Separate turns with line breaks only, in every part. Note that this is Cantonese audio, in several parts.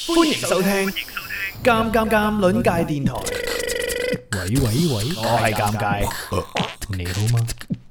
歡迎收聽《尷尷尷》鄰界電台。
喂，
我係尷尬，
你好嗎？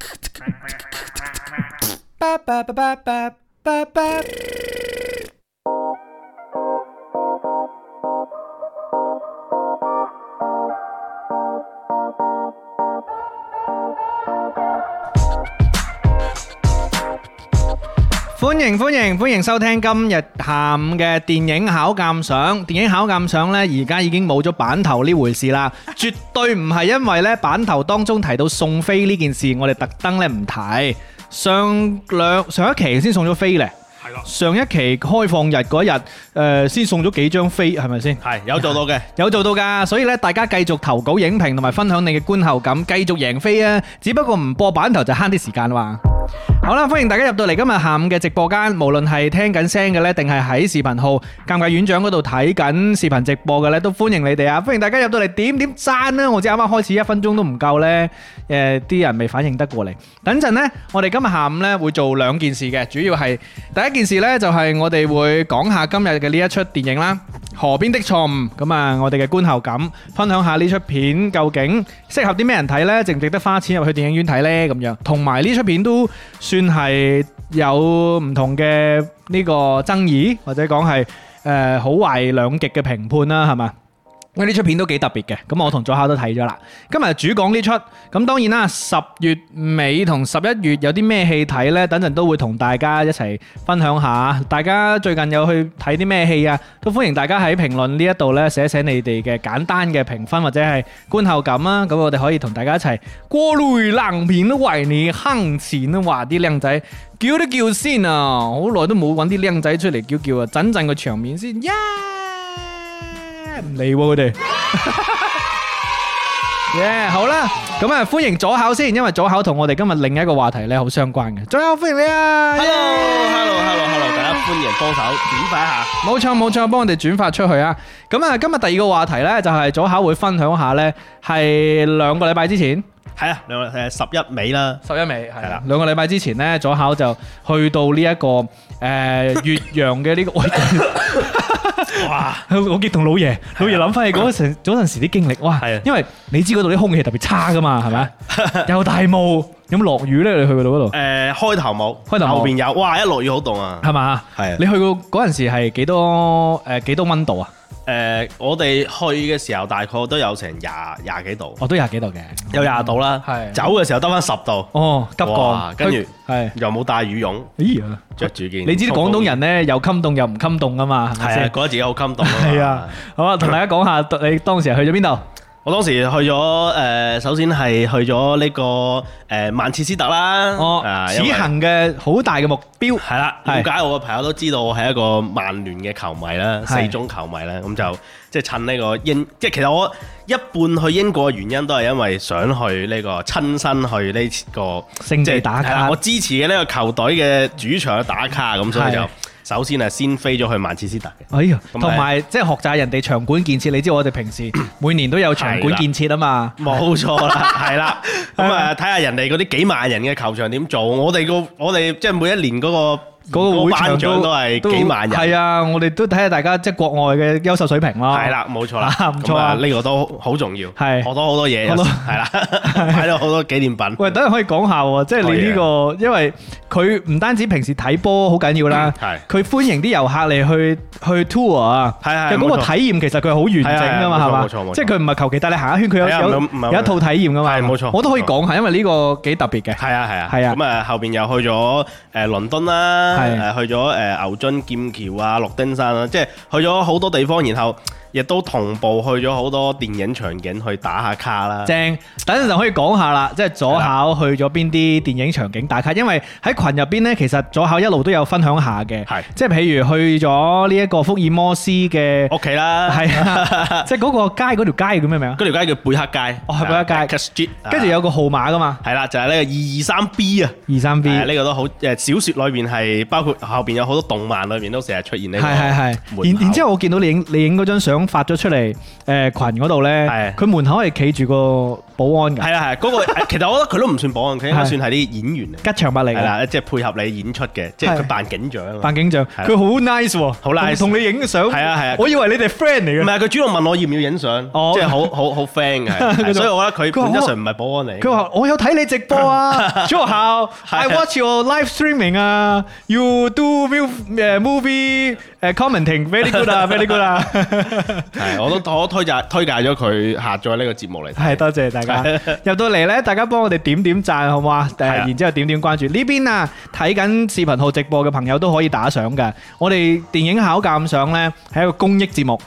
歡迎收聽今日下午嘅電影考鑑賞。電影考鑑賞呢，而家已經冇咗版頭呢回事啦，絕對唔係因為呢版頭當中提到送飛呢件事，我哋特登呢唔提。上一期先送咗飛咧。上一期開放日嗰日，先送咗幾張飛，係咪先？
係有做到嘅，
有做到㗎。所以咧，大家繼續投稿影評同埋分享你嘅觀後感，繼續贏飛啊！只不過唔播版頭就慳啲時間啦。好啦，歡迎大家入到嚟今日下午嘅直播間，無論係聽緊聲嘅呢，定係喺視頻號尷尬院長嗰度睇緊視頻直播嘅呢，都歡迎你哋啊！歡迎大家入到嚟點讚啦！我知啱啱開始1分鐘都唔夠呢，啲人未反應得過嚟。等陣呢，我哋今日下午呢會做兩件事嘅，主要係第一件事呢，就係我哋會講下今日嘅呢一出電影啦，《河邊的錯誤》。咁啊，我哋嘅觀後感，分享下呢出片究竟適合啲咩人睇呢？值唔值得花錢入去電影院睇呢？咁樣，同埋呢出片都算係有唔同嘅呢個爭議，或者講係好壞兩極嘅評判啦，係嘛？因為呢出片都幾特別嘅，咁我同左考都睇咗啦。今日主講呢出，咁當然啦，10月尾同11月有啲咩戲睇呢？等陣都會同大家一齊分享下。大家最近有去睇啲咩戲啊？都歡迎大家喺評論呢一度呢寫寫你哋嘅簡單嘅評分或者係觀後感啊。咁我哋可以同大家一齊過濾冷片為你坑錢啊！話啲靚仔叫都叫先啊！好耐都冇揾啲靚仔出嚟叫啊！陣陣個場面先唔理佢哋，好啦，咁啊歡迎左考先，因為左考同我哋今日另一個話題咧好相關嘅。左考歡迎你啊
！Hello， 大家歡迎幫手轉發一下。
冇錯，幫我哋轉發出去啊！咁啊，今日第二個話題咧就係左考會分享下咧，係2個禮拜之前。
係啊，11尾啦
，11尾係啦，2個禮拜之前咧，左考就去到呢一個岳陽嘅呢個。哇！我記同老爺諗翻起嗰陣時啲經歷，哇！因為你知嗰度啲空氣特別差噶嘛，係咪？有大霧，有冇落雨咧？你去嗰度？
開頭冇，後邊有。哇！一落雨好凍啊，
係嘛？係。你去過嗰陣時係幾多溫度啊？
我哋去嘅時候大概都有成廿幾度，
都廿幾度嘅，
有20度啦。係走嘅時候得翻10度，急降，跟住又冇帶羽絨，着住件。你知啲廣東人咧又襟凍又唔襟凍噶嘛，係咪先？覺得自己好襟凍。
係啊，好啊，同大家講下你當時係去咗邊度？
我當時去咗首先係去咗呢個曼徹斯特啦。
此行嘅好大嘅目標
係啦。了解我嘅朋友都知道我係一個曼聯嘅球迷啦，4中球迷啦。咁就即係趁呢個即係其實我一半去英國嘅原因都係因為想去呢個親身去呢個
聖地打卡。
我支持嘅呢個球隊嘅主場去打卡，咁所以就首先係先飛咗去曼徹斯特嘅。
哎呀，同埋即係學習人哋場館建設。你知我哋平時每年都有場館建設啊嘛。
冇錯啦，係啦。咁啊，睇下人哋嗰啲幾萬人嘅球場點做。我哋即係每一年嗰個
會場
都係幾萬人。
係啊，我哋都睇下大家即係國外嘅優秀水平咯。
係啦，冇錯啦，
唔錯啊，
呢個都好重要。係學到好多嘢，係啦，買咗好多紀念品。
喂，等陣可以講下喎，即係你呢個，因為佢唔單止平時睇波好緊要啦，佢歡迎啲遊客嚟去 tour 啊。係嗰個體驗其實佢係好完整噶嘛，係嘛？冇錯，即係佢唔係求其帶你行一圈，佢有一套體驗噶嘛。係冇錯，我都可以講下，因為呢個幾特別嘅。係啊。咁啊，後邊又去咗倫敦啦。去咗牛津劍橋啊、諾丁山啊，即係去咗好多地方，然後亦都同步去咗好多電影場景去打下卡啦。正，等陣就可以講下啦，即係左考去咗邊啲電影場景打卡，因為喺群入邊呢，其實左考一路都有分享下嘅。係，即係譬如去咗呢一個福爾摩斯嘅屋企啦，係啊，即係嗰個街嗰條街叫咩名啊？嗰條街叫貝克街，係貝克街。跟住有個號碼噶嘛，係啦，就係呢個223B 啊，223B。呢個都好小説裏邊係包括後邊有好多動漫裏邊都成日出現呢個。係。然之後我見到你影嗰張相發咗出嚟，群嗰度咧，佢門口係企住個保安㗎。
係啊係，嗰個其實我覺得佢都唔算保安，佢應該算係啲演員嚟。
吉祥物嚟嘅，
係啦，即係配合你演出嘅，即係佢扮警長。
扮警長，佢好 nice 喎，
好 nice，
同你影相。
係啊係啊，
我以為你哋 friend 嚟嘅。
唔係，佢主動問我要唔要影相，即係好 friend 嘅，所以我覺得佢本質上唔係保安嚟。
佢話我有睇你直播啊，朱學校 I watch your live streaming 啊 ，you do movie commenting very good 啊，very good 啊。
係，我推介咗佢下載呢個節目嚟睇。
係，多謝大家入到嚟咧，大家幫我哋點讚好唔好啊？然之後點關注呢邊啊，睇緊視頻號直播嘅朋友都可以打賞㗎。我哋電影考鑑賞咧係一個公益節目。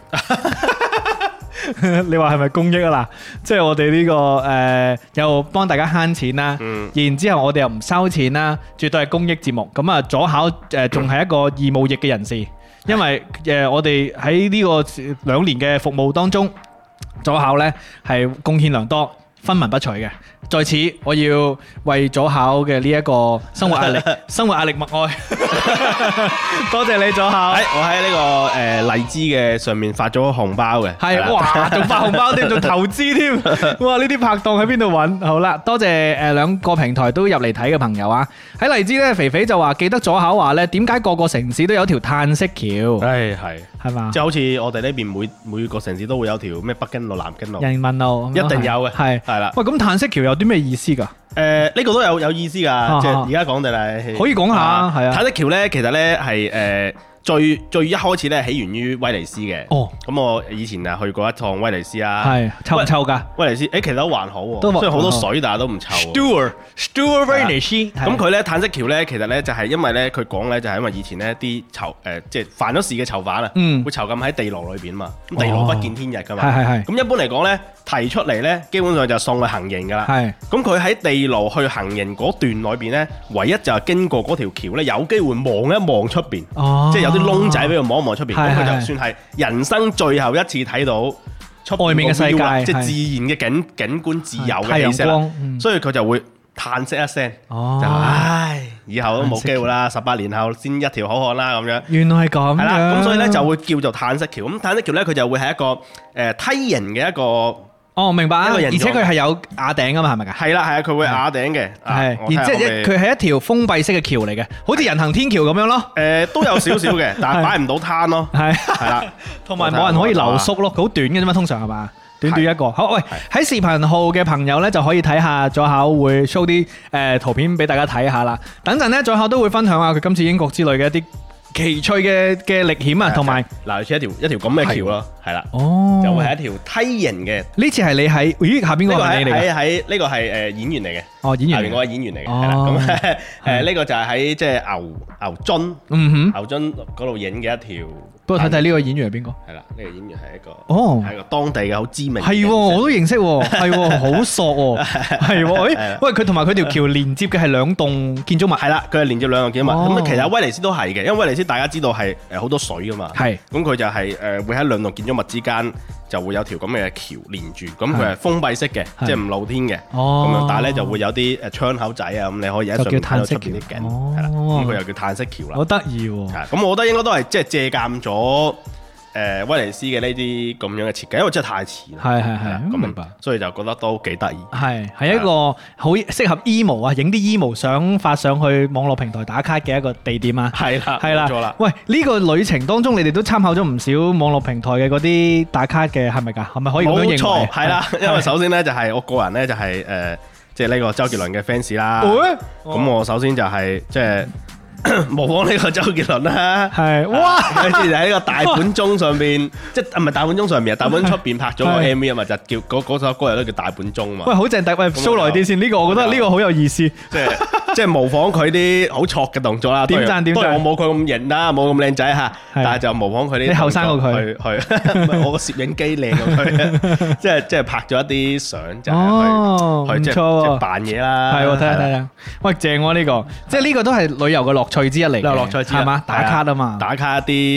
你話係咪公益啊？嗱，即係我哋呢個又幫大家慳錢啦，然之後我哋又唔收錢啦，絕對係公益節目。咁啊，左考仲係一個義務役嘅人士，因為我哋喺呢個2年嘅服務當中，左考呢係貢獻良多，分文不取嘅。在此，我要為左考嘅呢一個生活壓力默哀。多謝你左考。
我喺呢個荔枝嘅上面發咗紅包嘅。
係，哇，仲發紅包添，仲投資添。哇，呢啲拍檔喺邊度揾？好啦，多謝2個平台都入嚟睇嘅朋友啊。喺荔枝呢，肥肥就話記得左考話呢，點解個個城市都有條嘆息橋？係嘛？即
係好似我哋呢邊每個城市都會有條咩北京路、南京路、
人民路，
一定有嘅。係啦。
喂，咁嘆息橋有啲咩意思㗎？
呢個都有意思㗎，即係而家講定係
可以講下，係啊。
嘆息橋咧，其實咧係最一開始咧起源於威尼斯嘅。哦，咁我以前啊去過一趟威尼斯啊。係
臭唔臭㗎？威尼
斯其實都還好喎，雖然好多水，但係都唔臭。
Stewart 威尼斯。
咁佢咧嘆息橋咧，其實咧就係因為咧佢講咧就係因為以前咧啲即係犯咗事嘅囚犯啊，會囚禁喺地牢裏邊嘛。咁地牢不見天日㗎嘛。係。咁一般嚟講咧，提出嚟咧，基本上就送去行刑㗎啦。係。咁佢喺地牢去行刑嗰段裏邊咧，唯一就係經過嗰條橋咧，有機會望一望出邊。哦。即係有啲窿仔俾佢望一望出邊，咁佢就算係人生最後一次睇到出
外面嘅世界，
即係自然嘅景觀、自由嘅氣息啦。所以佢就會嘆息一聲，就唉，以後都冇機會啦，18年後先一條好漢啦咁樣。
原來係咁。係啦，
咁所以咧就會叫做嘆息橋。咁嘆息橋咧，佢就會係一個梯形嘅一個。
哦，明白啊！而且佢係有瓦頂噶嘛，係咪㗎？
係啦，佢會瓦頂嘅。
係，然之後佢係一條封閉式嘅橋嚟嘅，好似人行天橋咁樣咯。
都有少少嘅，但係擺唔到攤咯。係啦，
同埋冇人可以留宿咯，好短嘅啫嘛，通常係嘛？短短一個。好，喂，喺視頻號嘅朋友咧就可以睇下左考會 show 啲圖片俾大家睇下啦。等陣咧左考都會分享下佢今次英國之旅嘅一啲奇趣嘅歷險啊，同埋
嗱，好似一條咁嘅橋咯，係啦，就會係一條梯形嘅。
呢次係你喺，咦，下邊嗰個係你嚟嘅？
喺呢個係演員嚟嘅。哦，
演員，
下邊嗰個演員嚟嘅，係啦。咁呢個就係喺即係牛津，牛津嗰度影嘅一條。
不過睇睇呢個演員係邊個？
係啦，呢個演員係一個當地嘅好知名。
係，我都認識，係，好索，係，喂，佢同埋佢條橋連接嘅係2棟建築物。係啦，佢係連接2棟建築物。咁其實威尼斯都係嘅，因為威尼斯大家知道係好多水噶嘛。係。咁佢就係會喺2棟建築物之間就會有條咁嘅橋連住，咁佢係封閉式嘅，即係唔露天嘅。哦。咁樣，但係咧就會有啲窗口仔啊，咁你可以喺上面睇到出邊啲景。係啦。咁佢又叫嘆息橋啦。好得意喎。
咁我覺得應該都係即係借鑑咗威尼斯嘅呢啲咁樣嘅設計，因為真係太似啦。係，咁明白。所以就覺得都幾得意。
係一個好適合 emo 啊，影啲 emo 相發上去網絡平台打卡嘅一個地點啊。係啦，冇錯啦。喂，呢個旅程當中，你哋都參考咗唔少網絡平台嘅嗰啲打卡嘅，係咪㗎？係咪可以咁樣認為？冇錯，
係啦。因為首先咧就係我個人咧就係即係呢個周杰倫嘅 fans 啦。咁我首先就係即係模仿呢個周杰倫啦，係哇！跟住就喺呢個大本鐘上邊，即係唔係大本鐘上邊啊？大本鐘出邊拍咗個 MV 啊嘛，就叫嗰首歌又都叫大本鐘嘛。
喂，好正！喂，show 耐啲先，呢個我覺得呢個好有意思，
即係模仿佢啲好挫嘅動作啦。點讚點讚！我冇佢咁型啦，冇咁靚仔嚇，但係就模仿佢啲。
你後生過佢，
去我個攝影機靚過佢，即係拍咗一啲相就係去即係扮嘢啦。
係喎，睇下睇下。喂，正喎呢個，即係呢個都係旅遊嘅樂趣之一嚟嘅，樂趣之一係嘛？打卡啊嘛，
打卡一啲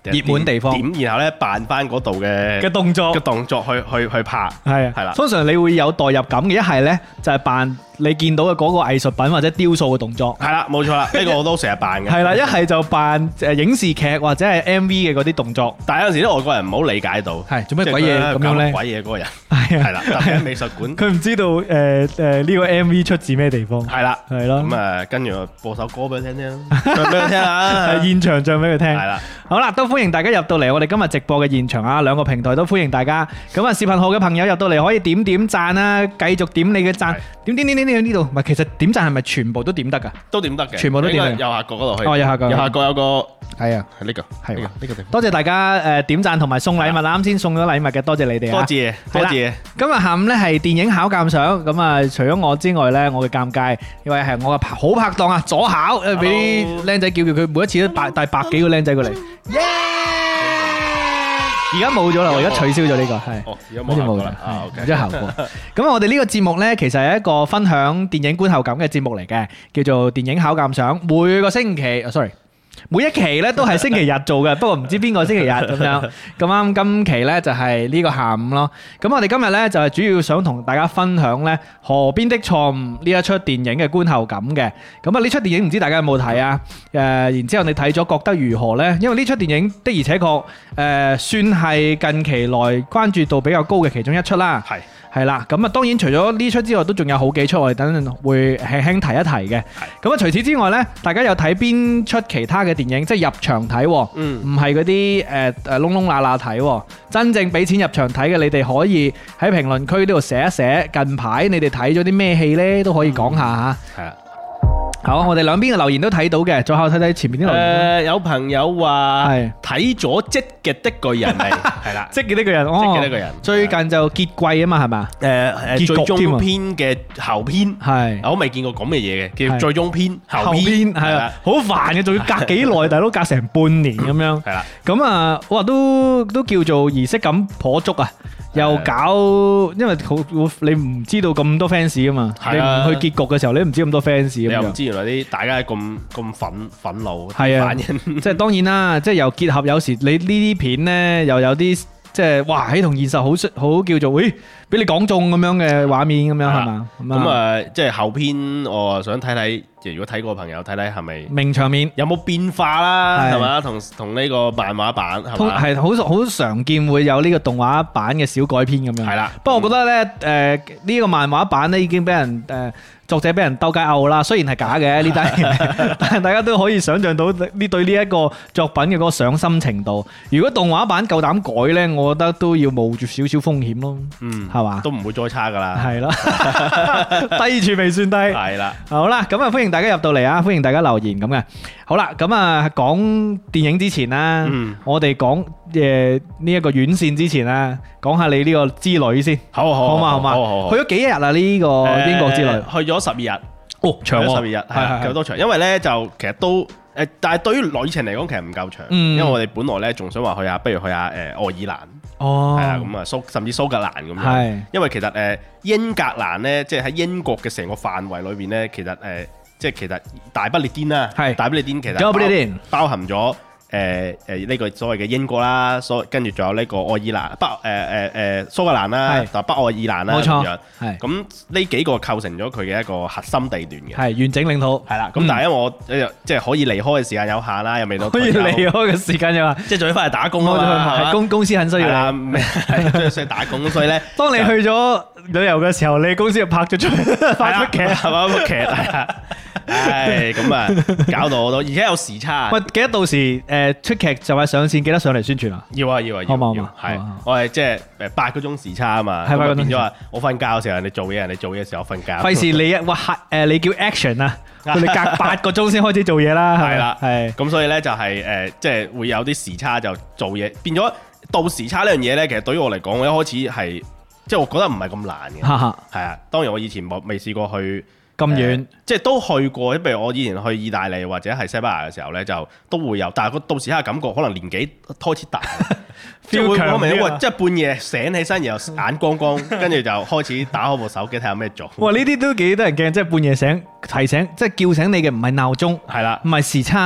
熱門地方
點，然後咧扮翻嗰度嘅
動作
去拍，
係
係啦。
通常你會有代入感嘅，一係咧就係扮你見到嘅嗰個藝術品或者雕塑嘅動作，
係啦，冇錯啦，呢個我都成日扮嘅。
係啦，一係就扮影視劇或者係 MV 嘅嗰啲動作。
但係有陣時啲外國人唔好理解到，
係做咩鬼嘢咁樣咧？
鬼嘢嗰個人
係啊，
係啦，特別喺美術館，
佢唔知道呢個 MV 出自咩地方。
係啦，
係咯。
咁跟住播首歌俾佢聽聽，唱俾佢聽下，
係現場唱俾佢聽。
係啦。
好啦，都歡迎大家入到嚟我哋今日直播嘅現場啊！兩個平台都歡迎大家。咁啊，視頻號嘅朋友入到嚟可以點點讚啊，繼續點你嘅讚，點呢度。唔係，其實點讚係咪全部都點得㗎？
都點得嘅，
全部都點得。
右下角嗰度去。
哦，右下角
有個
係啊，
係呢個
係
呢個地方。
多謝大家點讚同埋送禮物，啱先送咗禮物嘅，多謝你哋啊！
多謝。
今日下午咧係電影考鑑賞，咁啊除咗我之外咧，我嘅尷尬，因為係我嘅好拍檔啊，左考，俾啲僆仔叫佢每一次都帶百幾個僆仔過嚟。耶！而家冇咗啦，我而家取消咗呢個係，
而家冇啦，
冇咗效果。咁我哋呢個節目呢，其實係一個分享電影觀後感嘅節目嚟嘅，叫做電影考鑑賞。每個星期，sorry，每一期呢都係星期日做嘅，不過唔知邊個星期日咁樣。咁啱今期呢就係呢個下午咯。咁我哋今日呢就係主要想同大家分享呢《河邊的錯誤》呢一出電影嘅觀後感嘅。咁啊呢出電影唔知大家有冇睇啊？然之後你睇咗覺得如何呢？因為呢出電影的而且確算係近期來關注度比較高嘅其中一出啦。係啦，咁啊當然除咗呢出之外，都仲有好幾出，我哋等陣會輕輕提一提嘅。咁啊除此之外呢，大家有睇邊出其他嘅電影，即係入場睇，唔係嗰啲窿窿罅罅睇，真正俾錢入場睇嘅，你哋可以喺評論區呢度寫一寫，近排你哋睇咗啲咩戲呢？都可以講下嚇。係啊。好，我哋兩邊嘅留言都睇到嘅，再後睇睇前面啲留言。
有朋友話睇咗《積極的巨人》未？係啦，
積極的巨人，
積極的巨人，
最近就結季啊嘛，係嘛？
最終篇嘅後篇係，我未見過咁嘅嘢嘅，叫最終篇後篇，係啊，好煩嘅，仲要隔幾耐，大佬隔成半年咁樣。係啦，咁啊，哇，都叫做儀式感頗足啊！又搞，因為你唔知道咁多 fans 啊嘛，你唔去結局嘅時候，你都唔知咁多 fans 咁樣。你又唔知原來啲大家咁憤怒，係啊，即係當然啦，即係又結合有時你呢啲片呢，又有啲即係哇喺同現實好叫做，喂，俾你講中咁樣嘅畫面咁樣係嘛？咁啊，即係後篇我想睇睇。如果睇過嘅朋友睇睇係咪名場面有冇變化啦，係嘛？同呢個漫畫版係好常見會有呢個動畫版嘅小改編咁樣。係啦，不過我覺得咧呢個漫畫版咧已經俾人作者俾人鬥雞拗啦，雖然係假嘅呢單嘢，但係大家都可以想像到呢對呢一個作品嘅嗰個上心程度。如果動畫版夠膽改咧，我覺得都要冒住少少風險咯。係嘛？都唔會再差㗎啦。係咯，低處未算低。係啦，好啦，咁啊歡迎大家入到嚟啊！歡迎大家留言咁嘅。好啦，咁啊講電影之前啦，我哋講呢一個院線之前啦，講下你呢個之旅先。好嘛。去咗幾日啊？呢個英國之旅去咗12日。哦，長喎，12日係夠多長。因為咧就其實都但係對於旅程嚟講其實唔夠長。因為我哋本來咧仲想話去下，不如去下愛爾蘭。哦，係啊，咁啊甚至蘇格蘭咁樣。係，因為其實英格蘭咧，即係喺英國嘅成個範圍裏邊咧，其實即係其實大不列顛啦，係大不列顛其實包含咗呢個所謂嘅英國啦，跟住仲有呢個愛爾蘭蘇格蘭啦，同北愛爾蘭啦，冇錯，係咁呢幾個構成咗佢嘅一個核心地段嘅，係完整領土，係啦。咁但係因為我即係可以離開嘅時間有限啦，又未到可以離開嘅時間有限，即係仲要翻嚟打工啊嘛，公司很需要你，係需要打工，所以咧，當你去咗旅遊嘅時候，你公司就拍咗出拍出劇係嘛，部劇係啊。唉，咁啊，搞到好多，而且有時差。喂，記得到時出劇就係上線，記得上嚟宣傳啊！要啊，好嘛，係我係即係8個鐘時差啊嘛，係變咗話我瞓覺嘅時候人哋做嘢，人哋做嘢嘅時候我瞓覺。費事你你叫 action 啊，佢哋隔8個鐘先開始做嘢啦，係啦，係。咁所以咧就係即係會有啲時差就做嘢，變咗到時差呢樣嘢咧，其實對於我嚟講，我一開始係即係我覺得唔係咁難嘅，係啊。當然我以前未試過去。咁遠，即係都去過，譬如我以前去意大利或者係西班牙嘅時候咧，就都會有，但係個到時刻感覺可能年紀開始大，即係會講明喎，即係半夜醒起身，然後眼光光，跟住就開始打開部手機睇下有咩做。哇！呢啲都幾得人驚，即係半夜醒提醒，即係叫醒你嘅唔係鬧鐘，係啦，唔係時差。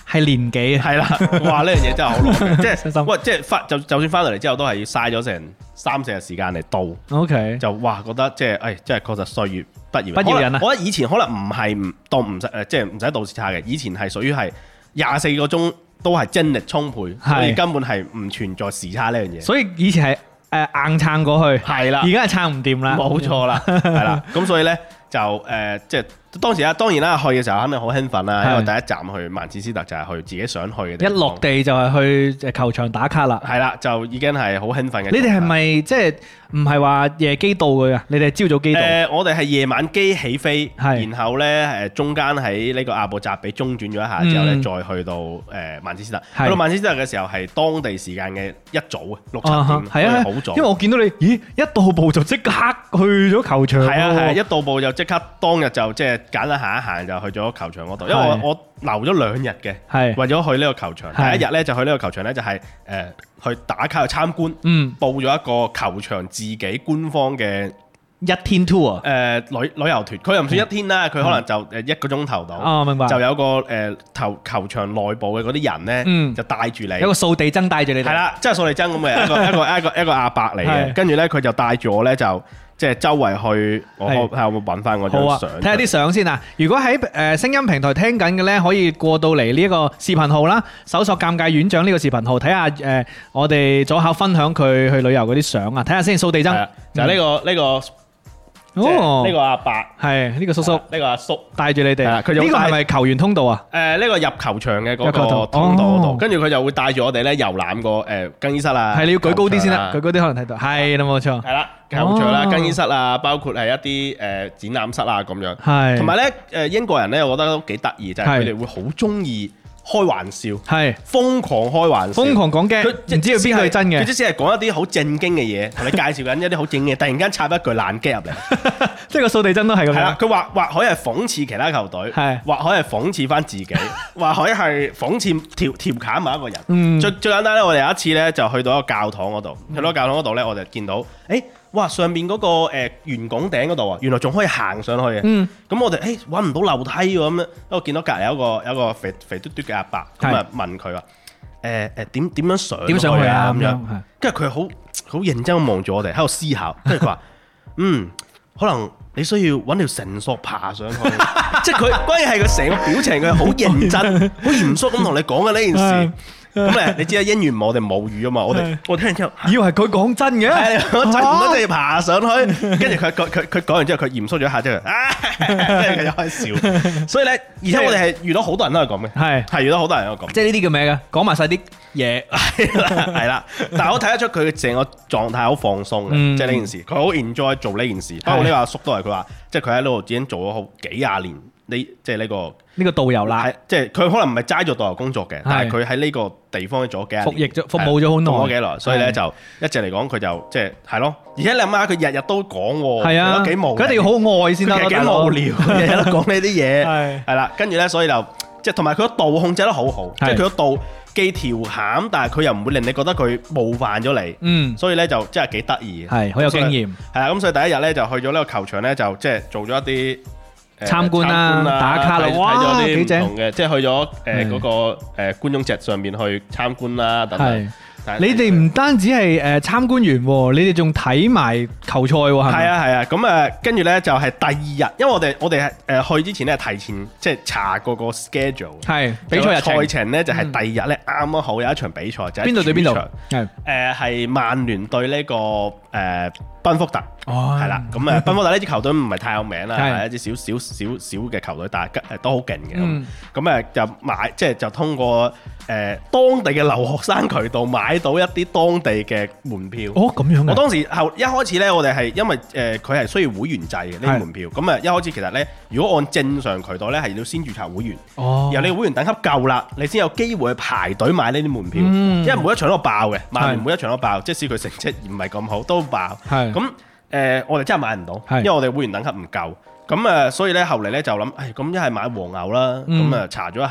係年紀啊，
係啦，哇！呢樣嘢真係好耐嘅，即
傷心
係喂，即係就算翻到嚟之後，都係要嘥咗成3-4日時間嚟到。
OK，
就哇覺得即係即係確實歲月不饒人。
不饒人啊
我覺得以前可能唔係唔使即係唔使倒時差嘅，以前係屬於係24個鐘都係精力充沛，所以根本係唔存在時差呢樣嘢。
所以以前係硬撐過去，
係啦，
而家係撐唔掂啦，
冇錯啦，係啦。咁所以咧就即係當然啦，去嘅時候肯定好興奮啦，因為第一站去曼徹斯特就係去自己想去嘅地方。
一落地就係去球場打卡啦。
係啦，就已經係好興奮嘅。
你哋係咪即係唔係話夜機到嘅？你哋係朝早機到？
我哋係夜晚機起飛，
係
然後咧中間喺呢個阿布扎比中轉咗一下之後咧，再去到曼徹斯特。去到曼徹斯特嘅時候係當地時間嘅一早6-7點，
係啊，
好早。
因為我見到你，咦，一到埗就即刻去咗球場。
係啊，一到埗就即刻當日就即係簡單行一行就去咗球場嗰度，因為我留咗2日嘅，
係為
咗去呢個球場。第一日咧就去呢個球場咧就係去打卡去參觀，報咗一個球場自己官方嘅
1天 tour，
旅遊團，佢又唔算1天啦，佢可能就1個鐘頭到。
哦，明白。就
有個球場內部嘅嗰啲人咧，就帶住你，
有個掃地僧帶住你哋。
係啦，即係掃地僧咁嘅一個阿伯嚟嘅，跟住咧佢就帶住我咧就。即係周圍去，我睇下有冇揾翻嗰張相。
睇下啲相先啊！如果喺聲音平台聽緊嘅呢，可以過到嚟呢一個視頻號啦，搜索尷尬院長呢個視頻號，睇下我哋左考分享佢去旅遊嗰啲相啊！睇下先，掃地僧
就係呢個阿伯，
係呢個叔叔，
呢個阿叔
帶住你哋。呢個
佢
係咪球員通道啊？
呢個入球場嘅嗰個通道嗰度，跟住佢就會帶住我哋咧遊覽個更衣室啊。
係你要舉高啲先啦，舉高啲可能睇到。係啦，冇錯。
係啦。球場啦、更衣室啊，包括係一啲展覽室啊咁樣。係。同埋咧英國人咧，我覺得都幾得意，就係佢哋會好中意開玩笑，係瘋狂開玩笑，瘋狂講嘅，佢唔知道邊個係真嘅。佢即使係講一啲好正經嘅嘢，同你介紹緊一啲好正經嘅，突然間插一句爛 gag 入嚟，即係個掃地僧都係咁樣。係啦，佢或可以係諷刺其他球隊，係或可以係諷刺翻自己，或可以係諷刺調侃某一個人。最簡單咧，我哋有一次咧就去到一個教堂嗰度，去到教堂嗰度咧，我就見到哇！上面嗰個圓拱頂嗰度啊，原來仲可以行上去嘅。咁我哋揾唔到樓梯喎，咁樣，我見到隔離有一個肥嘟嘟嘅阿伯，咁啊問佢話點樣上去啊咁樣。跟住佢好認真咁望住我哋喺度思考，跟住佢話可能你需要揾條繩索爬上去。即係佢關鍵係佢成個表情，佢好認真、好嚴肅咁同你講嘅呢件事。咁你知啦，英語我哋母語啊嘛，我聽完之後以為佢講真嘅，我真唔得，要爬上去。跟住佢講完之後，佢嚴肅咗一下之後，跟住佢就開笑。所以咧，而且我哋係遇到好多人都係咁嘅，係遇到好多人都係咁。即係呢啲叫咩嘅？講埋晒啲嘢，係啦。但係我睇得出佢成個狀態好放鬆嘅，即係呢件事，佢好 enjoy 做呢件事。包括呢個阿叔都係佢話，即係佢喺呢度已經做咗好幾廿年。即係呢個導遊啦，即係佢可能唔係齋做導遊工作嘅，但係佢喺呢個地方做咗幾年，服務咗好耐，做咗幾耐，所以咧就一直嚟講佢就即係係咯。而且你諗下，佢日日都講喎，係啊，幾無聊，佢一定要好愛先得，幾無聊，日日都講呢啲嘢，係啦。跟住咧，所以就即係同埋佢個度控制得好好，即係佢個度既調侃，但係佢又唔會令你覺得佢冒犯咗你，所以咧就真係幾得意，係好有經驗，係啦。咁所以第一日咧就去咗呢個球場咧，就即係做咗一啲參觀啦、打卡啦，睇咗啲唔同嘅，即係去咗嗰個觀眾席上面去參觀啦等等。你哋唔單止係參觀完，你哋仲睇埋球賽喎，係咪？係啊，咁跟住咧就係第二日，因為我哋去之前咧提前即係查過個 schedule， 係比賽日程。賽程咧就係第二日咧啱啱好有一場比賽，就係邊度對邊度？係曼聯對呢個賓福特，係啦。咁賓福特呢支球隊唔係太有名啦，係一支少嘅球隊，但係都好勁嘅。咁就買即係就通過當地嘅留學生渠道買到一啲當地嘅門票。哦，咁樣嘅。我當時一開始咧，我哋係因為佢係需要會員制嘅呢啲門票。咁一開始其實咧，如果按正常渠道咧，係要先註冊會員。哦。然後你會員等級夠啦，你先有機會去排隊買呢啲門票。因為每一場都爆嘅，曼聯每一場都爆，即使佢成績唔係咁好都爆。係。咁我哋真係買唔到，因為我哋會員等級唔夠。咁所以咧後嚟咧就諗，咁一係買黃牛啦。咁查咗一下。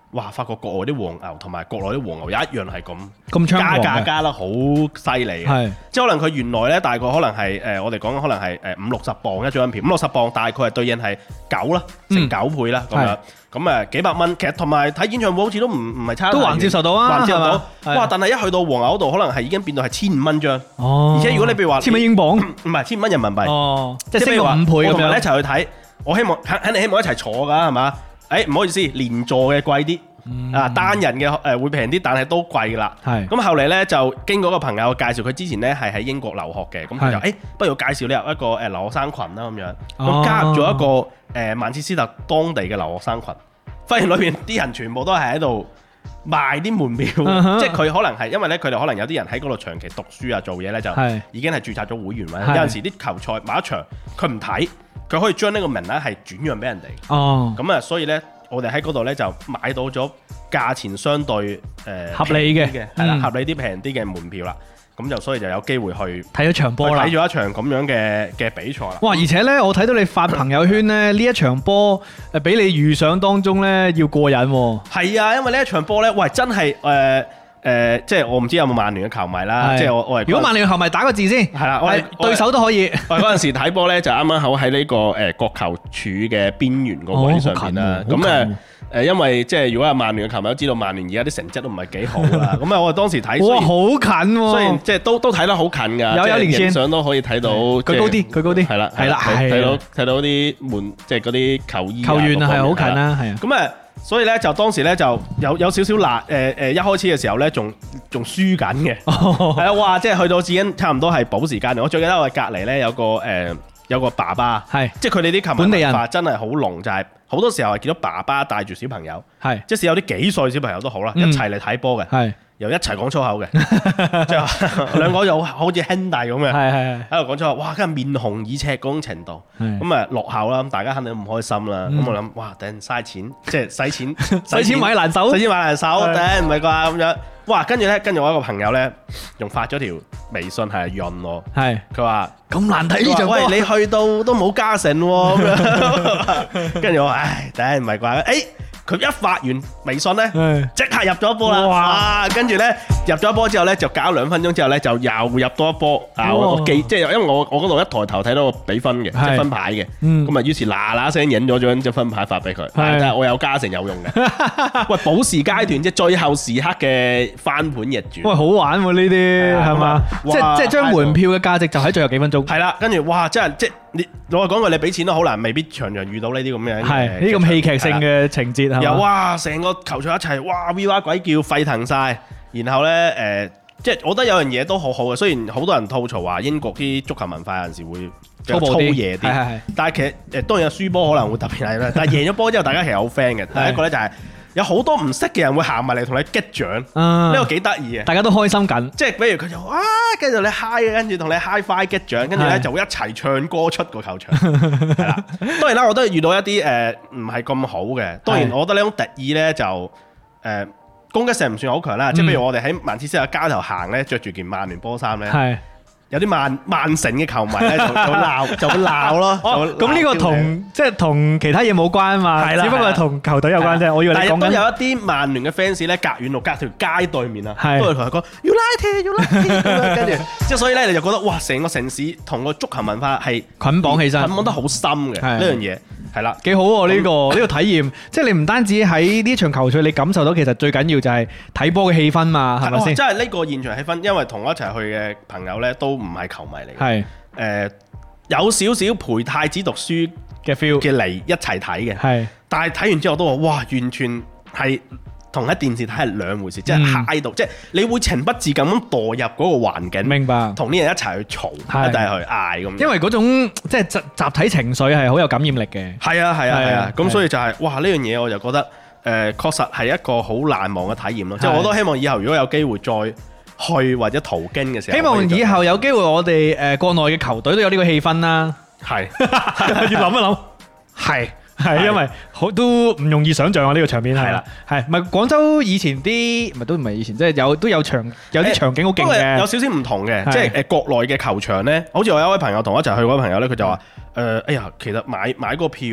哇！發覺國外啲黃牛同埋國內啲黃牛一樣係
咁
加
猖狂嘅
價加得好犀利嘅，
係
即係可能佢原來咧大概可能係我哋講可能係50-60磅一張票，50-60磅大概係對應係9啦，成9倍啦咁樣。咁幾百蚊，其實同埋睇演唱會好似都唔係差，
都還接受到啊，
還接受到。
係
哇！但係一去到黃牛嗰度，可能係已經變到係1500蚊張。
哦，
而且如果你譬如話
1000蚊英鎊，
唔係1500蚊人民幣。
哦，即係升
譬如話
到5倍咁樣。
我同你一齊去睇，我希望肯定希望一齊坐㗎係嘛？唔好意思，連座嘅貴啲。單人嘅會平啲，但係都貴啦。
係
咁後嚟咧就經過個朋友介紹，佢之前咧係喺英國留學嘅，咁佢就不如介紹你入一個留學生群啦咁樣，咁加入咗一個曼徹斯特當地嘅留學生群，發現裏邊啲人全部都係喺度賣啲門票，即係佢可能係因為咧佢哋可能有啲人喺嗰度長期讀書啊做嘢咧就已經係註冊咗會員或者有陣時啲球賽買一場佢唔睇，佢可以將呢個名額係轉讓俾人哋。
哦，
咁啊所以咧。我哋喺嗰度咧就買到咗價錢相對
合理嘅，
係啦，合理啲平啲嘅門票啦。咁就所以就有機會去
睇咗場波啦，
睇咗一場咁樣嘅比賽啦。
哇！而且咧，我睇到你發朋友圈咧，呢一場波比你預想當中咧要過癮喎。
係啊，因為呢一場波咧，喂真係即係我唔知有冇曼聯嘅球迷啦。即係我
如果曼聯嘅球迷打個字先，係啦，我對手都可以。
我嗰陣時睇波咧，就啱啱好喺呢個國球柱嘅邊緣個位上邊啦。咁因為即係如果係曼聯嘅球迷都知道，曼聯而家啲成績都唔係幾好啦。咁我當時睇，
哇，好近喎！
雖然即係都睇得好近㗎，
有連線，
影相都可以睇到。
佢高啲，佢高啲。係啦，係啦，
睇到啲門，即係嗰啲球衣
球員啊，係好近啦，係啊。
咁所以咧就當時咧就有少少辣一開始嘅時候咧仲輸緊嘅，係啊，哇！即係去到已經差唔多係補時間。我最記得我隔離咧有個爸爸，係即係佢哋啲球迷文化真係好濃，就係好多時候係見到爸爸帶住小朋友，係即使有啲幾歲小朋友都好啦，一齊嚟睇波嘅，係又一齊講粗口嘅，即係兩個就好似兄弟咁嘅，係喺度講粗口，哇！跟住面紅耳赤嗰種程度，咁落後啦，咁大家肯定唔開心啦。咁我諗，哇！頂嘥錢，即係使錢
買難手，
使錢買難手，頂唔係啩咁樣？哇！跟住我一個朋友咧，仲發咗條微信係潤我，係佢話咁難睇呢場波，喂，你去到都冇加成喎咁樣。跟住我話，唉，頂唔係啩？佢一發完微信咧，即刻入咗一波啦！哇！跟住咧入咗一波之後咧，就搞2分鐘之後咧，就又入多一波。我記即係因為我嗰度一抬頭睇到個比分嘅，即係分牌嘅。咁啊，於是嗱聲影咗張分牌發俾佢。但係我有加成有用嘅。喂，補時階段即係最後時刻嘅翻盤逆轉。喂，
好玩喎呢啲係嘛？即係將門票嘅價值就喺最後幾分鐘。
係啦，跟住哇，真係即係你我講句，你俾錢都好難，未必場場遇到呢啲咁樣。
係呢啲咁戲劇性嘅情節。
又哇，成個球場一齊哇 V 哇鬼叫沸騰晒，然後呢，即係我覺得有樣嘢都好好嘅，雖然好多人吐槽話英國啲足球文化有陣時會比較粗野啲，但係其實當然有輸波可能會特別係啦，但係贏咗波之後大家其實好 friend 嘅。第一個呢就係有好多唔識嘅人會行埋嚟同你擊掌，呢個幾得意嘅，大
家都開心緊。
即係比如佢就跟住你 high， 跟住同你 high five 擊掌，跟住咧就會一齊唱歌出個球場。係啦，當然啦，我都係遇到一啲唔係咁好嘅。當然，我覺得呢種敵意咧就攻擊性唔算好強啦。即係譬如我哋喺曼徹斯特街頭行咧，着住件曼聯波衫咧。有啲曼城嘅球迷咧就會鬧咯。
咁呢個同即係同其他嘢冇關嘛，只不過係同球隊有關啫。我以為你講緊。但係都有一啲曼聯嘅 fans 咧，隔遠路隔條街對面啊，都會同佢講 United 咁樣，跟住即係所以咧你就覺得哇，成個城市同個足球文化係捆綁起身，
捆綁得好深嘅呢樣嘢。係啦，
幾好喎呢個體驗，即係你唔單止喺呢場球賽，你感受到其實最緊要就係睇波嘅氣氛嘛，係咪先？
即係呢個現場氣氛，因為同我一齊去嘅朋友咧都唔係球迷嚟嘅，係有少少陪太子讀書嘅 feel 嘅嚟一齊睇嘅，係。但係睇完之後都話哇，完全係同喺電視睇係兩回事，即係嗨到，即係你會情不自禁咁墮入嗰個環境，明白？同啲人一齊去嘈，一齊去嗌咁。因
為嗰種即係集體情緒係好有感染力嘅。
係啊，咁所以就係哇呢樣嘢我就覺得確實係一個好難忘嘅體驗咯。即係我都希望以後如果有機會再去或者途經嘅時候，
希望以後有機會我哋國內嘅球隊都有呢個氣氛啦。係，要諗一諗，係因為都唔容易想像啊！呢個場面係啦，係咪廣州以前啲唔係以前，即係有啲場景好勁嘅，
有少少唔同嘅，即係國內嘅球場咧，好似我有一位朋友同我一齊去嗰位朋友咧，佢就話哎呀，其實買個票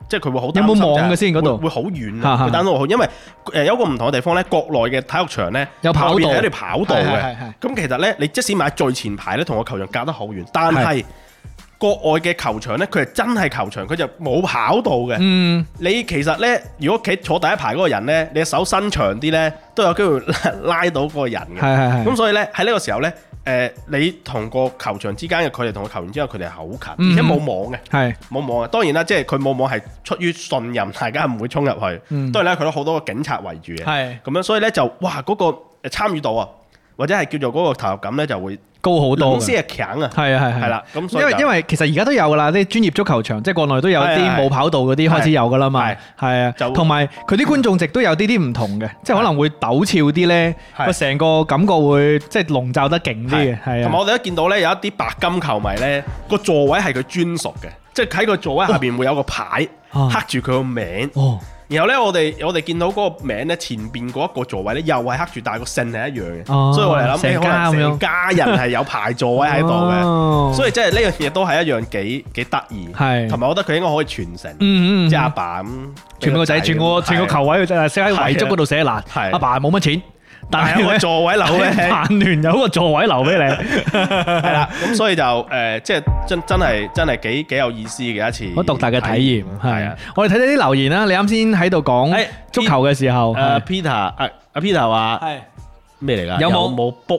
即係佢會好
有冇網嘅先嗰度？
會好遠啊，會擔到好，因為有個唔同嘅地方咧，國內嘅體育場咧
有跑道，
係一條跑道嘅。咁其實咧，你即使買最前排咧，同個球場隔得好遠，但係國外嘅球場咧，佢係真係球場，佢就冇跑道嘅。你其實咧，如果企坐第一排嗰個人咧，你手伸長啲咧，都有機會拉到嗰個人嘅。咁所以咧，喺呢個時候咧，你同個球場之間嘅距離同個球員之間嘅距離係好近，而且冇網嘅，冇網嘅。當然啦，即係佢冇網係出於信任，大家唔會衝入去。當然啦，佢都好多個警察圍住嘅。咁樣所以咧就哇嗰個參與度啊，或者係叫做嗰個投入感咧就會高好多，先係強啊！係啦，咁所以因為
其實而家都有噶啦，啲專業足球場，即係國內都有啲冇跑道嗰啲開始有噶啦嘛，係啊，同埋佢啲觀眾席都有啲唔同嘅，即係可能會陡峭啲咧，個成個感覺會即係籠罩得勁啲嘅，係啊。
同埋我哋都見到咧，有一啲白金球迷咧，個座位係佢專屬嘅，即係喺個座位下邊會有個牌刻住佢個名。然後咧，我哋見到嗰個名咧，前邊嗰一個座位咧，又係刻住，但係個姓係一樣嘅，所以我哋諗起可能成家人係有排座位喺度嘅，所以即係呢樣嘢都係一樣幾得意，同埋我覺得佢應該可以傳承，即係阿爸咁
傳個仔，傳個球位，就係寫喺遺囑嗰度寫嗱，阿爸冇乜錢。但係有個座位留俾曼聯有個座位留俾你，
係啦，咁所以就即係真係幾有意思嘅一次，
好獨特嘅體驗。係啊，我哋睇睇啲留言啦。你啱先喺度講足球嘅時候
，Peter 阿 Peter 話係咩嚟㗎？有冇 book？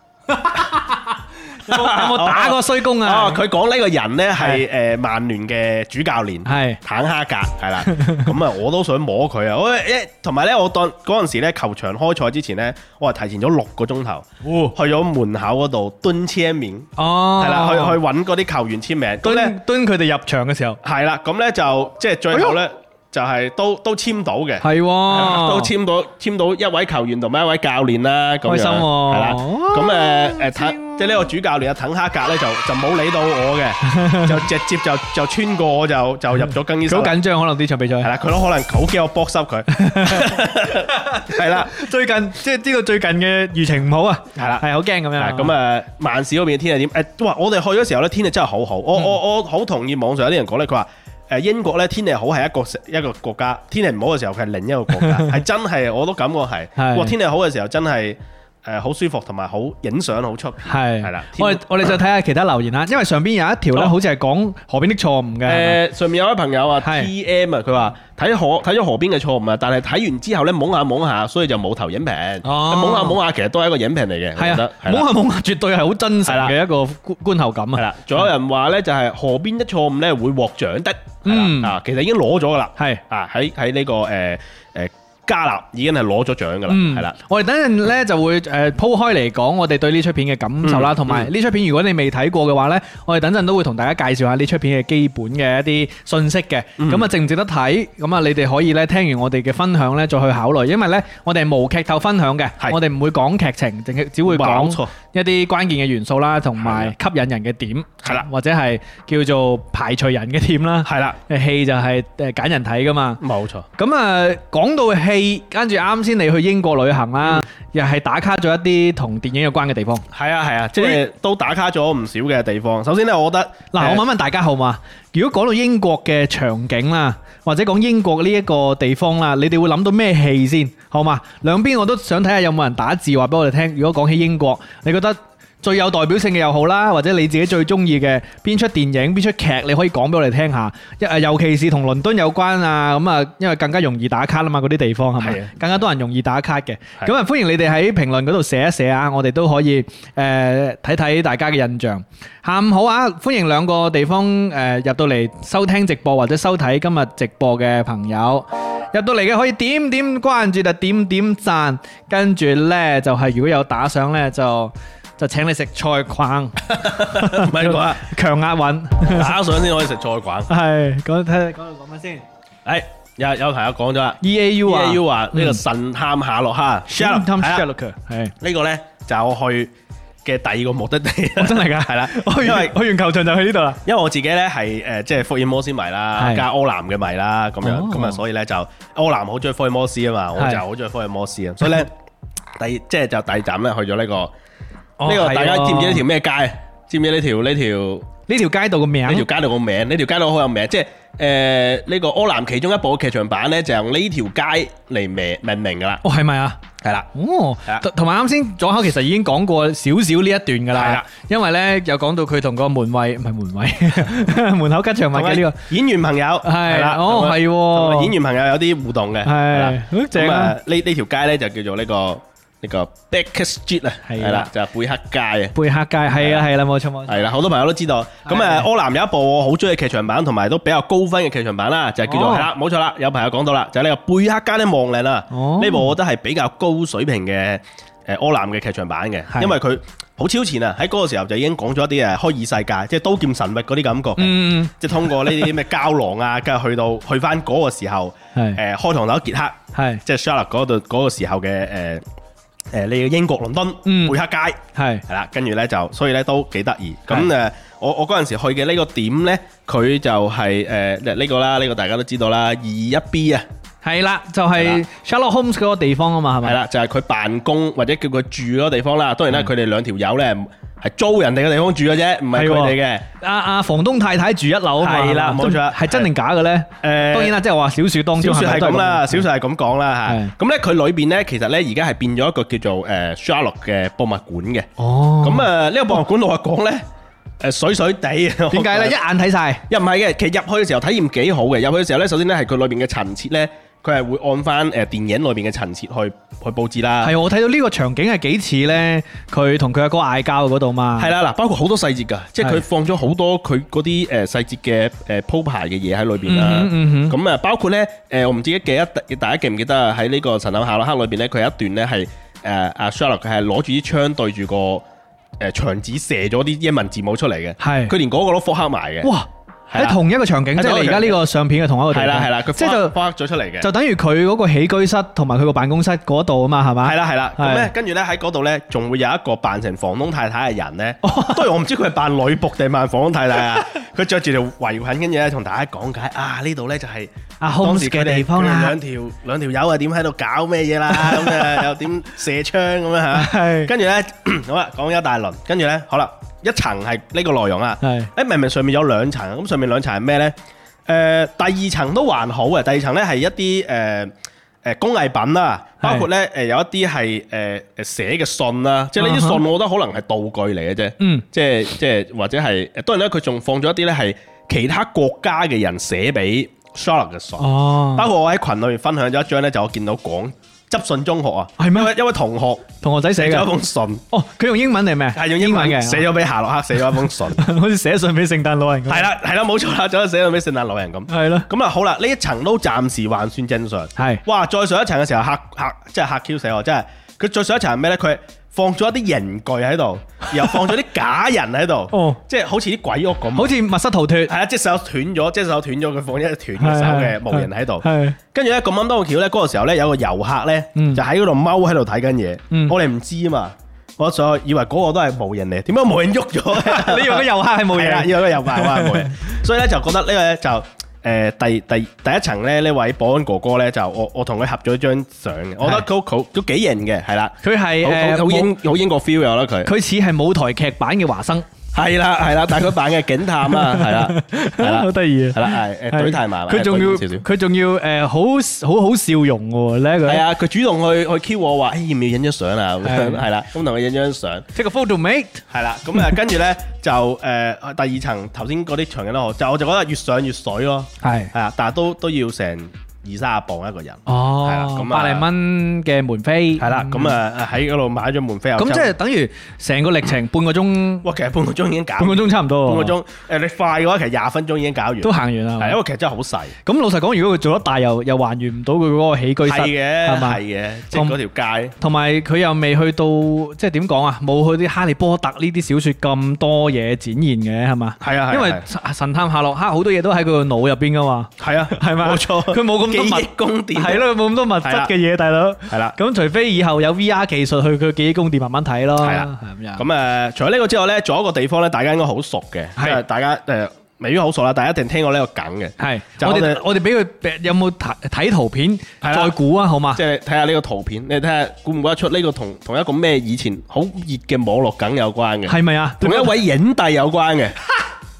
有冇打過衰工啊？
佢講呢個人呢係曼聯嘅主教練，係坦哈格，係啦。咁啊，我都想摸佢啊！同埋呢，我當嗰陣時呢球場開賽之前呢，我係提前咗6個鐘頭，去咗門口嗰度蹲簽名，係啦，去揾嗰啲球員簽名，
蹲佢哋入場嘅時候，
係啦。咁呢就即係最後呢。就係都簽到嘅，
係
都簽到一位球員同埋一位教練啦，咁樣
開心喎，
係啦。咁即係呢個主教練阿滕哈格咧就冇理到我嘅，就直接就穿過我就入咗更衣室。
好緊張，可能呢場比賽係
啦，佢都可能好驚我搏濕佢。係啦，
最近即係知道最近嘅輿情唔好啊，係啦，係好驚咁樣。
咁曼市嗰邊嘅天氣點？哇！我哋去嗰時候咧天氣真係好好，我好同意網上有啲人講咧，佢話。英國咧天氣好係一個國家，天氣唔好嘅時候佢係另一個國家，係真係我都感覺係。哇！天氣好嘅時候真係好舒服，同埋好影相好出片。係啦，
我哋再睇下其他留言啦，因為上邊有一條咧，好似係講河邊的錯誤嘅。
上面有位朋友啊 TM 啊，佢話睇咗河邊嘅錯誤啊，但係睇完之後咧懵下，所以就冇投影評。懵下其實都係一個影評嚟嘅，
係啊，懵下絕對係好真實嘅一個觀後感啊。
係啦，仲有人話咧就係河邊的錯誤咧會獲獎的。其實已經攞咗噶啦，係喺呢個加納已經係攞咗獎噶啦，係啦。我哋等陣咧就會鋪開嚟講我哋對呢出片嘅感受啦，同埋呢出片如果你未睇過嘅話咧，我哋等陣都會同大家介紹下呢出片嘅基本嘅一啲信息嘅。咁啊值唔值得睇？咁啊你哋可以咧聽完我哋嘅分享咧再去考慮，因為咧我哋係無劇透分享嘅，我哋唔會講劇情，淨係只會講一啲關鍵嘅元素啦，同埋吸引人嘅點，係啦，或者係叫做排除人嘅點啦，係啦。戲就係揀人睇噶嘛，冇錯。咁啊講到戲。跟住啱先你去英國旅行啦，又係打卡咗一啲同電影有關嘅地方。係啊，即係都打卡咗唔少嘅地方。首先咧，我覺得嗱，我問問大家好嘛？如果講到英國嘅場景啦，或者講英國呢一個地方啦，你哋會諗到咩戲先？好嘛？兩邊我都想睇下有冇人打字話俾我哋聽。如果講起英國，你覺得最有代表性嘅又好啦，或者你自己最中意嘅邊出電影、邊出劇，你可以講俾我哋聽下。尤其是同倫敦有關啊，咁啊，因為更加容易打卡啊嘛，嗰啲地方係咪？更加多人容易打卡嘅。咁啊，歡迎你哋喺評論嗰度寫一寫啊，我哋都可以睇睇大家嘅印象。下午好啊，歡迎兩個地方入到嚟收聽直播或者收睇今日直播嘅朋友。入到嚟嘅可以點點關注，就點點讚，跟住呢，就係如果有打賞呢，就請你食菜框，唔係講啊，強壓韻打賞先可以食菜框。係講睇講到講乜先？有朋友講咗啦 ，EAU 話呢個神探夏洛克 ，Sherlock 係呢個咧就我去嘅第二個目的地，真係㗎，係啦，因為去完球場就去呢度啦。因為我自己咧係即係福爾摩斯迷啦，加柯南嘅迷啦，咁樣咁啊，所以咧就柯南好中意福爾摩斯啊嘛，我就好中意福爾摩斯啊，所以咧第二站咧去咗呢個。呢個大家知唔知呢條咩街？知唔知呢條街道個名？呢條街道個名，呢條街道好有名，即係呢個柯南其中一部嘅劇場版咧，就用呢條街嚟命名噶啦。
哦，係咪啊？
係啦，
哦，同埋啱先左口其實已經講過少少呢一段噶啦，
係啦，
因為咧有講到佢同個門衛唔係門衛門口吉祥物嘅呢個
演員朋友
係啦，
哦係
喎，
演員朋友有啲互動嘅，
係好正啊！
呢條街咧就叫做呢個 Baker Street 啊，係啦，就係貝克街啊，
貝克街係啦，冇錯冇錯，
係啦，好多朋友都知道。咁柯南有一部我好中意嘅劇場版，同埋都比較高分嘅劇場版啦，就係叫做係啦，冇錯啦，有朋友講到啦，就係呢個貝克街的亡靈啦。呢部我覺得係比較高水平嘅柯南嘅劇場版嘅，因為佢好超前啊！喺嗰個時候就已經講咗一啲虛擬世界，即係刀劍神域嗰啲感覺嘅，即係通過呢啲咩膠囊啊，跟住去翻嗰個時候，開膛手傑克，係即係 Sherlock 嗰個時候嘅呢個英國倫敦貝克街係啦，跟住咧就所以咧都幾得意。咁我嗰陣時去嘅呢個點咧，佢就係呢個啦，呢個大家都知道啦，221B 啊。係啦，就係 Sherlock Holmes 嗰個地方啊嘛，係咪？係啦，就係佢辦公或者叫佢住嗰個地方啦。當然啦，佢哋兩條友咧係租人哋嘅地方住嘅啫，唔係佢哋嘅。阿房東太太住一樓啊嘛。係啦，冇錯。係真定假嘅咧？當然啦，即係話小說當中。小說係咁啦，小說係咁講啦嚇。咁咧佢裏邊咧，其實咧而家係變咗一個叫做Sherlock 嘅博物館嘅。哦。咁呢個博物館老實講咧，水水地。點解咧？一眼睇晒？又唔係嘅，其實入去嘅時候體驗幾好嘅。入去嘅時候咧，首先咧係佢裏邊嘅陳設咧。佢係會按翻電影裏邊嘅陳設去佈置啦。係我睇到呢個場景係幾似咧，佢同佢阿哥嗌交嗰度嘛。係啦，嗱，包括好多細節㗎，即係佢放咗好多佢嗰啲細節嘅鋪排嘅嘢喺裏邊啦。咁包括咧我唔知大家記唔記得啊？喺呢個神探夏洛克裏邊咧，佢有一段咧係阿 Sherlock 佢係攞住啲槍對住個牆紙射咗啲英文字母出嚟嘅。係，佢連嗰個都復刻埋嘅。哇！喺同一個場景，即係你而家呢個相片嘅同一個地方。係啦，佢即係就發咗出嚟嘅，就等於佢嗰個起居室同埋佢個辦公室嗰度啊嘛，係嘛？係啦，咁咧跟住咧喺嗰度咧，仲會有一個扮成房東太太嘅人咧。當然我唔知佢係扮女僕定扮房東太太啊。佢着住條圍裙，跟住咧同大家講解啊，呢度咧就係阿 Holmes 嘅地方啦。兩條友啊，點喺度搞咩嘢啦？咁啊又點射槍咁樣嚇？跟住咧好啦，講一大輪，跟住咧好啦。一層係呢個內容啊，明明上面有兩層，咁上面兩層係咩呢？第二層都還好嘅，第二層呢係一啲工藝品啦，包括呢有一啲係寫嘅信啦，即係呢啲信我覺得可能係道具嚟嘅啫，即係或者係當然咧佢仲放咗一啲呢係其他國家嘅人寫俾 Sherlock 嘅信，包括我喺群裏面分享咗一張呢，就我見到執信中學啊，係咩？一位同學仔寫咗一封信。哦，佢用英文定咩？係用英文嘅，寫咗俾夏洛克，寫咗一封信，好似寫信俾聖誕老人咁。係啦，冇錯啦，就好似寫信俾聖誕老人咁。係咯。咁啊，好啦，呢一層都暫時還算正常。係。哇，再上一層嘅時候即係嚇 Q 死我，真係。佢再上一層係咩咧？佢放咗一啲刑具喺度，然後放咗啲假人喺度，即係好似啲鬼屋咁，好似密室逃脫。係啊，隻手斷咗，佢放一隻斷嘅手嘅模型喺度。係。跟住咧咁啱多個橋咧，嗰個時候咧有個遊客咧就喺嗰度踎喺度睇緊嘢，我哋唔知啊嘛，我所以為嗰個都係模型嚟，點解模型喐咗？你以為個遊客係模型？係啊，以為個遊客係模型，所以咧就覺得呢個咧就。第一層咧，呢位保安哥哥咧就我同佢合咗張相嘅，我覺得佢都幾型嘅，係啦，佢係好英國 feel 有啦佢似係舞台劇版嘅華生。係啦，但係佢扮嘅警探啦，係啦，好得意啊，係啦，懟太埋，佢仲要好笑容嘅咧，係啊，佢主動去 Q 我話，要唔要影張相啊？係啦，咁同佢影張相，take a photo mate，係啦，咁啊跟住咧就第二層頭先嗰啲場景都好，我就覺得越上越水咯，係啊，但係都要成20-30磅一個人，係啦，咁100零蚊嘅門飛，係啦，咁啊喺嗰度買咗門飛，咁即係等於成個歷程半個鐘，哇，其實半個鐘已經搞，半個鐘差唔多，半個鐘，你快嘅話其實20分鐘已經搞完，都行完啦，係因為其實真係好細。咁老實講，如果佢做得大又還原唔到佢嗰個起居室，係嘅，係嘅，即係嗰條街，同埋佢又未去到即係點講啊，冇去啲哈利波特呢啲小說咁多嘢展現嘅係嘛？係啊，因為神探夏洛克好多嘢都喺佢個腦入邊噶嘛，係啊，係咪？冇錯，佢冇咁。記憶宮殿係咯，冇咁多物質嘅嘢，大佬係啦。咁除非以後有 VR 技術去佢記憶宮殿慢慢睇咯。係啦，係咁樣。咁除咗呢個之外咧，仲有一個地方咧，大家應該好熟嘅，即係大家未必好熟啦，大家一定聽過呢個梗嘅。係，我哋俾佢有冇睇圖片再估啊？好嘛？即係睇下呢個圖片，你睇下估唔估得出呢個同一個咩以前好熱嘅網絡梗有關嘅？係咪啊？同一位影帝有關嘅。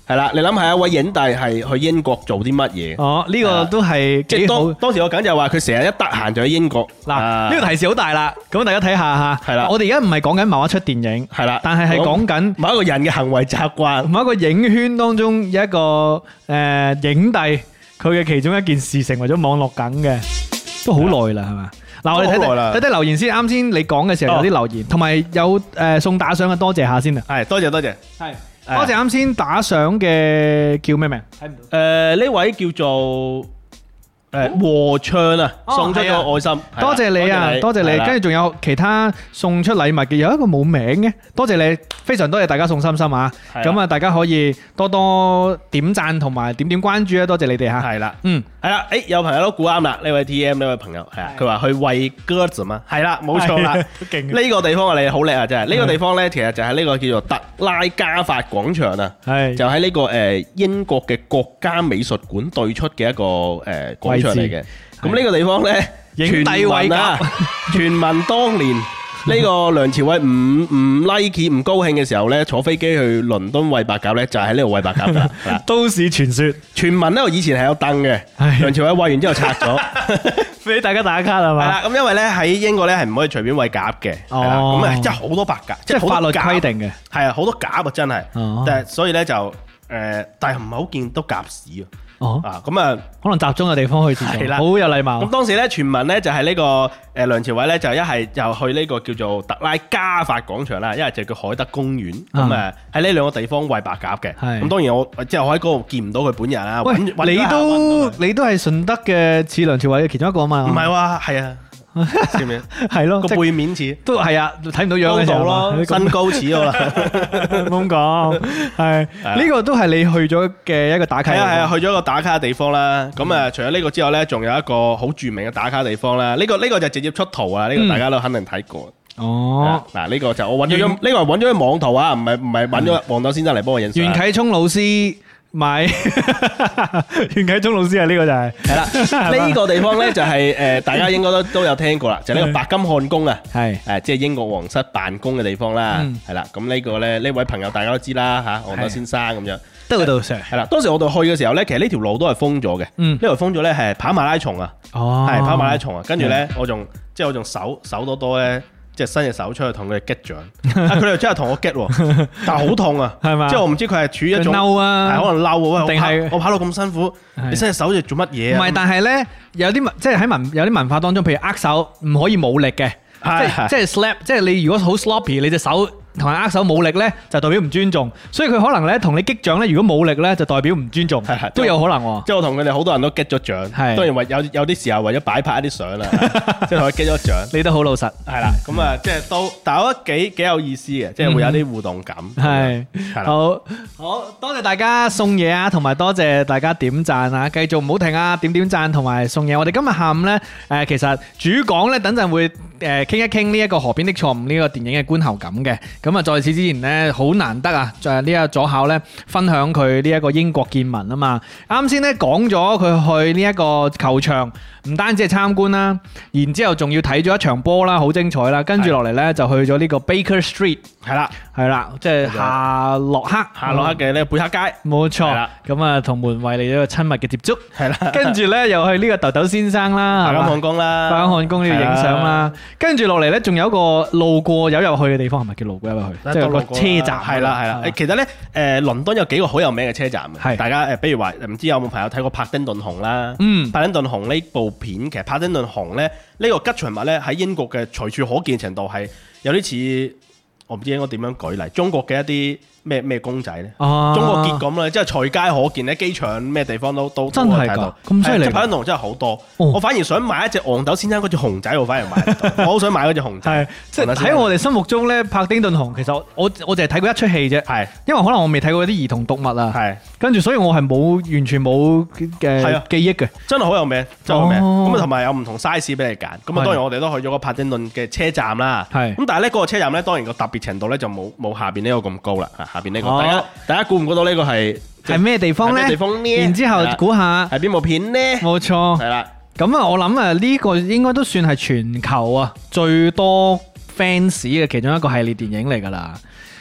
係啦，你諗下一位影帝係去英國做啲乜嘢？
哦，呢個都係
即
幾好。
係當時我梗就話佢成日一得閒就喺英國。
嗱，呢個提示好大啦，咁大家睇下嚇。
係啦
我哋而家唔係講緊某一出電影，
係啦，
但係講緊
某一個人嘅行為習慣，
某一個影圈當中有一個影帝，佢嘅其中一件事成為咗網絡梗嘅，都好耐啦，係嘛？嗱，我哋睇留言先。啱先你講嘅時候有啲留言，同埋有送打賞嘅，多謝下先啊。
係多謝，
係多謝啱先打賞嘅叫咩名？睇唔到。
呢位叫做和唱啊，送出咗愛心，
多謝你啊，多謝你。跟住仲有其他送出禮物嘅，有一個冇名嘅，多謝你，非常多謝大家送心心啊！咁啊，大家可以多多點讚同埋點關注啊，多謝你哋嚇。
係啦，係啦，有朋友都估啱啦，呢位 TM 呢位朋友係啊，佢話去餵鴿子嘛，係啦，冇錯啦，勁！呢個地方啊，你好叻啊，真係！呢個地方咧，其實就係呢個叫做特拉加法廣場啊，就喺呢個英國嘅國家美術館對出嘅一個廣場嚟嘅。咁呢個地方咧，傳聞啊，傳聞當年呢個梁朝偉唔 like 唔高興嘅時候咧，坐飛機去倫敦餵白鴿咧，就喺呢度餵白鴿噶啦。
都市傳說，
傳聞呢度以前係有凳嘅，梁朝偉餵完之後拆咗，
俾大家打卡係嘛？
係啦，咁因為咧喺英國咧係唔可以隨便餵鴿嘅，係啦，咁啊真係好多白鴿，
即係法律規定嘅，係
啊，好多鴿啊真係，但係所以咧就但係唔係好見到鴿屎啊。咁啊，可
能集中嘅地方去係啦，好有禮貌。
咁當時咧傳聞咧就係呢個梁朝偉咧就一係就去呢個叫做特拉加法廣場啦，一係就叫海德公園。咁喺呢兩個地方餵白鴿嘅。咁當然我喺嗰度見唔到佢本人啦。
喂，你都係順德嘅似梁朝偉嘅其中一個啊嘛？
唔係喎，係啊。知唔知？係咯，個背面似
都係啊，睇唔到樣嘅時候咯，
身高似我啦，
冇咁講。係呢個都係你去咗嘅一個打卡。
係啊，去咗一個打卡嘅地方啦。咁啊，除咗呢個之外咧，仲有一個好著名嘅打卡地方啦。呢個就直接出圖啊，呢個大家都肯定睇過。
哦，
嗱，呢個就我揾咗呢個係揾咗網圖啊，唔係揾咗黃豆先生嚟幫我影相。
袁啟聰老師。咪袁啟聰老師啊，呢個就係
啦。呢個地方咧就係大家應該都有聽過啦，就係呢個白金漢宮啊，係即係英國皇室辦公嘅地方啦，係啦。咁呢個咧呢位朋友大家都知啦嚇，黃豆先生咁樣
得嗰度上係
啦。當時我哋去嘅時候咧，其實呢條路都係封咗嘅，呢條封咗咧係跑馬拉松啊，係跑馬拉松啊。跟住咧我仲手多咧。即係伸隻手出去同佢哋擊掌，佢哋真係同我擊喎，但係好痛啊，係嘛？即係我唔知佢係處於一種
嬲啊，
係可能嬲啊，
定係
我跑到咁辛苦，你伸隻手嚟做乜嘢啊？
唔係，但係咧有啲即係喺有啲文化當中，譬如握手唔可以冇力嘅，即係 slap，即係你如果好 sloppy，你隻手同人握手冇力咧，就代表唔尊重，所以佢可能咧同你擊掌咧，如果冇力咧，就代表唔尊重，都有可能喎。
即係我同佢哋好多人都擊咗掌，當然有啲時候為咗擺拍一啲相啦，即係同佢擊咗掌。
你都好老實，
係啦，咁啊，即係都，但係我覺得幾有意思嘅，即係會有啲互動感。
係，好多謝大家送嘢啊，同埋多謝大家點讚啊，繼續唔好停啊，點讚同埋送嘢。我哋今日下午咧，其實主講咧，等陣會傾一傾呢一個河邊的錯誤呢個電影嘅觀後感嘅。咁啊，在此之前咧，好難得啊！就係呢個左考咧，分享佢呢一個英國見聞啊嘛。啱先咧講咗佢去呢一個球場，唔單止係參觀啦，然之後仲要睇咗一場波啦，好精彩啦。跟住落嚟咧，就去咗呢個 Baker Street，係啦，即係夏洛克嘅呢個貝克街，冇錯。咁啊，同門衛嚟咗一個親密嘅接觸，係啦。跟住咧，又去呢個豆豆先生啦，白金漢宮啦，白金漢宮呢度影相啦。跟住落嚟咧，仲有一個路過有入去嘅地方，係咪叫路過入去？即係個車站，係啦。其實咧，倫敦有幾個好有名嘅車站嘅，大家比如話唔知有冇朋友睇過帕丁頓熊啦？帕丁頓熊呢部片，其實帕丁頓熊咧呢個吉祥物咧喺英國嘅隨處可見程度係有啲似，我唔知應該點樣舉例，中國嘅一啲咩公仔咧？中國結咁咧，即係隨街可見咧，機場咩地方都真係睇到，咁犀利！帕丁頓熊真係好多，我反而想買一隻憨豆先生嗰隻熊仔，我反而買，我好想買嗰隻熊仔。即係喺我哋心目中咧，帕丁頓熊其實我淨係睇過一出戲啫，因為可能我未睇過啲兒童讀物啊，跟住所以我係完全冇嘅記憶嘅，真係好有名，真係好名。咁啊，同埋有唔同 size 俾你揀。咁啊，當然我哋都去咗個帕丁頓嘅車站啦。咁但係咧嗰個車站咧，當然個特別程度咧就冇下邊呢個咁高啦。下邊呢個，大家估唔估到呢個係咩地方咧？然之後估下係邊部片呢？冇錯，係啦。咁啊，我諗啊，呢個應該都算係全球啊最多 fans 嘅其中一個系列電影嚟噶啦。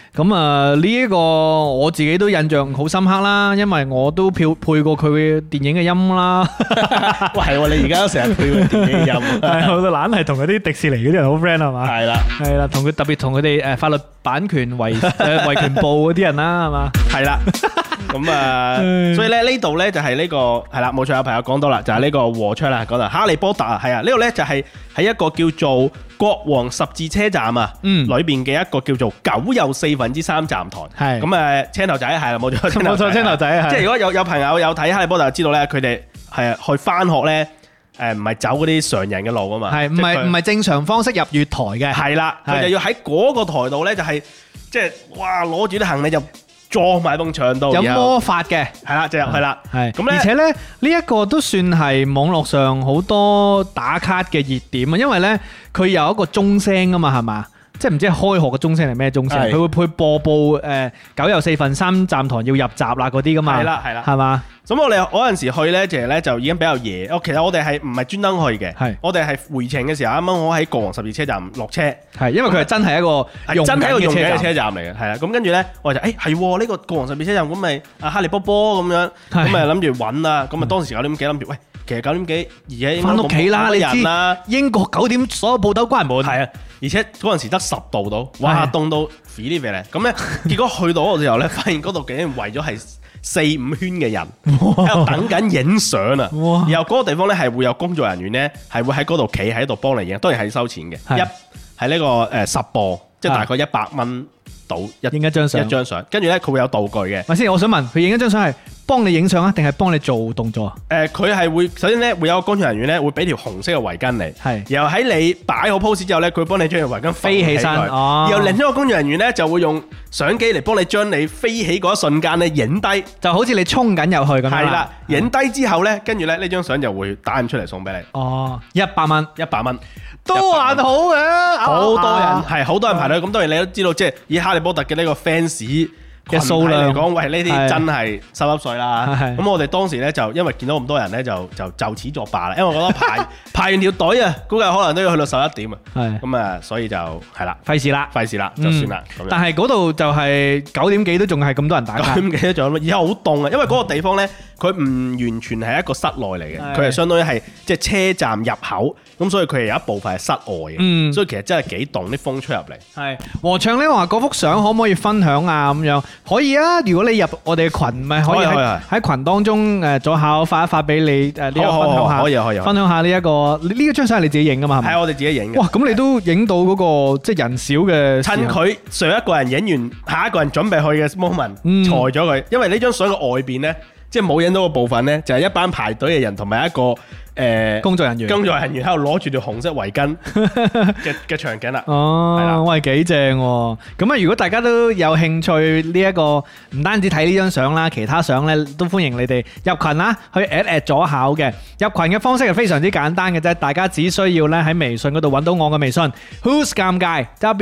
咁啊呢一個我自己都印象好深刻啦，因為我都配過佢嘅電影嘅音啦。
喂，係喎，你而家都成日配佢電影嘅音，
係我懶係同嗰啲迪士尼嗰啲人好 friend 係嘛？
係啦，
係啦，同佢特別同佢哋法律版權維權部嗰啲人啦，係嘛？
係啦。咁啊，所以咧呢度咧就係呢個係啦，冇錯，有朋友講到啦，就係呢個和窗啦，講到哈利波特啊，係啊，呢度咧就係喺一個叫做國王十字車站啊，裏邊嘅一個叫做9又3/4站台，係咁青頭仔係啦，冇錯，
冇錯，青頭仔，
即係如果有朋友有睇哈利波特就知道咧，佢哋係去翻學咧，唔係走嗰啲常人嘅路啊嘛，
係唔係正常方式入月台嘅，
係啦，佢就要喺嗰個台度咧，就係即係哇攞住啲行李就撞埋埲牆度，
有魔法嘅，
係啦，就入去啦，
係
咁咧，
而且咧呢一個都算係網絡上好多打卡嘅熱點啊，因為咧佢有一個鐘聲啊嘛，係嘛？即係唔知係開學嘅鐘聲係咩鐘聲？佢會播報9又4/3站台要入閘啦嗰啲噶嘛？係啦，係嘛？咁我哋嗰陣時去咧，其實咧就已經比較夜。其實我哋係唔係專登去嘅？係我哋係回程嘅時候，啱啱我喺國王十字車站落車。係因為佢係真係一個用緊嘅車站嚟嘅。係啦，咁跟住咧，我就係呢個國王十字車站，咁咪阿哈利波波咁樣，咁咪諗住揾啦。咁啊當時9點幾諗住，喂，其實9點幾而家翻屋企啦，你知英國9點所有鋪頭關門。係啊，而且嗰陣時得10度到，哇，凍到飛呢飛咧。咁咧，結果去到嗰個時候咧，發現嗰度竟然圍咗係4-5圈嘅人喺度等緊影相啊！然後嗰個地方咧係會有工作人員咧係會喺嗰度企喺度幫你影，當然係收錢嘅。係呢個10磅，即係大概100蚊到影一張相。跟住咧佢會有道具嘅。咪先，我想問佢影一張相係幫你影相啊，定係幫你做動作？佢係會首先咧會有個工作人員咧會俾條紅色嘅圍巾你，然後喺你擺好 pose 之後咧，佢會幫你將條圍巾飛起身。然後另一個工作人員咧就會用相機嚟幫你將你飛起嗰一瞬間咧影低，就好似你衝緊入去咁樣。係啦，影低之後咧，跟住咧呢張相就會打印出嚟送俾你。哦，100蚊。都還好嘅，好多人排隊。咁當然你都知道，即係以哈利波特嘅呢個 fans 嘅數量嚟講，喂，呢啲真係濕濕碎啦。咁我哋當時咧就因為見到咁多人咧，就此作罷啦。因為我覺得排完條隊啊，估計可能都要去到11點啊。咁啊，所以就係啦，費事啦，就算啦。但係嗰度就係9點幾都仲係咁多人打卡，9點幾都仲有，而家好凍啊。因為嗰個地方咧，佢唔完全係一個室內嚟嘅，佢係相當於係即係車站入口。咁所以佢係有一部分係室外嘅，所以其實真係幾凍，啲風吹入嚟。係和暢咧話嗰幅相可唔可以分享啊？咁樣可以啊！如果你入我哋嘅群，咪可以喺群當中左下發一發俾你呢個分享下，可以分享下呢一個呢張相係你自己影噶嘛？係我哋自己影嘅。哇！咁你都影到嗰個即係人少嘅，趁佢上一個人影完，下一個人準備去嘅 moment，裁咗佢。因為呢張相嘅外邊咧，即係冇影到個部分咧，就係一班排隊嘅人同埋一個。工作人員喺度攞住條紅色圍巾嘅場景啦。哦，係啦，喂，幾正喎！咁啊，如果大家都有興趣呢一個，唔單止睇呢張相啦，其他相咧都歡迎你哋入群啦，去 at 左考嘅。入群嘅方式係非常之簡單嘅啫，大家只需要咧喺微信嗰度揾到我嘅微信 Who's 尷尬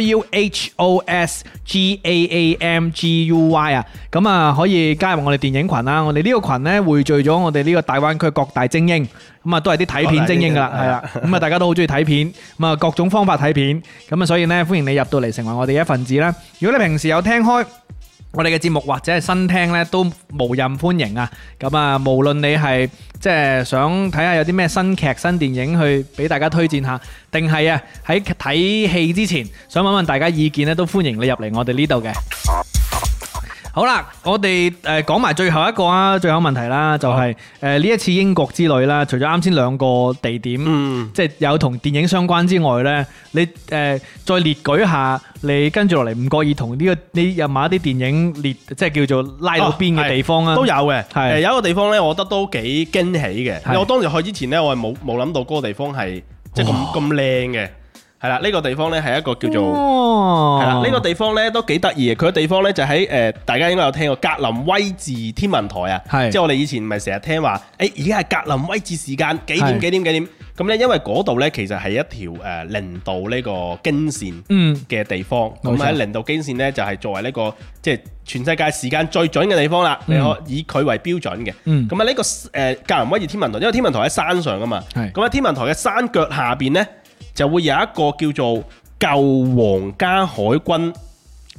WHOSGAAMGUY 啊，咁啊可以加入我哋電影群啦。我哋呢個群咧匯聚咗我哋呢個大灣區各大精英。咁啊，都係啲睇片精英噶啦，係啦。咁啊，大家都好中意睇片，咁啊，各種方法睇片。咁啊，所以呢，歡迎你入到嚟成為我哋一份子啦。如果你平時有聽開我哋嘅節目或者係新聽呢，都無任歡迎啊。咁啊，無論你係即係想睇下有啲咩新劇、新電影去俾大家推薦下，定係啊喺睇戲之前想問問大家意見呢，都歡迎你入嚟我哋呢度嘅。好啦，我哋講埋最後一個啊，最後問題啦，就係呢一次英國之旅啦，除咗啱先2個地點，即係有同電影相關之外呢，你再列舉下你跟住落嚟唔覺意同呢個你有某一啲電影列，即係叫做拉到邊嘅地方啊？都有嘅，有一個地方呢，我覺得都幾驚喜嘅。我當時去之前呢，我係冇諗到嗰個地方係即係咁靚嘅。係啦，呢個地方咧係一個叫做係啦，呢個地方咧都幾得意嘅。佢個地方咧就喺大家應該有聽過格林威治天文台啊，即係我哋以前唔係成日聽話，而家係格林威治時間幾點。咁咧因為嗰度咧其實係一條零度呢個經線嘅地方，咁喺零度經線咧就係作為呢個即係全世界時間最準嘅地方啦，你可以佢為標準嘅。咁啊呢個格林威治天文台，因為天文台喺山上噶嘛，咁喺天文台嘅山腳下邊咧，就會有一個叫做舊皇家海軍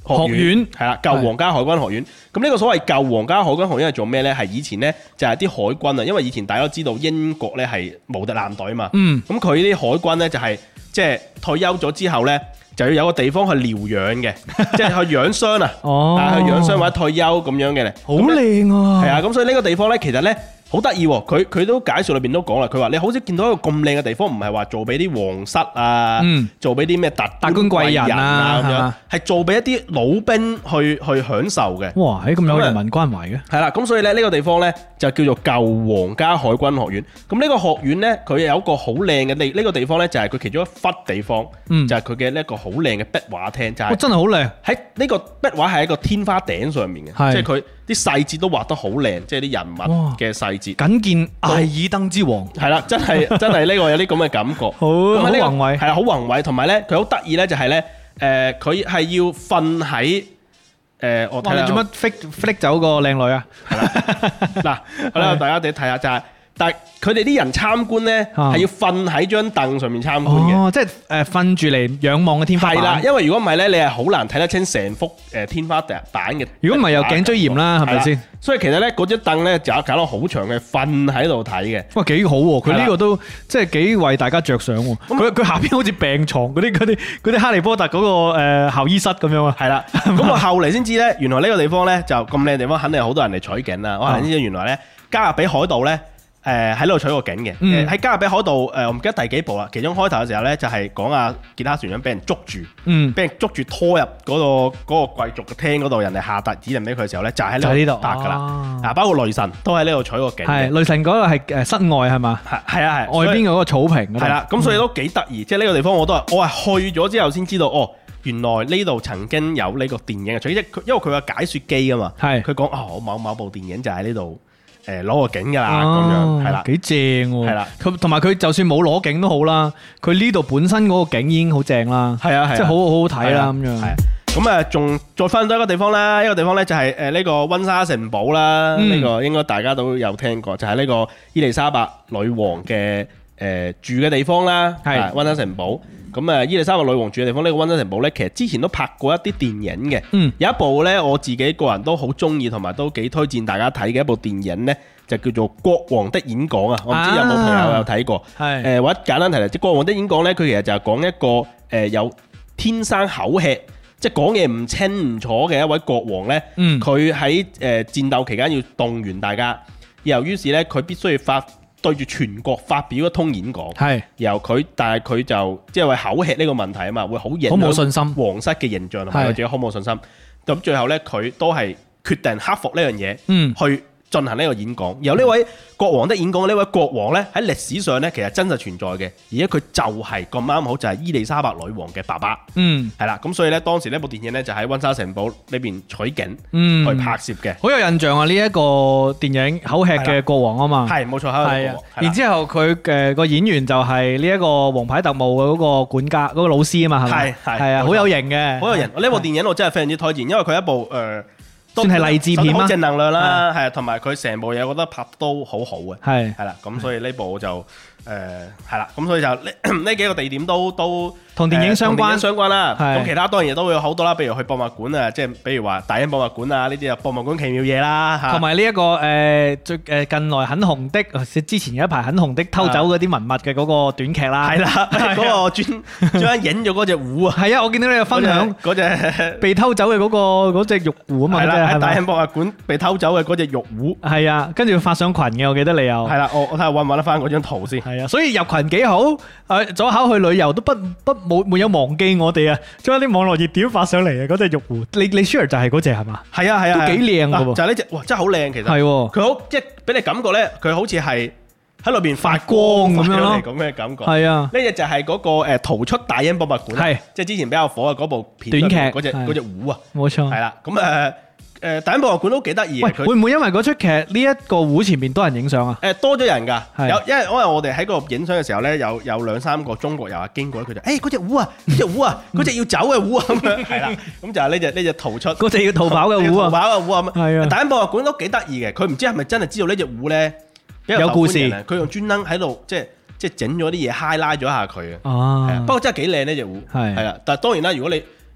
學院係啦，舊皇家海軍學院。咁呢個所謂舊皇家海軍學院係做咩呢？係以前呢，就係啲海軍啊，因為以前大家都知道英國呢係無敵艦隊嘛。咁佢啲海軍呢，就係即係退休咗之後呢，就要有個地方去療養嘅，即係去養傷啊。去養傷或者退休咁樣嘅咧。
好靚啊！
係啊，咁所以呢個地方呢，其實呢。好得意喎！佢都介紹裏邊都講啦，佢話你好似見到一個咁靚嘅地方，唔係話做俾啲皇室啊，做俾啲咩達官貴人啊咁樣，係做俾一啲老兵去享受嘅。
哇！咁有人民關懷嘅。係
啦，咁所以咧呢個地方咧就叫做舊皇家海軍學院。咁呢個學院咧，佢有一個好靚嘅呢個地方咧，就係佢其中一忽地方，就係佢嘅呢一個好靚嘅壁畫廳，就係
真係好靚。
喺呢個壁畫係一個天花頂上面嘅，即係佢啲細節都畫得好靚，即係啲人物嘅細節。
僅見艾爾登之王，
係啦，真係呢個有啲咁嘅感覺，好
宏偉，
係啊，好宏偉。同埋咧，佢好得意咧，就係咧，佢係要瞓喺我睇下
你做乜 flick 走個靚女啊？
嗱，好啦，大家哋睇下就係。但係佢哋啲人參觀咧，係要瞓喺張凳上面參觀嘅。
哦，即係瞓住嚟仰望嘅天花板。
係啦，因為如果唔係咧，你係好難睇得清成幅天花板嘅。
如果唔係有頸椎炎啦，係咪先？
所以其實咧，嗰張凳咧就搞到好長嘅，瞓喺度睇嘅。
哇，幾好喎！佢呢個都即係幾為大家着想喎。佢下邊好似病床嗰啲哈利波特嗰個校醫室咁樣啊。
係啦，咁我後嚟先知咧，原來呢個地方咧就咁靚嘅地方，肯定好多人嚟取景啦。我後嚟先知原來咧加勒比海盜咧。喺呢度取過景嘅，喺加勒比海盜我唔記得第幾部啦。其中開頭嘅時候咧，就係講阿傑克船長俾人捉住，俾人捉住拖入嗰個貴族嘅廳嗰度，人哋下達指令俾佢嘅時候咧，就喺呢度搭噶啦。啊，包括雷神都喺呢度取過景。係
雷神嗰個係室外係嘛？係啊係。外邊嗰個草坪。係啦，
咁所以都幾得意。即係呢個地方我係去咗之後先知道，哦，原來呢度曾經有呢個電影嘅取景，因為佢有解說機啊嘛。係。佢講我某部電影就喺呢度。攞個景㗎啦，咁樣係啦，
幾正喎，
係啦，
同埋佢就算冇攞景都好啦，佢呢度本身嗰個景已經好正啦，係啊，即係好好睇啦咁樣。咁仲再翻到一個地方啦，呢個地方咧就係呢個温莎城堡啦，呢個應該大家都有聽過，就係呢個伊麗莎白女王嘅住嘅地方啦，係温莎城堡。咁伊麗莎白女王住嘅地方呢個温莎城堡呢，其實之前都拍過一啲電影嘅，有一部呢，我自己個人都好中意，同埋都幾推薦大家睇嘅一部電影呢，就叫做《國王的演講》啊！我唔知有冇朋友有睇過，或者簡單提嚟，即係《國王的演講》呢，佢其實就係講一個有天生口吃，即係講嘢唔清唔楚嘅一位國王呢，佢喺戰鬥期間要動員大家，由於是呢，佢必須要對住全國發表一通演講，但係佢就即係話口吃呢個問題啊嘛，會好影響冇信心
皇室嘅形象同埋佢自己好冇信心。咁最後呢，佢都係決定克服呢樣嘢，去進行呢個演講。由呢位國王的演講，呢位國王呢，喺歷史上呢，其實真實存在嘅，而且佢就係咁啱好就係伊麗莎白女王嘅爸爸。係啦，咁所以呢，當時呢部電影呢，就喺温莎城堡呢邊取景去拍攝嘅，
好有印象啊！呢一個電影口吃嘅國王啊嘛，
係冇錯，係啊。
然之後佢嘅個演員就係呢一個王牌特務嘅嗰個管家嗰個老師啊嘛，係咪？係啊，好有型嘅，
好有型。呢部電影我真係非常之推薦，因為佢一部
算係勵志片啦，
好正能量啦，係啊，同埋佢成部嘢，我覺得拍都好好嘅，係啦，咁所以呢部就係啦，咁所以就呢幾個地點都
同電影相關
啦。咁其他當然亦都會有好多啦，譬如去博物館啊，即係比如話大英博物館啊呢啲啊，博物館奇妙嘢啦，
同埋呢一個最近來很紅的，之前有一排很紅的偷走嗰啲文物嘅嗰個短劇啦，
係啦，嗰個專影咗嗰隻壺啊，
係啊，我見到你有分享
嗰隻被
偷走嘅嗰隻玉壺啊嘛，
係啦，喺大英博物館被偷走嘅嗰隻玉壺，
係啊，跟住發上群嘅，我記得你有，
係啦，我睇下揾唔揾得翻嗰張圖先，
係啊，所以入群幾好，左考去旅遊都沒有忘記我哋啊，將啲網絡熱點發上嚟啊！嗰隻玉壺，你 share 就係嗰隻係嘛？
係啊，
都幾靚噶喎！
就係呢隻，哇，真係好靚其實。
係喎，
佢好即係俾你感覺咧，佢好似係喺裏邊發光咁樣咯，咁嘅感覺。係啊，呢隻就係嗰個逃出大英博物館，係即係之前比較火嘅嗰部片
短劇
嗰隻壺啊，
冇錯。
係啦，咁大英博物館都幾得意。
會唔會因為嗰出劇呢一個壺前面多人影相啊？
多咗人㗎，因為我哋喺嗰度影相嘅時候咧，有2-3個中國遊客經過咧，佢就嗰隻壺啊，嗰隻壺啊，嗰隻要走嘅壺啊咁樣，係啦，咁就係呢隻逃出，
嗰隻要逃跑嘅壺啊，
逃跑嘅壺啊，
係啊。
大英博物館都幾得意嘅，佢唔知係咪真係知道呢隻壺咧
有故事，
佢用專登喺度即係整咗啲嘢 highlight 咗下佢啊。不過真係幾靚呢隻壺，係啦。但係當然啦，如果你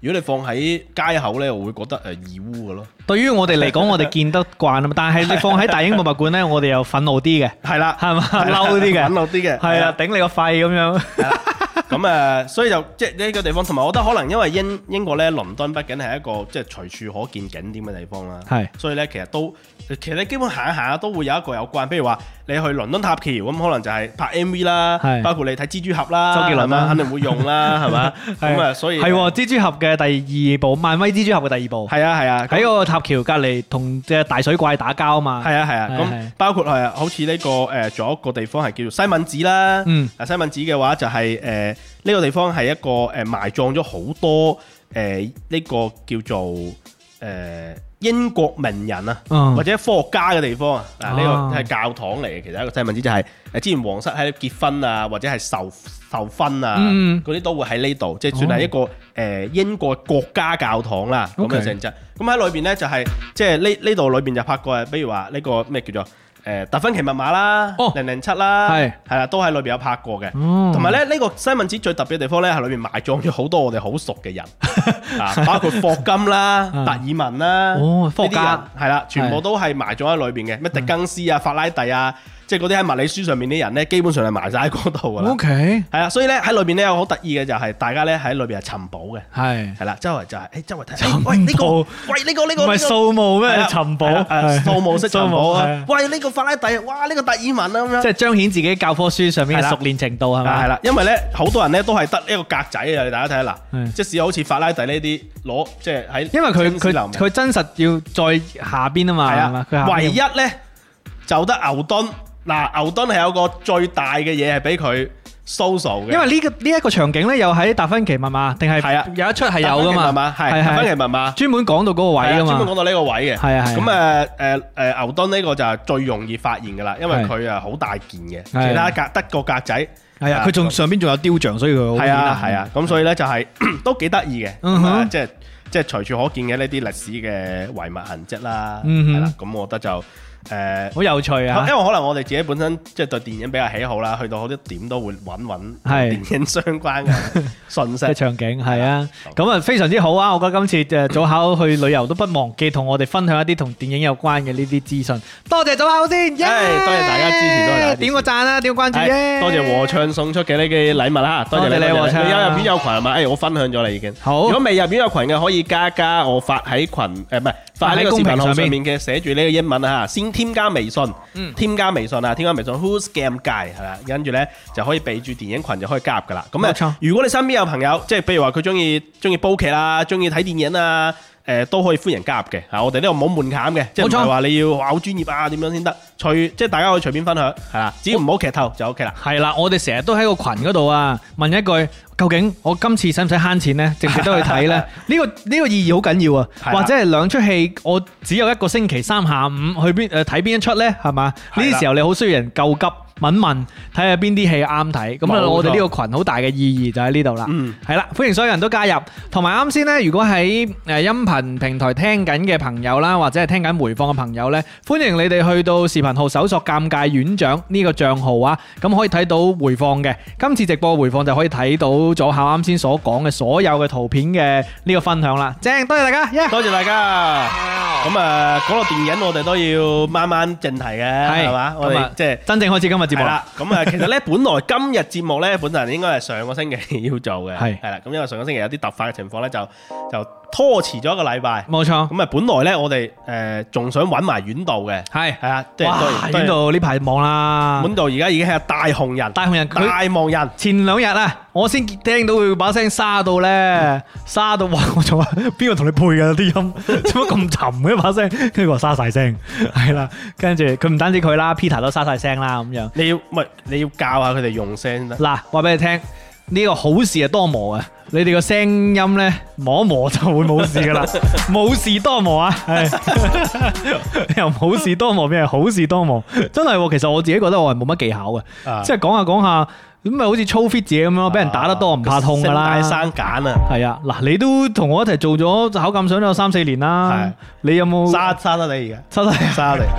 如果你放喺街口咧，我會覺得義烏嘅咯。
對於我哋嚟講，我哋見得慣啊嘛，但係你放喺大英博物館咧，我哋又憤怒啲嘅，
係啦，
係嘛，嬲啲嘅，
憤怒啲嘅，
係啊，頂你個肺咁樣。
咁所以就即係呢個地方，同埋我覺得可能因為英國咧，倫敦畢竟係一個即係隨處可見景點嘅地方啦，
係，所
以咧其實你基本行一行都會有一個有關，譬如話你去倫敦塔橋咁，可能就係拍 MV 啦，包括你睇蜘蛛俠啦，
周杰倫啦，
肯定會用啦，係嘛？咁所以
係蜘蛛俠嘅第二部，漫威蜘蛛俠嘅第二部，
係啊，喺
個塔橋隔離同隻大水怪打交啊嘛，
係啊，咁包括係好似呢個仲有一個地方係叫做西敏寺啦，西敏寺嘅話就係呢個地方係一個埋葬咗好多呢個叫做英國名人啊，或者科學家嘅地方啊，呢個係教堂嚟嘅。其實一個西敏寺就係之前皇室喺度結婚啊，或者係授婚啊，嗰啲都會喺呢度，即係算係一個英國國家教堂啦咁嘅性質。咁喺裏邊呢，就係即係呢度裏邊就拍過比如話呢個咩叫做達芬奇密碼啦，007啦，係啦，都喺裏邊有拍過嘅。同埋咧呢個西敏寺最特別嘅地方咧，係裏邊埋葬咗好多我哋好熟嘅人，包括霍金啦、達爾文啦，科學家係啦，全部都係埋葬喺裏邊嘅。咩狄更斯啊、法拉第啊，即係嗰啲喺物理書上面啲人咧，基本上係埋晒喺嗰度噶啦。OK， 係啊，所以咧喺裏邊咧有好得意嘅就係大家咧喺裏邊係尋寶嘅，係啦，周圍就係周圍睇，喂呢個唔係掃墓咩？尋寶，掃墓式尋寶啊！喂呢個法拉第，哇呢個達爾文啊咁樣，
即係彰顯自己教科書上面嘅熟練程度係咪？
係啦，因為咧好多人咧都係得一個格仔啊！大家睇下嗱，即使好似法拉第呢啲攞即係喺，
因為佢真實要再下邊啊嘛，係嘛？
唯一咧就得牛頓。嗱，牛頓係有個最大嘅嘢係俾佢 social 嘅，
因為呢一個場景咧，又喺達芬奇密碼，定係有一出係有噶嘛？
係達芬奇密碼，
專門講到嗰個位噶嘛？
專門講到呢個位嘅，
係啊。
咁牛頓呢個就係最容易發現噶啦，因為佢啊好大件嘅，其他得個格仔，
係啊，佢仲上邊仲有雕像，所以佢好
係啊，咁所以咧就係都幾得意嘅，即係隨處可見嘅呢啲歷史嘅遺物痕跡啦，係啦，咁我覺得就。
好有趣啊！
因為可能我哋自己本身即係對電影比較喜好啦，去到好多點都會揾電影相關嘅信息嘅
場景係啊，咁啊非常之好啊！我覺得今次早考去旅遊都不忘記同我哋分享一啲同電影有關嘅呢啲資訊。多謝早考先，多
謝大家支持，多謝
點個讚啦，點個關注啫！
多謝和暢送出嘅呢啲禮物啦，多謝你和暢。你有入院友群係咪？我分享咗啦已經。好，如果未入院友群嘅可以加我發喺群唔係發喺呢個視頻號上面嘅寫住呢個英文啊，先添加微信，添加微信 Who's Game Guy 係啦，跟住咧就可以備注電影群就可以加入噶啦。咁啊，如果你身邊有朋友，即係譬如話佢中意煲劇啦，中意睇電影啊，都可以歡迎加入嘅。我哋呢度冇門檻嘅，即係唔係話你要好專業啊點樣先得，即係大家可以隨便分享係啦，只要唔好劇透就 OK 啦。係啦，
我哋成日都喺個群嗰度啊，問一句。究竟我今次使唔使慳錢呢？值唔值得去睇呢？呢個意義好緊要啊！或者係兩出戲，我只有一個星期三下午去睇邊一出呢？係嘛？呢啲時候你好需要人救急問睇下邊啲戲啱睇。咁啊，我哋呢個群好大嘅意義就喺呢度啦。係啦，歡迎所有人都加入。同埋啱先呢，如果喺音頻平台聽緊嘅朋友啦，或者係聽緊回放嘅朋友呢，歡迎你哋去到視頻號搜索尷尬院長呢個帳號啊，咁可以睇到回放嘅。今次直播回放就可以睇到左考啱先所講嘅所有嘅圖片嘅呢個分享啦，正，多謝大家，
多謝大家。咁啊，講到電影，我哋都要慢慢正題嘅，係嘛？我哋即係
真正開始今日節目啦。
咁啊，其實咧，本來今日節目咧，本來應該係上個星期要做嘅，係啦。咁因為上個星期有啲突發嘅情況咧，就拖遲咗一個禮拜。
冇錯。
咁啊，本來咧，我哋仲想揾埋院度嘅，係啊，即係
院度呢排忙啦。
院度而家已經係大紅人，大忙人。
前兩日啊，我先聽到佢把聲沙到咧，沙到哇！我仲話邊個同你配㗎啲音？做乜咁沉嘅把聲？跟住佢話沙晒聲，係啦。跟住佢唔單止佢啦 ，Peter 都沙晒聲啦咁樣。
你要教下佢哋用聲先得。嗱，
話俾你聽。呢個好事係多磨啊！你哋個聲音咧磨一磨就會冇事噶啦，冇事多磨啊！由冇事多磨變係好事多磨，真係。其實我自己覺得我係冇乜技巧嘅，即係講下講下咁咪好似操 fit 自己咁樣，俾人打得多唔怕痛噶啦。
聲帶生繭啊！
係啊，嗱，你都同我一齊做咗考鑑賞都有3-4年啦。你有冇
沙得你而家？沙得你。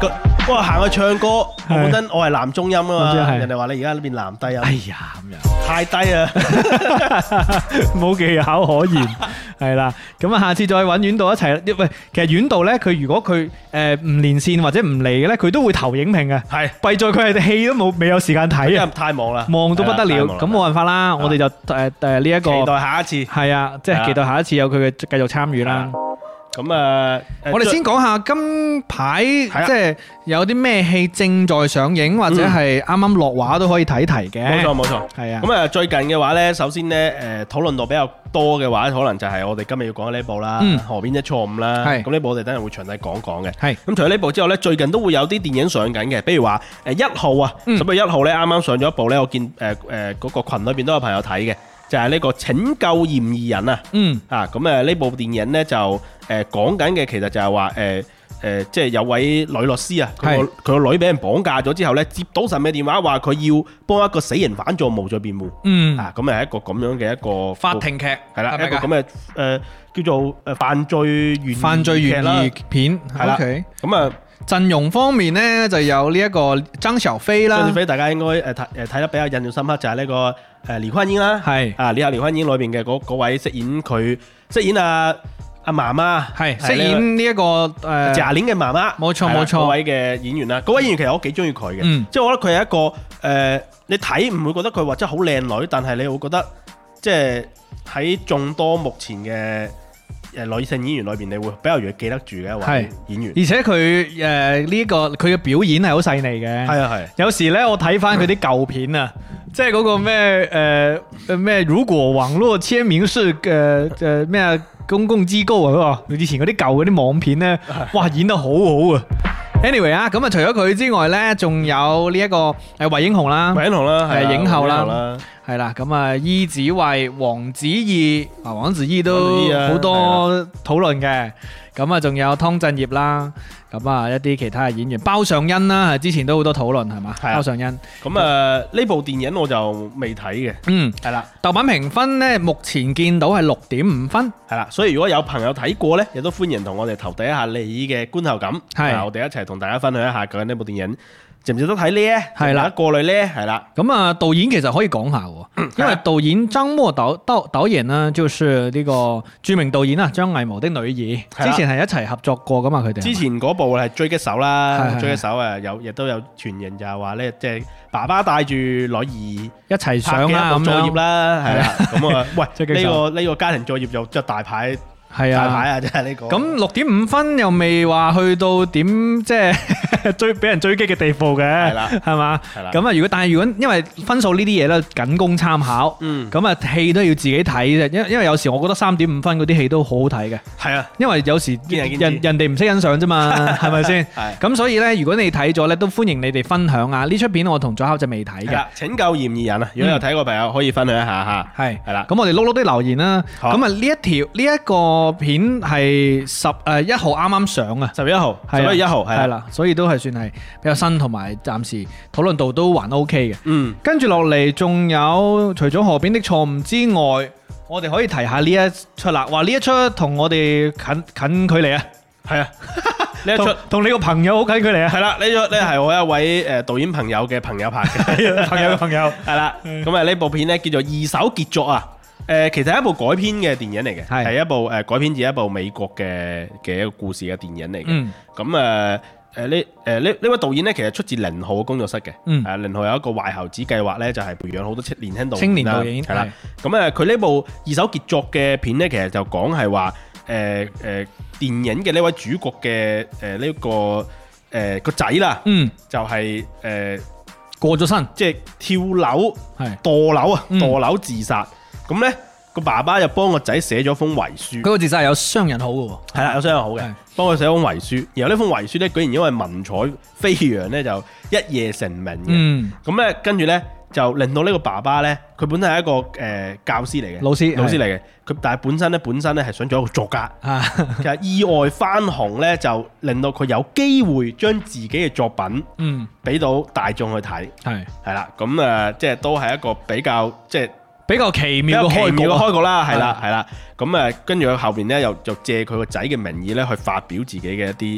哇，行去唱歌，我本身我係男中音啊嘛，
係
人哋話你而家變男低音，
哎呀咁樣。
太低啊！
冇技巧可言，係啦。咁啊，下次再揾遠道一齊。喂，其實遠道咧，佢如果佢唔連線或者唔嚟嘅咧，佢都會投影評嘅。
係，
弊在佢係戲都冇，未有時間睇啊，
太忙啦，
忙到不得了。咁冇辦法啦，我哋就呢一個
期待下一次。
係啊，即係期待下一次有佢嘅繼續參與啦。
咁啊，
我哋先講下今排即係有啲咩戲正在上映，或者係啱啱落畫都可以睇嘅。
冇錯冇錯，
係啊。
咁啊，最近嘅話呢，首先呢，討論度比較多嘅話，可能就係我哋今日要講嘅呢部啦，《河邊的錯誤》啦。咁呢部我哋等陣會詳細講講嘅。係。咁除咗呢部之後呢，最近都會有啲電影上緊嘅，比如話1號啊，10月1號呢，啱啱上咗一部呢，我見嗰個群裏邊都有朋友睇嘅。就係呢個拯救嫌疑人啊！咁呢部電影呢，就講緊嘅其實就係話即係有位女律師啊，佢個女俾人綁架咗之後呢，接到神秘電話話佢要幫一個死刑犯做無罪辯護。咁係一個咁樣嘅一個
法庭劇，係啦，
一個咁嘅叫做犯罪懸疑
片，係啦。咁啊。陣容方面呢，就有呢一個張小斐啦，張小斐大家應該睇得比較印象深刻就係呢個李煥英啦，係啊，李煥英裏邊嘅嗰位飾演阿媽媽，係飾演呢一個賈玲嘅媽媽，冇錯冇錯，嗰位嘅演員啦，嗰位演員其實我幾中意佢嘅，即係我覺得佢係一個你睇唔會覺得佢話真係好靚女，但係你會覺得即係喺眾多目前嘅女性演員裏邊，你會比較容易記得住嘅一位演員，而且佢呢個佢嘅表演係好細膩嘅。係啊係。有時咧，我睇翻佢啲舊片啊，即係嗰個咩如果網絡簽名是咩公共機構啊，以前嗰啲舊嗰啲網片咧，哇演得好好啊！Anyway 啊，咁啊除咗佢之外咧，仲有呢一個惠英紅啦，係影后啦，係啦，咁啊伊子慧、黃子怡都好多討論嘅，咁啊仲有湯鎮業啦，咁啊一啲其他嘅演員，包上恩啦，之前都好多討論係嘛，包上恩，咁呢部電影我就未睇嘅，係啦，豆瓣評分咧目前見到係6.5分，係啦，所以如果有朋友睇過咧，亦都歡迎同我哋投遞一下你嘅觀後感，係，我哋一齊同大家分享一下究竟呢部電影值唔值得睇呢？係啦，過濾呢？係啦。咁啊，導演其實可以講下喎，因為導演張默導演呢，就是呢個著名導演啊，張藝謀的女兒，之前係一齊合作過噶嘛，佢哋。之前嗰部係狙擊手啦，狙擊手啊，亦都有傳言就係話呢，即係爸爸帶住女兒一齊上啦，咁作業啦，係啦。咁啊，喂，呢個家庭作業就即係大牌。係啊，大牌啊，真係呢個。咁6.5分又未話去到點即係俾人追擊嘅地步嘅，係啦，係嘛，係啦。咁啊，如果因為分數呢啲嘢咧，僅供參考。咁啊，戲都要自己睇啫，因為有時我覺得3.5分嗰啲戲都好好睇嘅。係啊，因為有時人哋唔識欣賞啫嘛，係咪先？係。咁所以咧，如果你睇咗咧，都歡迎你哋分享啊！呢出片我同左考就未睇嘅。拯救嫌疑人啊！如果有睇過朋友可以分享一下嚇。係係啦。咁我哋碌啲留言啦。咁啊，呢一個片係1號啱啱上啊，10月1號係啦，所以都係算係比較新，同埋暫時討論度都還 OK 嘅。跟住落嚟仲有除咗河邊的錯誤之外，我哋可以提下呢一出啦。話呢一出同我哋近距離啊，係啊，呢一出同你個朋友好近距離啊，係啦，呢出咧係我一位導演朋友嘅朋友拍嘅，朋友係啦。咁啊呢部片咧叫做《二手傑作》啊。其實係一部改編嘅電影嚟嘅，係一部改編自一部美國嘅一個故事嘅電影嚟嘅。咁呢位導演呢，其實出自寧浩嘅工作室嘅。寧浩有一個壞猴子計劃呢，就係培養好多年輕青年導演係啦。咁佢呢部二手傑作嘅片呢，其實就講係話電影嘅呢位主角嘅呢個個仔啦，就係過咗身，即係跳樓墮樓自殺。咁呢個爸爸就幫個仔寫咗封遺書，嗰個自殺係有商人好嘅喎，係啦，有商人好嘅，幫佢寫封遺書，然後呢封遺書呢，居然因為文采飛揚呢，就一夜成名嘅。咁呢跟住呢，就令到呢個爸爸呢，佢本身係一個教師嚟嘅，老師嚟嘅，佢但係本身呢係想做一個作家，其實意外翻紅呢，就令到佢有機會將自己嘅作品俾到大眾去睇，係啦，咁即係都係一個比較奇妙嘅開局啦，係啦，咁跟住佢後邊咧又借佢個仔嘅名義咧去發表自己嘅一啲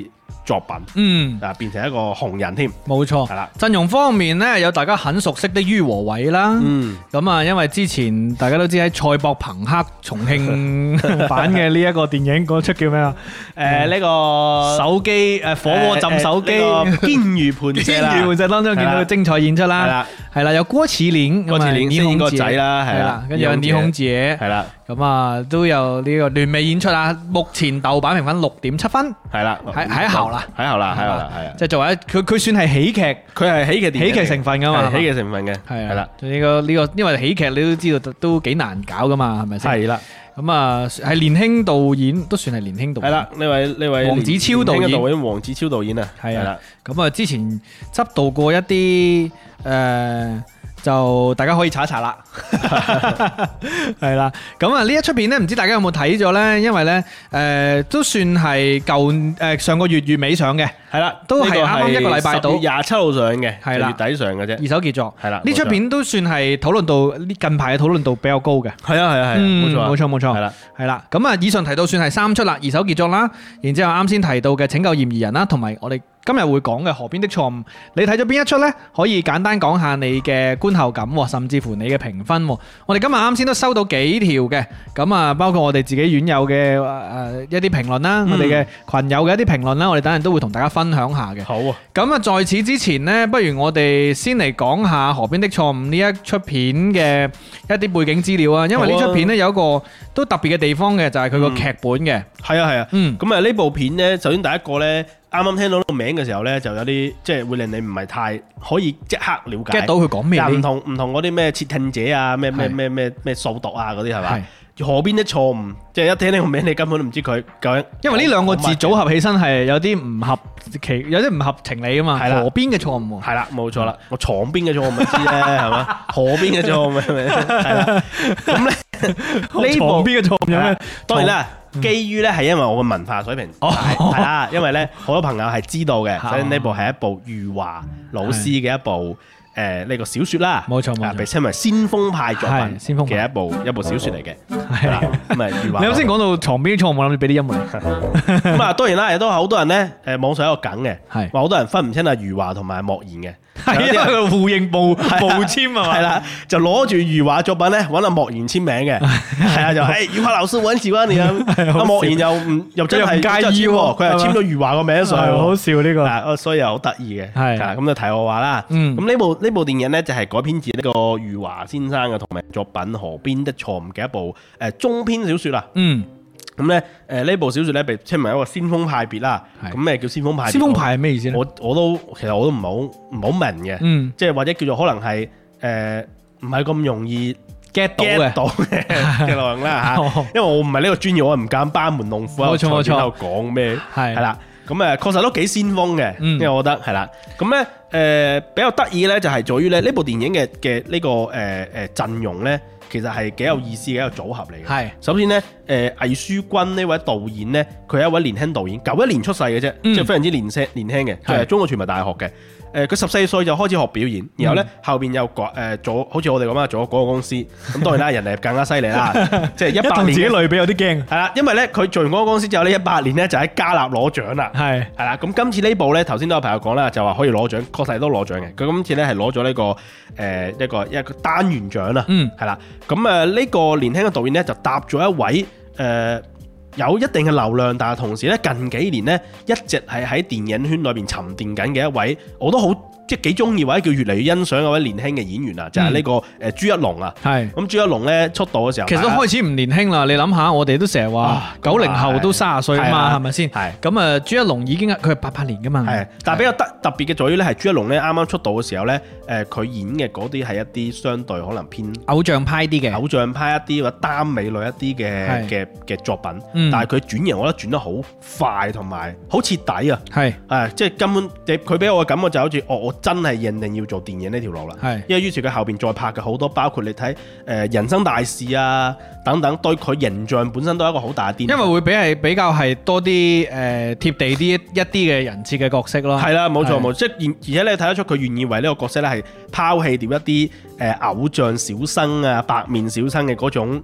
作品，變成一個紅人添，
冇錯，
係啦。
陣容方面呢，有大家很熟悉的于和偉啦，咁啊，因為之前大家都知喺賽博朋克重慶版嘅呢一個電影嗰出叫咩啊？
呢個
手機火鍋浸手機，
堅如磐石啦，
堅如磐石當中見到佢精彩演出啦，係啦，有郭麒麟，
郭麒麟飾演個仔啦，係啦，
跟住有倪虹潔，
係啦，
咁啊都有呢個聯袂演出啊，目前豆瓣評分6.7分，
係啦，
喺後啦，
係啊，
即係作為佢算係喜劇，
佢係喜劇
成分噶嘛，
喜劇成分嘅，
係啦，呢個因為喜劇你都知道都幾難搞噶嘛，係咪先？係啦。咁啊，係年輕導演，都算係年輕導演。係啦，呢位黃子超導演，黃子超導演啊，係啦。咁啊，之前執導過一啲就大家可以查一查啦。係啦，咁啊呢一出片咧，唔知大家有冇睇咗咧？因為咧都算係上個月月尾上嘅，係啦，都係啱啱一個禮拜到，10月27號上嘅，係啦，月底上嘅啫，二手傑作，係啦。呢出片都算係討論度近排嘅討論度比較高嘅，係啊，冇錯，係啦。咁啊，以上提到算係3出啦，二手傑作啦，然之後啱先提到嘅拯救嫌疑人啦，同埋我哋今日會講嘅河邊的錯誤，你睇咗邊一出呢？可以簡單講下你嘅觀後感，甚至乎你嘅評分。我哋今日啱先都收到幾條嘅，咁啊，包括我哋自己院友嘅一啲評論啦，我哋嘅群友嘅一啲評論啦，我哋等陣都會同大家分享下嘅。好啊！咁啊，在此之前呢，不如我哋先嚟講下河邊的錯誤呢一出片嘅一啲背景資料啊，因為呢出片呢，有一個都特別嘅地方嘅，就係佢個劇本嘅。係啊，咁啊呢部片呢，首先第一個呢。啱啱聽到呢個名嘅時候咧，就有啲即係會令你唔係太可以即刻了解 get 到佢講咩，唔同嗰啲咩竊聽者啊，咩掃毒啊嗰啲係咪？河邊的錯誤，即係一聽呢個名，你根本都唔知佢究竟。因為呢兩個字組合起身係有啲唔合情理啊嘛。係啦，河邊嘅錯誤。係啦，冇錯啦，我床邊嘅錯誤咪知咧，係嘛？河邊嘅錯誤係咪？係啦，咁咧呢部床邊嘅錯誤有咩？當然啦。基於咧係因為我嘅文化水平係啦，因為咧好多朋友係知道嘅，所以呢部係一部余華老師嘅一部呢個小説啦，冇錯，被稱為先鋒派作品嘅一部小説嚟嘅。係啦，咁啊余華，你啱先講到床邊錯誤，我諗住俾啲音樂。咁啊當然啦，亦都好多人咧網上有一個梗嘅，話好多人分唔清啊余華同埋莫言嘅。係因為佢互認報簽啊嘛，係啦，就攞住余華作品咧揾阿莫言簽名嘅，係啊，就余華老師我很喜歡你啊，阿莫言又真係唔介意喎，佢又簽咗余華個名上去，好笑呢個，所以又好得意嘅，係咁就題外話啦。咁呢部電影咧就係改編自呢個余華先生嘅同名作品《河邊的錯誤》嘅一部中篇小説啦。咁咧，呢部小説咧被稱為一個先鋒派別啦。咁咩叫先鋒派別？先鋒派係咩意思咧？其實我都唔好明嘅。即係或者叫做可能係唔係咁容易 get 到嘅內容啦嚇。因為我唔係呢個專業，我唔敢班門弄斧喺度講咩。係啦，咁確實都幾先鋒嘅，因為我覺得係啦。咁咧比較得意咧就係在於咧呢部電影嘅呢個陣容咧。其實係幾有意思嘅一個組合嚟嘅。係，首先咧，魏書君呢位導演咧，佢係一位年輕導演，91年出世嘅啫，即係非常之年輕嘅，就係中國傳媒大學嘅。佢14歲就開始學表演，然後咧後邊又做，好似我哋咁啊，做咗嗰個公司。咁當然啦，人哋更加犀利啦，即係18年。自己類比有啲驚。係啦，因為咧佢做完嗰個公司之後咧，18年咧就喺加納攞獎啦。係啦，咁今次呢部咧，頭先都有朋友講啦，就話可以攞獎，確實都攞獎嘅。佢今次咧係攞咗呢個一個單元獎啦。係啦，咁呢個年輕嘅導演咧就搭咗一位有一定嘅流量，但係同時咧近幾年咧一直係喺電影圈裏邊沉澱緊嘅一位，我都好即係幾中意或者叫越嚟越欣賞嗰位年輕嘅演員啊，就係呢個朱一龍啊。係咁朱一龍咧出道嘅時候，其實都開始唔年輕啦。你諗下，我哋都成日話90後都30歲啊嘛，係咪先？係咁朱一龍已經佢係88年噶嘛。係，但係比較特別嘅在於咧，係朱一龍咧啱啱出道嘅時候咧，佢演嘅嗰啲係一啲相對可能偏偶像派啲嘅，偶像派一啲或者耽美類一啲嘅作品。但係佢轉型，我覺得轉得好快同埋好徹底啊！係即係根本佢俾我嘅感覺就好似我真係認定要做電影呢條路啦。係，因為於是佢後邊再拍嘅好多，包括你睇人生大事啊等等，對佢形象本身都係一個好大嘅顛覆。因為會比較係多啲貼地啲一啲嘅人設嘅角色咯。係啦，冇錯冇錯，即係而且你睇得出佢願意為呢個角色咧係拋棄掉一啲偶像小生啊、白面小生嘅嗰種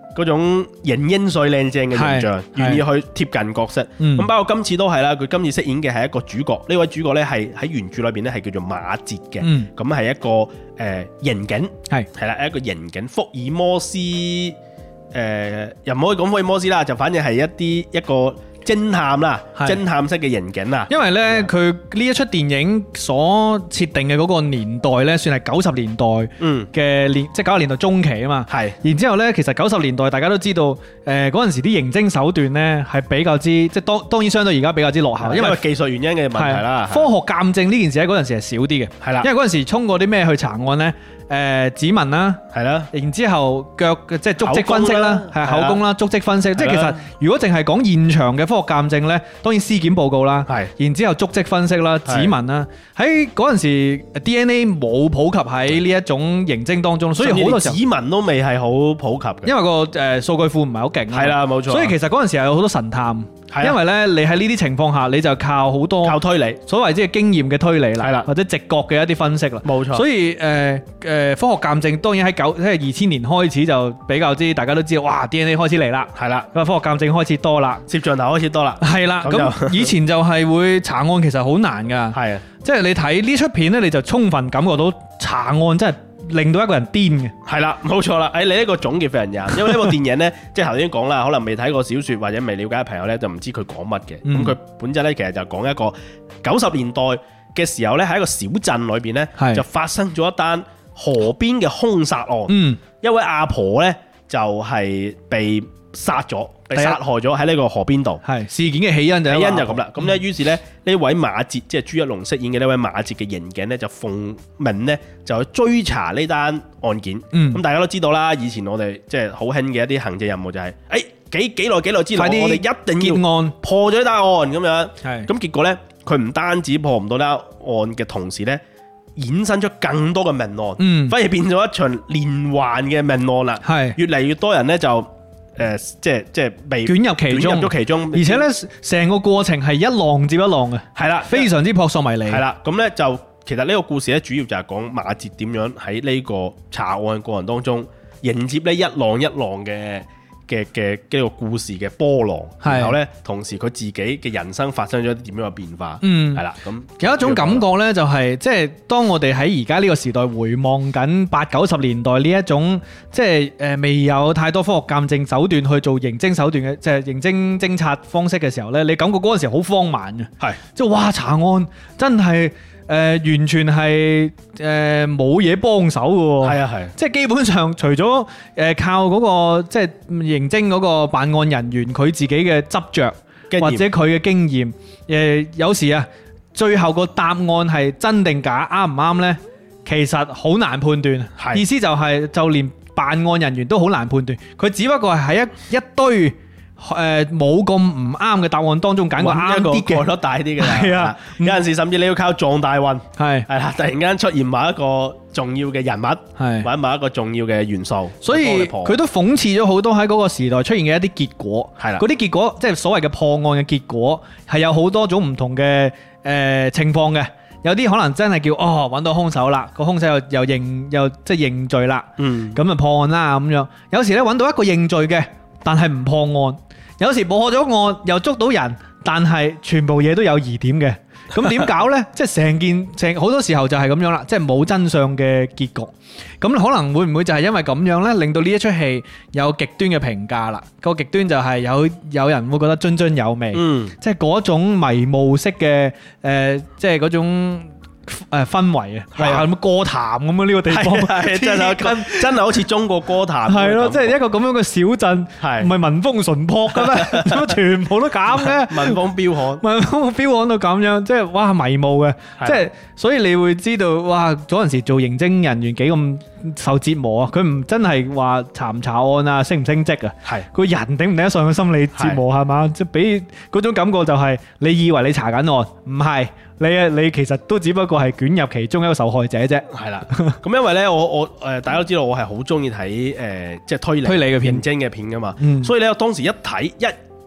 嗰種型英帥靚正嘅形象，願意去貼近角色。咁包括今次都係啦，佢今次飾演嘅係一個主角，呢位主角呢係喺原著裏邊呢係叫做馬哲嘅，咁係一個刑警，係啦，一個刑警，福爾摩斯又唔可以講福爾摩斯啦，就反正係一個偵探啦，偵探式嘅刑警啊。因為呢，佢呢一出電影所設定嘅嗰個年代呢，算係90年代嘅即係90年代中期啊嘛。係。然之後呢，其實90年代大家都知道，嗰陣時啲刑偵手段呢係比較之，即係當然相對而家比較之落後，因為技術原因嘅問題啦。科學鑑證呢件事喺嗰陣時係少啲嘅。係啦。因為嗰陣時通過啲咩去查案呢？指紋啦，係啦，然之後腳即係足跡分析啦，係口供啦，足跡分析，即係其實如果淨係講現場嘅科學鑑證呢，當然屍檢報告啦，係，然之後足跡分析啦，指紋啦，喺嗰陣時 DNA 冇普及喺呢一種刑偵當中，所以好多時候指紋都未係好普及嘅，因為個數據庫唔係好勁，係啦，冇錯，所以其實嗰陣時係有好多神探。因為咧，你喺呢啲情況下，你就靠好多靠推理，所謂即係經驗嘅推理啦，係啦，或者直覺嘅一啲分析啦，冇錯。所以科學鑑證當然喺2000年開始就比較之，大家都知道，哇 DNA 開始嚟啦，係啦，咁科學鑑證開始多啦，攝像頭開始多啦，係啦。咁以前就係會查案其實好難噶，係啊，即係你睇呢出片咧，你就充分感覺到查案真係令到一個人癲嘅，係啦，冇錯啦。你呢個總結非常啱，因為呢部電影呢，即係頭先講啦，可能未睇過小說或者未了解嘅朋友呢，就唔知佢講乜嘅。咁佢本質呢，其實就講一個90年代嘅時候呢，喺一個小鎮裏邊呢，就發生咗一單河邊嘅兇殺案。一位阿婆呢，就係被殺咗，被殺害咗喺呢個河邊度。係事件嘅起因就咁啦。咁咧，於是咧呢位馬哲，即係朱一龍飾演嘅呢位馬哲嘅刑警咧，就奉命咧就去追查呢單案件。咁大家都知道啦，以前我哋即係好興嘅一啲行政任務就係，幾耐之內，我哋一定要結案，破咗呢單案咁樣。係咁結果咧，佢唔單止破唔到呢單案嘅同時咧，衍生出更多嘅命案，反而變咗一場連環嘅命案啦。係越嚟越多人咧就。即係被捲入其中，而且咧成個過程係一浪接一浪嘅，係啦，非常之撲朔迷離，係啦。咁咧就其實呢個故事咧主要就係講馬哲點樣喺呢個查案過程當中迎接呢一浪一浪嘅呢個故事嘅波浪，然後咧同時佢自己嘅人生發生咗啲點樣嘅變化，係啦。咁有一種感覺咧，就係即係當我哋喺而家呢個時代回望緊80-90年代呢一種即係未有太多科學鑑證手段去做刑偵手段嘅，即係刑偵偵察方式嘅時候咧，你感覺嗰陣時好荒蠻嘅，係即係哇查案真係。完全係冇嘢幫手嘅喎，係啊係，即係基本上除咗靠嗰個即係刑偵嗰個辦案人員佢自己嘅執着或者佢嘅經驗，有時啊最後個答案係真定假啱唔啱呢？其實好難判斷，意思就係就連辦案人員都好難判斷，佢只不過係喺一堆。冇咁唔啱嘅答案當中揀個啱啲嘅，概率大啲嘅。係啊，有陣時甚至你要靠撞大運，係啦，突然間出現某一個重要嘅人物，係或者某一個重要嘅元素，所以佢都諷刺咗好多喺嗰個時代出現嘅一啲結果。係啦，嗰啲結果即係所謂嘅破案嘅結果，係有好多種唔同嘅情況嘅。有啲可能真係叫揾到兇手啦，個兇手又即係認罪啦，咁就破案啦咁樣。有時咧揾到一個認罪嘅，但係唔破案。有時破咗案又捉到人，但係全部嘢都有疑點嘅，咁點搞呢？即係成好多時候就係咁樣啦，即係冇真相嘅結局。咁可能會唔會就係因為咁樣呢，令到呢一出戲有極端嘅評價啦？個極端就係有人會覺得津津有味，即係嗰種迷霧式嘅即係嗰種。氛圍啊，係啊，咁歌壇咁啊呢個地方，真係好似中國歌壇，係咯，即係一個咁樣嘅小鎮，係唔係民風淳樸嘅咩？點解全部都咁嘅？民風彪悍，民風彪悍到咁樣，即係哇迷霧嘅，即係所以你會知道哇嗰陣時做刑偵人員幾咁受折磨啊！佢唔真係話查唔查案啊，升唔升職啊，係個人頂唔頂得上嘅心理折磨係嘛？即係俾嗰種感覺就係你以為你查緊案，唔係。你其實都只不過係捲入其中一個受害者啫。係啦，咁因為咧，我大家都知道我係好中意睇即係推理嘅片、刑偵嘅片噶嘛。所以咧，我當時一睇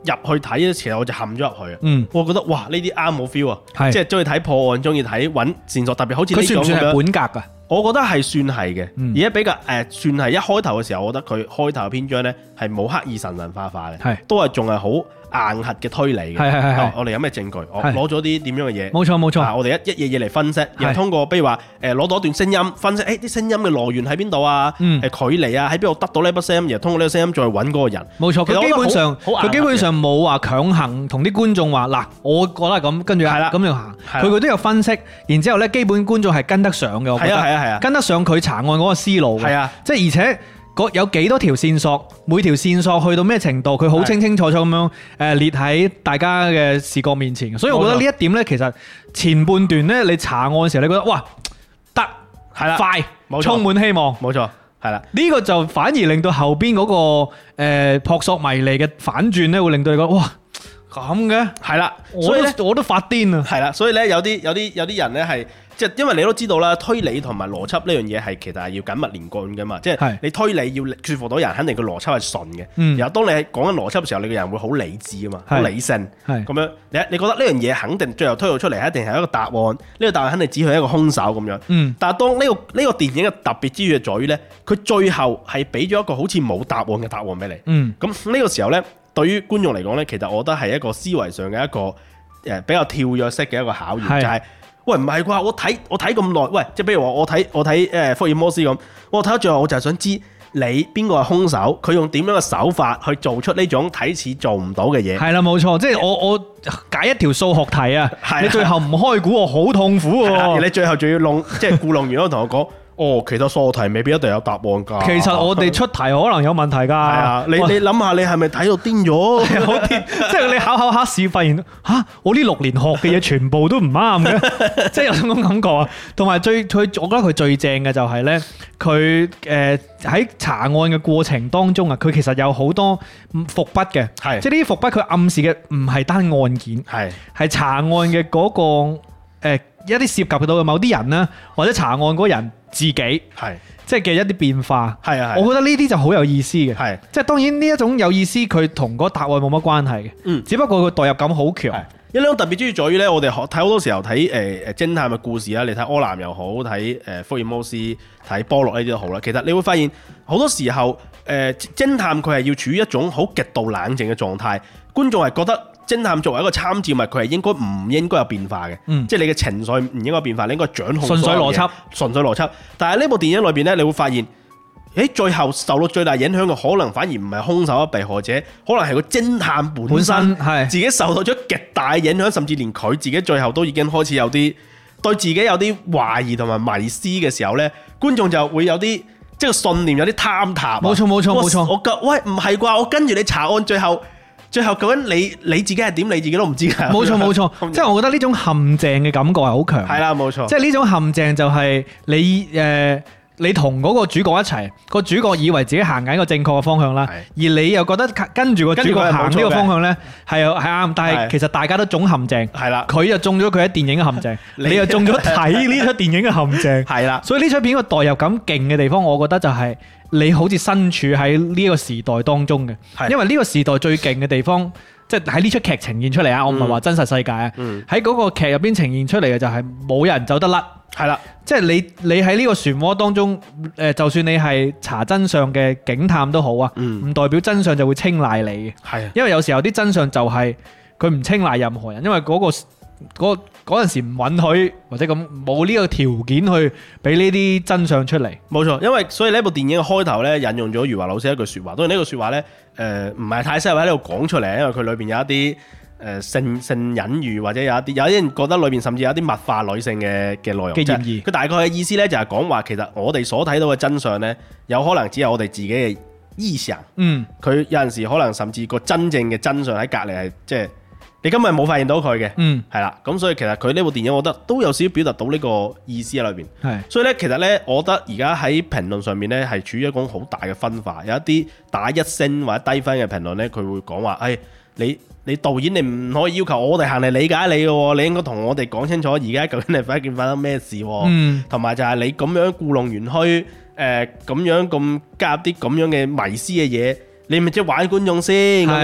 入去睇嘅時候我就陷咗入去啊！
嗯，
我覺得哇呢啲啱我 feel 啊，
係
即係中意睇破案，中意睇揾線索，特別好似呢
佢算唔算係
種咁樣。
本格㗎？
我覺得係算係嘅，
嗯
而家比較算係一開頭嘅時候，我覺得佢開頭嘅篇章呢係冇刻意神化嘅，
係
都係仲係好硬核嘅推理嘅。
係
啊我哋有咩證據？我
係
攞咗啲點樣嘅嘢？
冇錯冇錯
啊我哋一嘢嘢嚟分析，然後通過比如話攞到一段聲音分析，啲聲音嘅來源喺邊度啊？
嗯
距離啊，喺邊度得到呢筆聲音？然後通過呢個聲音再揾嗰個人。
冇錯，
其實我覺得
佢基本上
好硬核嘅
佢基本上冇話強行同啲觀眾話嗱，我覺得係咁，跟住
係啦
咁樣行。
係啦
佢都有分析，然之後咧，基本觀眾係跟得上嘅，我覺得
係啊
跟得上佢查案嗰個思路嘅。
係啊，
即係而且有幾多條線索，每條線索去到咩程度，佢好清清楚楚咁樣列喺大家嘅視覺面前。所以我覺得呢一點呢，其實前半段呢，你查案嘅時候，你覺得哇得
係啦，
快，
冇錯
充滿希望。
冇錯，係啦。
呢個就反而令到後邊嗰個撲朔迷離嘅反轉呢，會令到你覺得哇咁嘅，
係啦，
我
所以咧
都我都發癲啊！
係啦，所以咧有啲人咧係即係因為你都知道啦，推理同埋邏輯呢樣嘢係其實係要緊密連貫噶嘛，即係
係
你推理要說服到人，肯定個邏輯係順嘅。
嗯
然後當你係講緊邏輯嘅時候，你個人會好理智啊嘛，好
係
理性。
係
咁樣你覺得呢樣嘢肯定最後推導出嚟一定係一個答案，呢個答案肯定指向一個兇手咁樣。
嗯
但係當呢個電影嘅特別之處在於咧，佢最後係俾咗一個好似冇答案嘅答案俾你。
嗯
咁呢個時候呢，對於觀眾嚟講呢，其實我覺得係一個思維上嘅一個比較跳躍式嘅一個考驗，
係
就係喂唔係啩？我睇咁耐，喂，即係比如話我睇福爾摩斯咁，我睇到最後我就係想知你邊個係兇手，佢用點樣嘅手法去做出呢種睇似做唔到嘅嘢。
係啦，冇錯，即係我解一條數學題啊，
係啊
你最後唔開估，我好痛苦
係啦而
喎。
你最後仲要即係故弄完，同我講。哦，其他數學題未必一定有答案㗎。
其實我哋出題可能有問題㗎。係
啊，你諗下，你係咪睇到癲咗？
好癲！即係你考考試，發現我呢6年學嘅嘢全部都唔啱嘅，即係有種咁感覺啊。同埋我覺得佢最正嘅就係呢，佢喺查案嘅過程當中啊，佢其實有好多伏筆嘅，
係
即係呢啲伏筆佢暗示嘅唔係單案件，係查案嘅嗰個一啲涉及到嘅某啲人啦，或者查案嗰個人自己，
係
即係嘅一啲變化。
係啊，
我覺得呢啲就好有意思嘅。
係
即係當然呢一種有意思，佢同嗰個答案冇乜關係嘅。
嗯
只不過佢代入感好強。
一種特別之處在於咧，我哋睇好多時候睇偵探嘅故事啦，你睇柯南又好，睇福爾摩斯、睇波洛呢啲都好啦。其實你會發現好多時候偵探佢係要處於一種好極度冷靜嘅狀態，觀眾係覺得偵探作為一個參照物，佢係應該有變化嘅，即係你嘅情緒唔應該變化，你應該掌控
純粹邏輯，
純粹邏輯。但係呢部電影裏邊咧，你會發現。最後受到最大影響嘅可能反而唔係兇手一被害者，可能係個偵探本身
係
自己受到咗極大影響，甚至連佢自己最後都已經開始有啲對自己有啲懷疑同埋迷思嘅時候呢，觀眾就會有啲即係信念有啲坍塌。
冇錯。
喂唔係啩？我跟住你查案，最後究竟你自己係點？你自己都唔知㗎。
冇錯，即係我覺得呢種陷阱嘅感覺係好強。
係啦，冇錯。
即係呢種陷阱就係你同嗰個主角一齊，個主角以為自己行緊一個正確嘅方向啦，而你又覺得跟住個主角行呢個方向呢係啱，但係其實大家都中陷阱。
係啦，
佢就中咗佢喺電影嘅陷阱，你又中咗睇呢出電影嘅陷阱。
係啦，
所以呢出片個代入感勁嘅地方，我覺得就係你好似身處喺呢個時代當中嘅，因為呢個時代最勁嘅地方。即係喺呢出劇呈現出嚟啊！我唔係話真實世界啊，喺嗰個劇入邊呈現出嚟嘅就係冇人走得甩，係啦。即係你喺呢個漩渦當中，就算你係查真相嘅警探都好啊，唔代表真相就會青睞你嘅。係，因為有時候啲真相就係佢唔青睞任何人，因為嗰陣時唔允許或者咁冇呢個條件去俾呢啲真相出嚟。冇錯，
因為所以呢部電影嘅開頭咧引用咗余華老師一句説話，當然呢句説話咧唔係太適合喺呢度講出嚟，因為佢裏邊有一啲性隱喻，或者有啲人覺得裏邊甚至有啲物化女性嘅內容嘅嫌疑。佢大概嘅意思咧就係講話其實我哋所睇到嘅真相咧，有可能只係我哋自己嘅臆想。佢有陣時可能甚至個真正嘅真相喺隔離係即係。你今日冇發現到佢嘅，係啦，咁所以其實佢呢部電影，我覺得都有少少表達到呢個意思喺裏邊。係，所以咧，其實咧，我覺得而家喺評論上面咧，係處於一種好大嘅分化。有一啲打1星或者低分嘅評論咧，佢會講話，你導演你唔可以要求我哋行嚟理解你嘅喎，你應該同我哋講清楚而家究竟係發生咩事喎。同埋就係你咁樣故弄玄虛，咁樣咁加入啲咁樣嘅迷思嘅嘢。你咪即係玩觀眾先咁樣，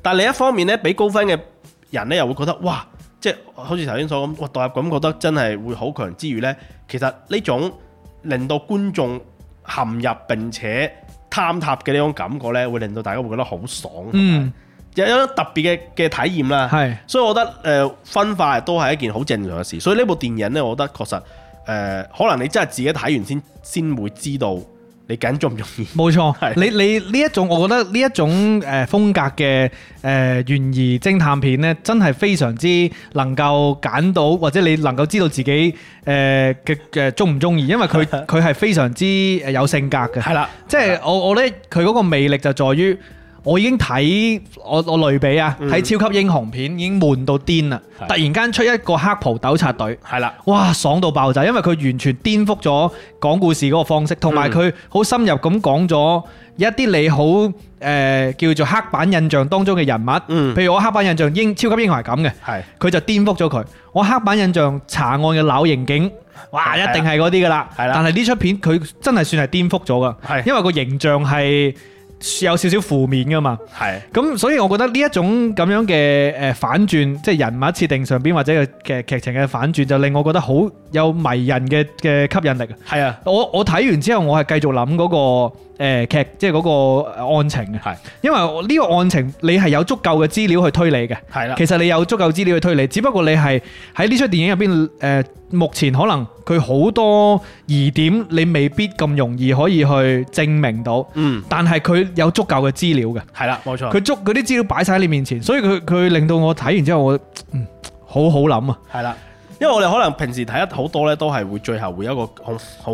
但係另一方面咧，俾高分嘅人咧又會覺得哇，即係好似頭先所講，哇代入感覺得真係會好強之餘咧，其實呢種令到觀眾陷入並且坍塌嘅呢種感覺咧，會令到大家會覺得好爽，有一種特別嘅體驗啦。
係，
所以我覺得分化都係一件好正常嘅事。所以呢部電影咧，我覺得確實可能你真係自己睇完先會知道你究竟中唔中意。
冇錯，你呢一種，我覺得呢一種風格嘅懸疑偵探片咧，真係非常之能夠揀到，或者你能夠知道自己嘅中唔中意，因為佢係非常之有性格嘅。係啦，即係我覺得佢嗰個魅力就在於。我已經睇我類比啊，睇超級英雄片已經悶到癲啦！突然間出一個黑袍糾察隊，係啦，哇，爽到爆炸！因為佢完全顛覆咗講故事嗰個方式，同埋佢好深入咁講咗一啲你好叫做黑板印象當中嘅人物。譬如我黑板印象超級英雄係咁嘅，佢就顛覆咗佢。我黑板印象查案嘅老刑警，哇，一定係嗰啲噶啦。但係呢出片佢真係算係顛覆咗噶，因為個形象係有少少負面噶嘛，咁所以我覺得呢一種咁樣嘅反轉，即係人物設定上邊或者嘅劇情嘅反轉，就令我覺得好有迷人嘅吸引力。係啊，我睇完之後，我係繼續諗嗰個劇，即係嗰個案情嘅，因為呢個案情你係有足夠嘅資料去推理嘅。係啦，其實你有足夠資料去推理，只不過你係喺呢出電影入邊目前可能佢好多疑點，你未必咁容易可以去證明到。但係佢有足夠嘅資料嘅。係啦，冇錯。佢嗰啲資料擺晒喺你面前，所以佢令到我睇完之後，我好好諗啊。係啦，因為我哋可能平時睇得好多咧，都係會最後會有一個好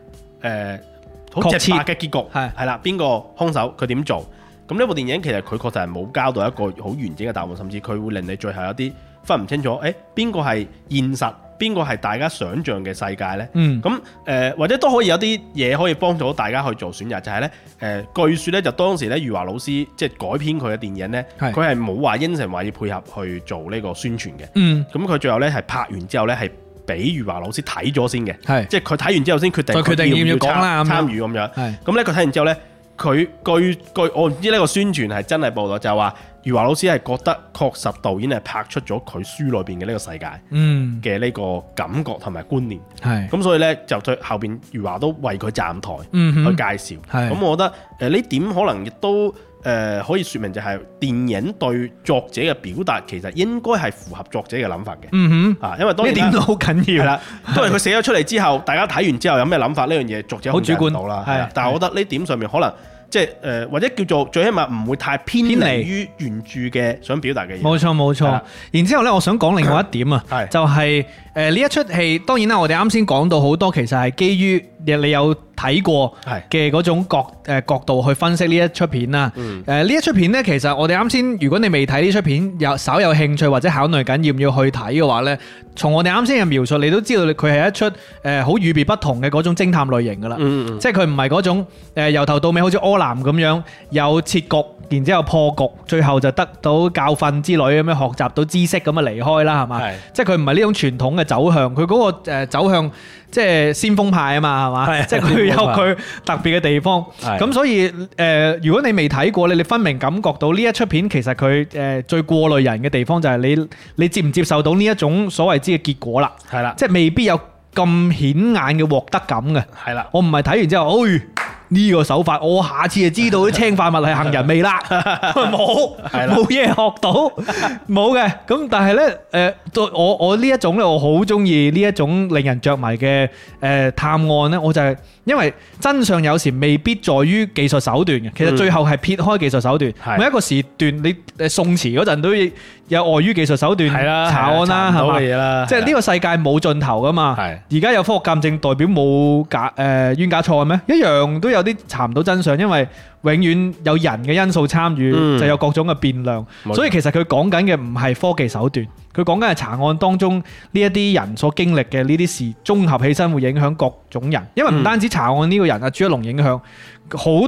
直白嘅結局。係啦，邊個兇手佢點做？咁呢部電影其實佢確實係冇交到一個好完整嘅答案，甚至佢會令你最後有啲分唔清楚，邊個係現實，邊個係大家想像嘅世界呢？咁或者都可以有啲嘢可以幫助到大家去做選擇，就係呢，據說呢，就當時呢，余華老師即係改編佢嘅電影呢，佢係冇話應承話要配合去做呢個宣傳嘅。咁佢最後呢，係拍完之後呢，係俾余華老師睇咗先嘅，即係佢睇完之後先決定要唔要參與咁樣。咁呢，佢睇完之後呢，佢據我唔知呢個宣傳係真係報道，就係話余華老師係覺得確實導演係拍出咗佢書裏邊嘅呢個世界嘅呢個感覺同埋觀念。咁所以呢，就最後邊余華都為佢站台去介紹。咁我覺得呢點可能亦都可以説明就係電影對作者嘅表達其實應該係符合作者嘅諗法嘅。因為當然呢點都好緊要。係啦，因為佢寫咗出嚟之後，大家睇完之後有咩諗法呢樣嘢，作者好主觀到啦。但係我覺得呢點上面可能。即係或者叫做最起碼唔會太偏離於原著嘅想表達嘅嘢。冇錯冇錯。然之後呢，我想講另外一點啊，就係呢一出戲，當然啦，我哋啱先講到好多，其實係基於你有睇過嘅嗰種角度去分析呢一出片啦。呢一出片呢，其實我哋啱先，如果你未睇呢出片，稍有興趣或者考慮緊要唔要去睇嘅話呢，從我哋啱先嘅描述，你都知道佢係一出好與別不同嘅嗰種偵探類型噶啦。即係佢唔係嗰種由頭到尾好似柯南咁樣有設局，然之後破局，最後就得到教訓之類咁樣學習到知識咁啊離開啦，係嘛？即係佢唔係呢種傳統嘅走向，佢嗰個走向即係先鋒派啊嘛，係嘛？即係佢有佢特別嘅地方。咁所以如果你未睇過，你分明感覺到呢一出片其實佢最過濾人嘅地方就係你接唔接受到呢一種所謂之嘅結果啦。係啦，即係未必有咁顯眼嘅獲得感嘅。係啦，我唔係睇完之後，呢個手法，我下次就知道啲氰化物係杏仁味啦。冇嘢學到，冇嘅。咁但係呢，我呢一種呢，我好中意呢一種令人着迷嘅探案呢，我就係因為真相有時未必在於技術手段嘅，其實最後係撇開技術手段。每一個時段，你宋詞嗰陣都有礙於技術手段查案啦，係嘛？即係呢個世界冇盡頭噶嘛。而家有科學鑑證代表冇冤假錯案咩？一樣都有啲查唔到真相，因為永遠有人嘅因素參與，就有各種嘅變量。所以其實佢講緊嘅唔係科技手段，佢講緊係查案當中呢一啲人所經歷嘅呢啲事綜合起身會影響各種人。因為唔單止查案呢個人啊，朱一龍影響好多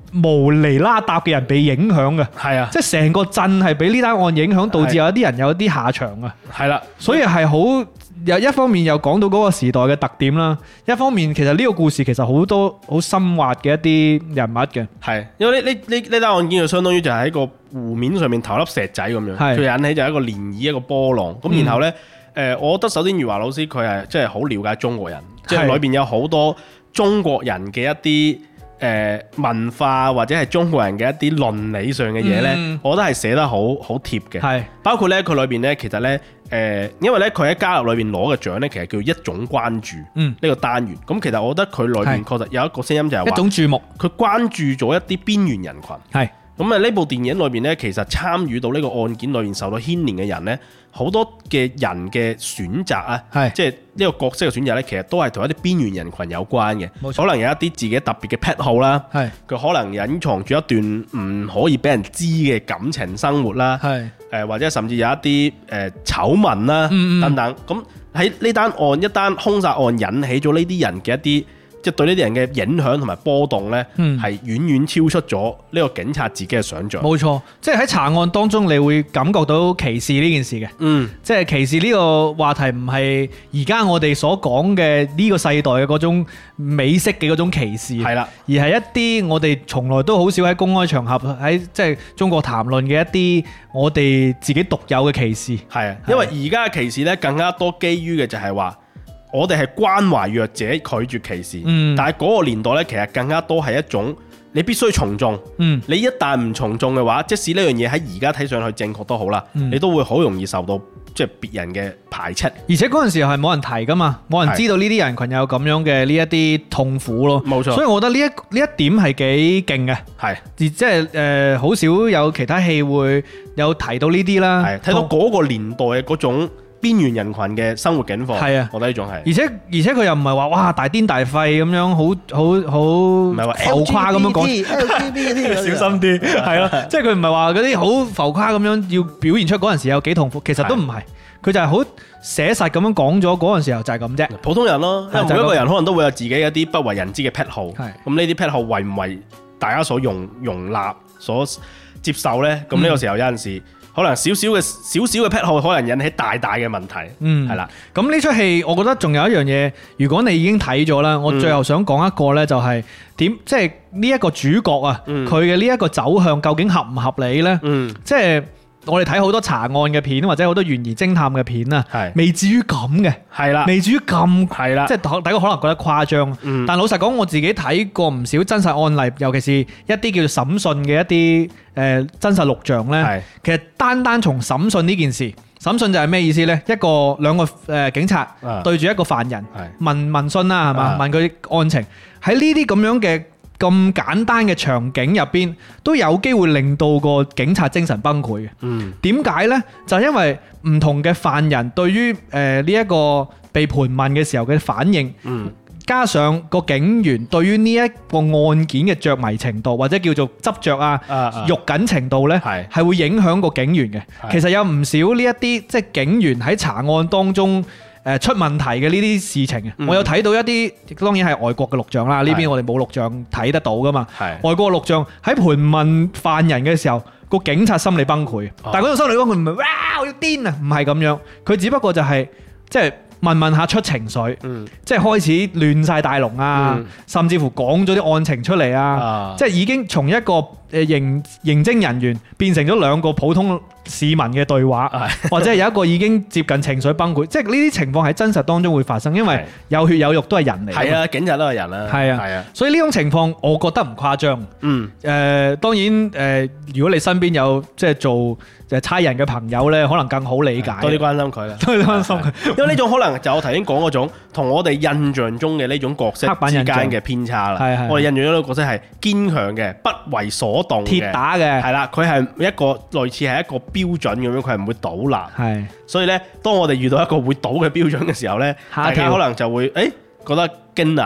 無厘啦搭嘅人被影響嘅，
係啊，
即係成個鎮係俾呢單案影響，導致有一啲人有啲下場啊。
係啦，
所以係好有一方面又講到嗰個時代嘅特點啦，一方面其實呢個故事其實好多好深挖嘅一啲人物嘅。
係，因為呢單案件就相當於就係喺個湖面上面投粒石仔咁樣，
係
佢引起就係一個漣漪一個波浪。咁然後呢，我覺得首先余華老師佢係真係好了解中國人，即係裏邊有好多中國人嘅一啲文化或者係中國人嘅一啲倫理上嘅嘢呢，我覺得係寫得好貼嘅。
係
包括呢，佢裏邊呢，其實呢，因為呢，佢喺家樂裏邊攞嘅獎呢，其實叫一種關注呢個單元。咁其實我覺得佢裏邊確實有一個聲音就係話
一種注目，
佢關注咗一啲邊緣人群。
係
咁啊！呢部電影裏邊呢，其實參與到呢個案件裏邊受到牽連嘅人呢，好多嘅人嘅選擇啊，即係呢個角色嘅選擇呢，其實都係同一啲邊緣人群有關嘅。可能有一啲自己特別嘅癖好啦，佢可能隱藏住一段唔可以俾人知嘅感情生活啦，或者甚至有一啲醜聞啦等等。咁喺呢單案一單兇殺案引起咗呢啲人嘅一啲，即係對呢啲人嘅影響同埋波動呢，係遠遠超出咗呢個警察自己嘅想像。
冇錯，即係喺查案當中，你會感覺到歧視呢件事嘅。即係歧視呢個話題唔係而家我哋所講嘅呢個世代嘅嗰種美式嘅嗰種歧視，係啦，而係一啲我哋從來都好少喺公開場合喺即係中國談論嘅一啲我哋自己獨有嘅歧視。
係啊，因為而家嘅歧視呢，更加多基於嘅就係話，我哋係關懷弱者，拒絕歧視。但係嗰個年代呢，其實更加多係一種你必須從眾。你一旦唔從眾嘅話，即使呢樣嘢喺而家睇上去正確都好啦，你都會好容易受到即係別人嘅排斥。
而且嗰陣時候係冇人提噶嘛，冇人知道呢啲人群有咁樣嘅呢一啲痛苦咯。冇錯，所以我覺得呢一點係幾勁嘅。係，而即係好少有其他戲會有提到呢啲啦。係，睇到
嗰個年代嘅嗰種邊緣人群嘅生活境況，係啊，我覺得呢種係，
而且佢又唔係話哇大癲大廢咁樣，好唔係話浮誇咁樣講，小心啲，係咯，即係佢唔係話嗰啲好浮誇咁樣要表現出嗰陣時有幾痛苦，其實都唔係，佢就係好寫實咁樣講咗嗰陣時候就係咁啫，
普通人咯，因為每一個人可能都會有自己一啲不為人知嘅癖好，咁呢啲癖好為唔為大家所容納、所接受呢？咁呢個時候有陣時，可能少少嘅癖好，可能引起大嘅問題。係啦。
咁呢出戲，我覺得仲有一樣嘢，如果你已經睇咗啦，我最後想講一個呢，就係點，即係呢一個主角啊，佢嘅呢一個走向究竟合唔合理呢？即係我哋睇好多查案嘅片，或者好多懸疑偵探嘅片啊，未至於咁嘅，係啦，未至於咁，係啦，即係大家可能覺得誇張。但老實講，我自己睇過唔少真實案例，尤其是一啲叫做審訊嘅一啲真實錄像呢。其實單從審訊呢件事，審訊就係咩意思呢？兩個警察對住一個犯人問訊啦，係嘛？問佢案情，喺呢啲咁樣嘅咁簡單嘅場景入邊，都有機會令到個警察精神崩潰嘅。點解呢？就係因為唔同嘅犯人對於呢一個被盤問嘅時候嘅反應，加上個警員對於呢一個案件嘅着迷程度，或者叫做執着啊、肉緊程度呢，係會影響個警員嘅。其實有唔少呢一啲即係警員喺查案當中出問題嘅呢啲事情，我有睇到一啲，當然係外國嘅錄像啦。呢邊我哋冇錄像睇得到噶嘛。外國錄像喺盤問犯人嘅時候，個警察心理崩潰。但係嗰種心理崩潰唔係哇我要癲啊，唔係咁樣。佢只不過就係即係問下出情緒，即係開始亂晒大龍啊，甚至乎講咗啲案情出嚟啊，即係已經從一個刑偵人員變成咗兩個普通市民嘅對話，或者係有一個已經接近情緒崩潰，即係呢啲情況喺真實當中會發生，因為有血有肉都係人嚟。係
啊，警察都係人啦。係啊，
所以呢種情況我覺得唔誇張。當然如果你身邊有即係做差人嘅朋友呢，可能更好理解，
多啲關心佢啦，
多啲關心佢，
因為呢種可能就我頭先講嗰種，同我哋印象中嘅呢種角色之間嘅偏差啦。我哋印象中嘅角色係堅強嘅，不為所動嘅，
鐵打嘅，係
啦，佢係一個類似係一個標準咁樣，佢係唔會倒立。係，所以呢，當我哋遇到一個會倒嘅標準嘅時候呢，大家可能就會覺得驚訝啦。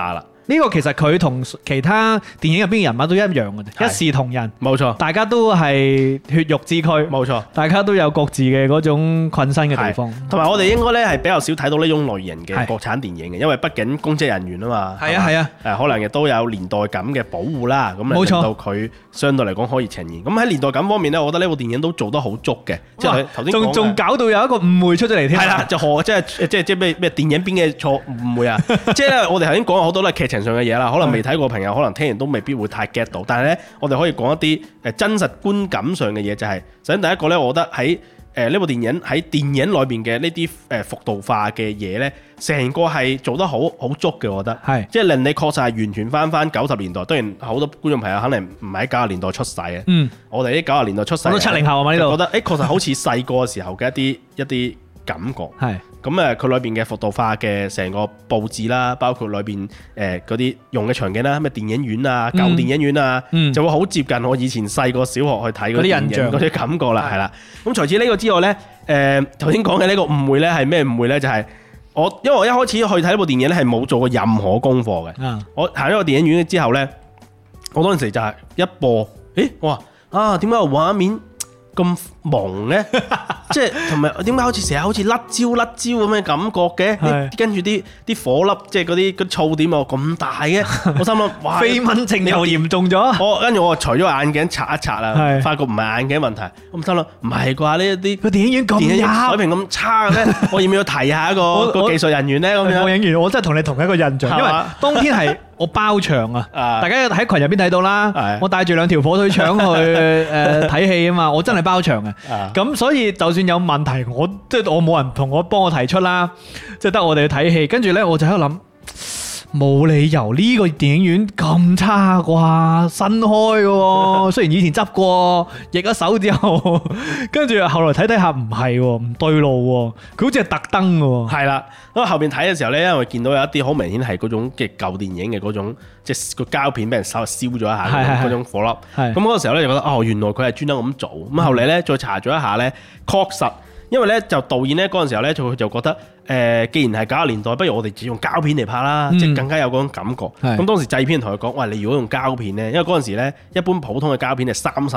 呢個其實佢同其他電影入邊嘅人物都一樣嘅啫，
係
一視同仁，
冇錯，
大家都係血肉之軀，
冇錯。
大家都有各自嘅嗰種困身嘅地方。
同埋我哋應該咧係比較少睇到呢種類型嘅
係
國產電影嘅，因為畢竟公職人員啊嘛。
係啊係啊，
誒可能亦都有年代感嘅保護啦，咁
冇錯
令到佢相對嚟講可以呈現。咁喺年代感方面咧，我覺得呢部電影都做得好足嘅，即係頭先講嘅
仲搞到有一個誤會出咗嚟添。
係啦，就即係咩電影邊嘅錯誤會啊？即係咧，我哋頭先講好多都係劇情上嘅嘢啦，可能未睇過朋友可能聽完都未必會太 get 到。但係咧，我哋可以講一啲真實觀感上嘅嘢，就係首先第一個咧，我覺得喺呢部電影喺電影裏邊嘅呢啲服道化嘅嘢咧，成個係做得好足嘅，我覺得
係
即係令你確實係完全翻90年代。當然好多觀眾朋友可能唔係喺90年代出世嘅，我哋啲90年代出世，
我都70後啊嘛呢度，
覺得確實好似細個時候嘅一啲感覺。
係
咁佢裏邊嘅服道化嘅成個佈置啦，包括裏邊嗰啲用嘅場景啦，咩電影院啊、舊電影院啊，就會好接近我以前細個小學去睇嗰啲印象嗰啲感覺啦，係啦。咁除此呢個之外呢，頭先講嘅呢個誤會呢係咩誤會呢？就係因為我一開始去睇呢部電影咧係冇做過任何功課嘅。我行咗個電影院之後呢，我當時就係一播，我話點解個畫面咁朦咧，即係同埋點解好似成日好似甩焦咁嘅感覺嘅？跟住啲火粒，即係嗰啲噪點咁大嘅，我心諗哇，
飛蚊症又嚴重咗。
跟住我除咗眼鏡擦一擦啦，發覺唔係眼鏡問題，我心諗唔係啩？呢啲
個電影院咁
水平咁差嘅咩？我要唔要提下一個技術人員咧？咁樣
播影員，我真係同你同一個印象，因為當天係我包場啊，大家喺群入邊睇到啦，我帶住2條火腿腸去睇戲啊嘛，我真係包場嘅。咁所以就算有問題，我冇人同我幫我提出啦，即係得我哋去睇戲。跟住呢，我就喺度諗，冇理由呢個電影院咁差啩，新開嘅喎。雖然以前執過，易咗手之後，跟住後來睇睇下唔係喎，唔對路喎，佢好似係特登嘅喎。
係啦，咁後邊睇嘅時候呢，因為見到有一啲好明顯係嗰種嘅舊電影嘅嗰種，即係個膠片俾人稍微燒咗一下嗰種火粒。咁嗰個時候呢，就覺得原來佢係專登咁做。咁後嚟呢，再查咗一下呢，確實。因為咧就導演咧嗰陣時候咧就覺得既然係90年代，不如我哋只用膠片嚟拍啦，即係更加有嗰種感覺。咁當時製片同佢講：喂，你如果用膠片咧，因為嗰陣時咧一般普通嘅膠片係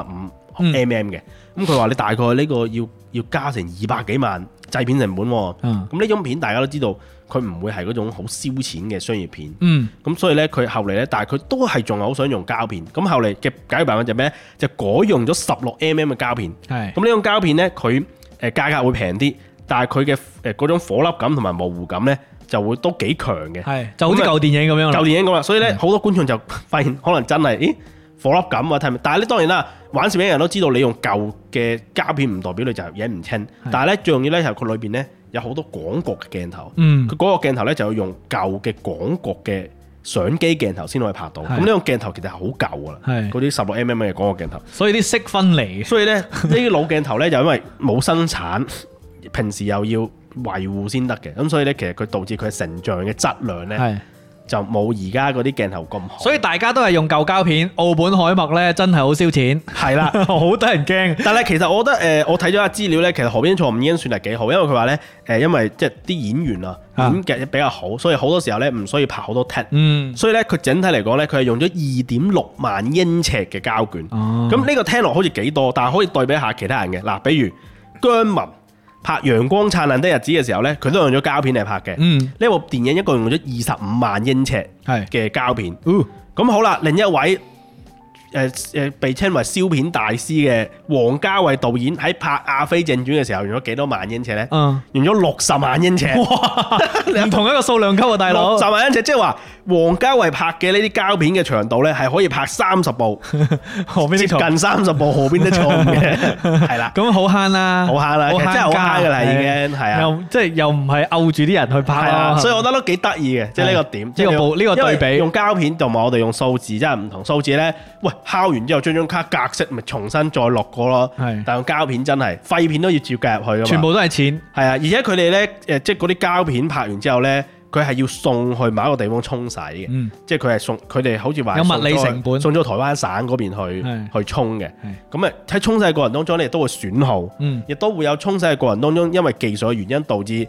35mm 嘅，咁佢話你大概呢個要加成200幾萬製片成本喎。咁呢種片大家都知道，佢唔會係嗰種好燒錢嘅商業片。咁所以咧佢後嚟咧，但係佢都係仲係好想用膠片。咁後嚟嘅解決辦法就咩咧？就改用咗16mm 嘅膠片。咁呢種膠片咧，佢價格會平啲，但係佢嘅嗰種火粒感同埋模糊感咧，就會都幾強嘅。
就好似舊電影咁樣。
舊電影咁啦，所以咧好多觀眾就發現可能真係，火粒感啊，睇唔？但係咧當然啦，玩攝影人都知道你用舊嘅膠片唔代表你就影唔清。但係咧最重要咧係佢裏邊咧有好多廣角嘅鏡頭。佢嗰個鏡頭咧就要用舊嘅廣角嘅相機鏡頭先可以拍到。咁呢個鏡頭其實係好舊噶啦，嗰啲16mm嘅廣角鏡頭。
所以啲色分離。
所以咧呢啲老鏡頭咧就因為冇生產，平時又要維護先得嘅，咁所以咧其實佢導致佢成像嘅質量咧就冇而家嗰啲鏡頭咁好。
所以大家都係用舊膠片，奧本海默咧真係好燒錢。係啦，好得人驚。
但係其實我覺得我睇咗下資料咧，其實河邊錯誤已經算係幾好，因為佢話咧因為即係啲演員啊演技比較好，所以好多時候咧唔需要拍好多 take。所以咧佢整體嚟講咧，佢係用咗2.6萬英尺嘅膠卷。咁呢個聽落好似幾多，但係可以對比下其他人嘅嗱，比如姜文拍《陽光燦爛的日子》嘅時候呢，佢都用咗膠片嚟拍嘅。呢部電影一共用咗25萬英尺嘅膠片。咁好啦，另一位被稱為燒片大師嘅王家衛導演喺拍《阿飛正傳》嘅時候用咗幾多萬英尺呢？用咗60萬英尺。哇！
唔同一個數量級啊，大佬。
60萬英尺，即係話王家衛拍嘅呢啲膠片嘅長度呢，係可以拍30部，接近30部河邊的錯誤嘅，係啦。
咁好慳啦，
好慳啦，其實真係好慳噶啦，已經係啊。
又唔係摳住啲人去拍咯，
所以我覺得都幾得意嘅，即係呢個點，
呢個對比。
用膠片同埋我哋用數字真係唔同，數字呢，喂，敲完之後將張卡格式咪重新再落過咯。但用膠片真係廢片都要照計入去噶嘛，
全部都係錢。係啊，
而且佢哋呢，即係嗰啲膠片拍完之後呢，佢係要送去某一個地方沖洗嘅，即係佢係送佢哋好似話
有物理成本，
送咗台灣省嗰邊去沖嘅。咁喺沖洗嘅過程當中咧，亦都會損耗，亦都會有沖洗嘅過程當中，因為技術嘅原因導致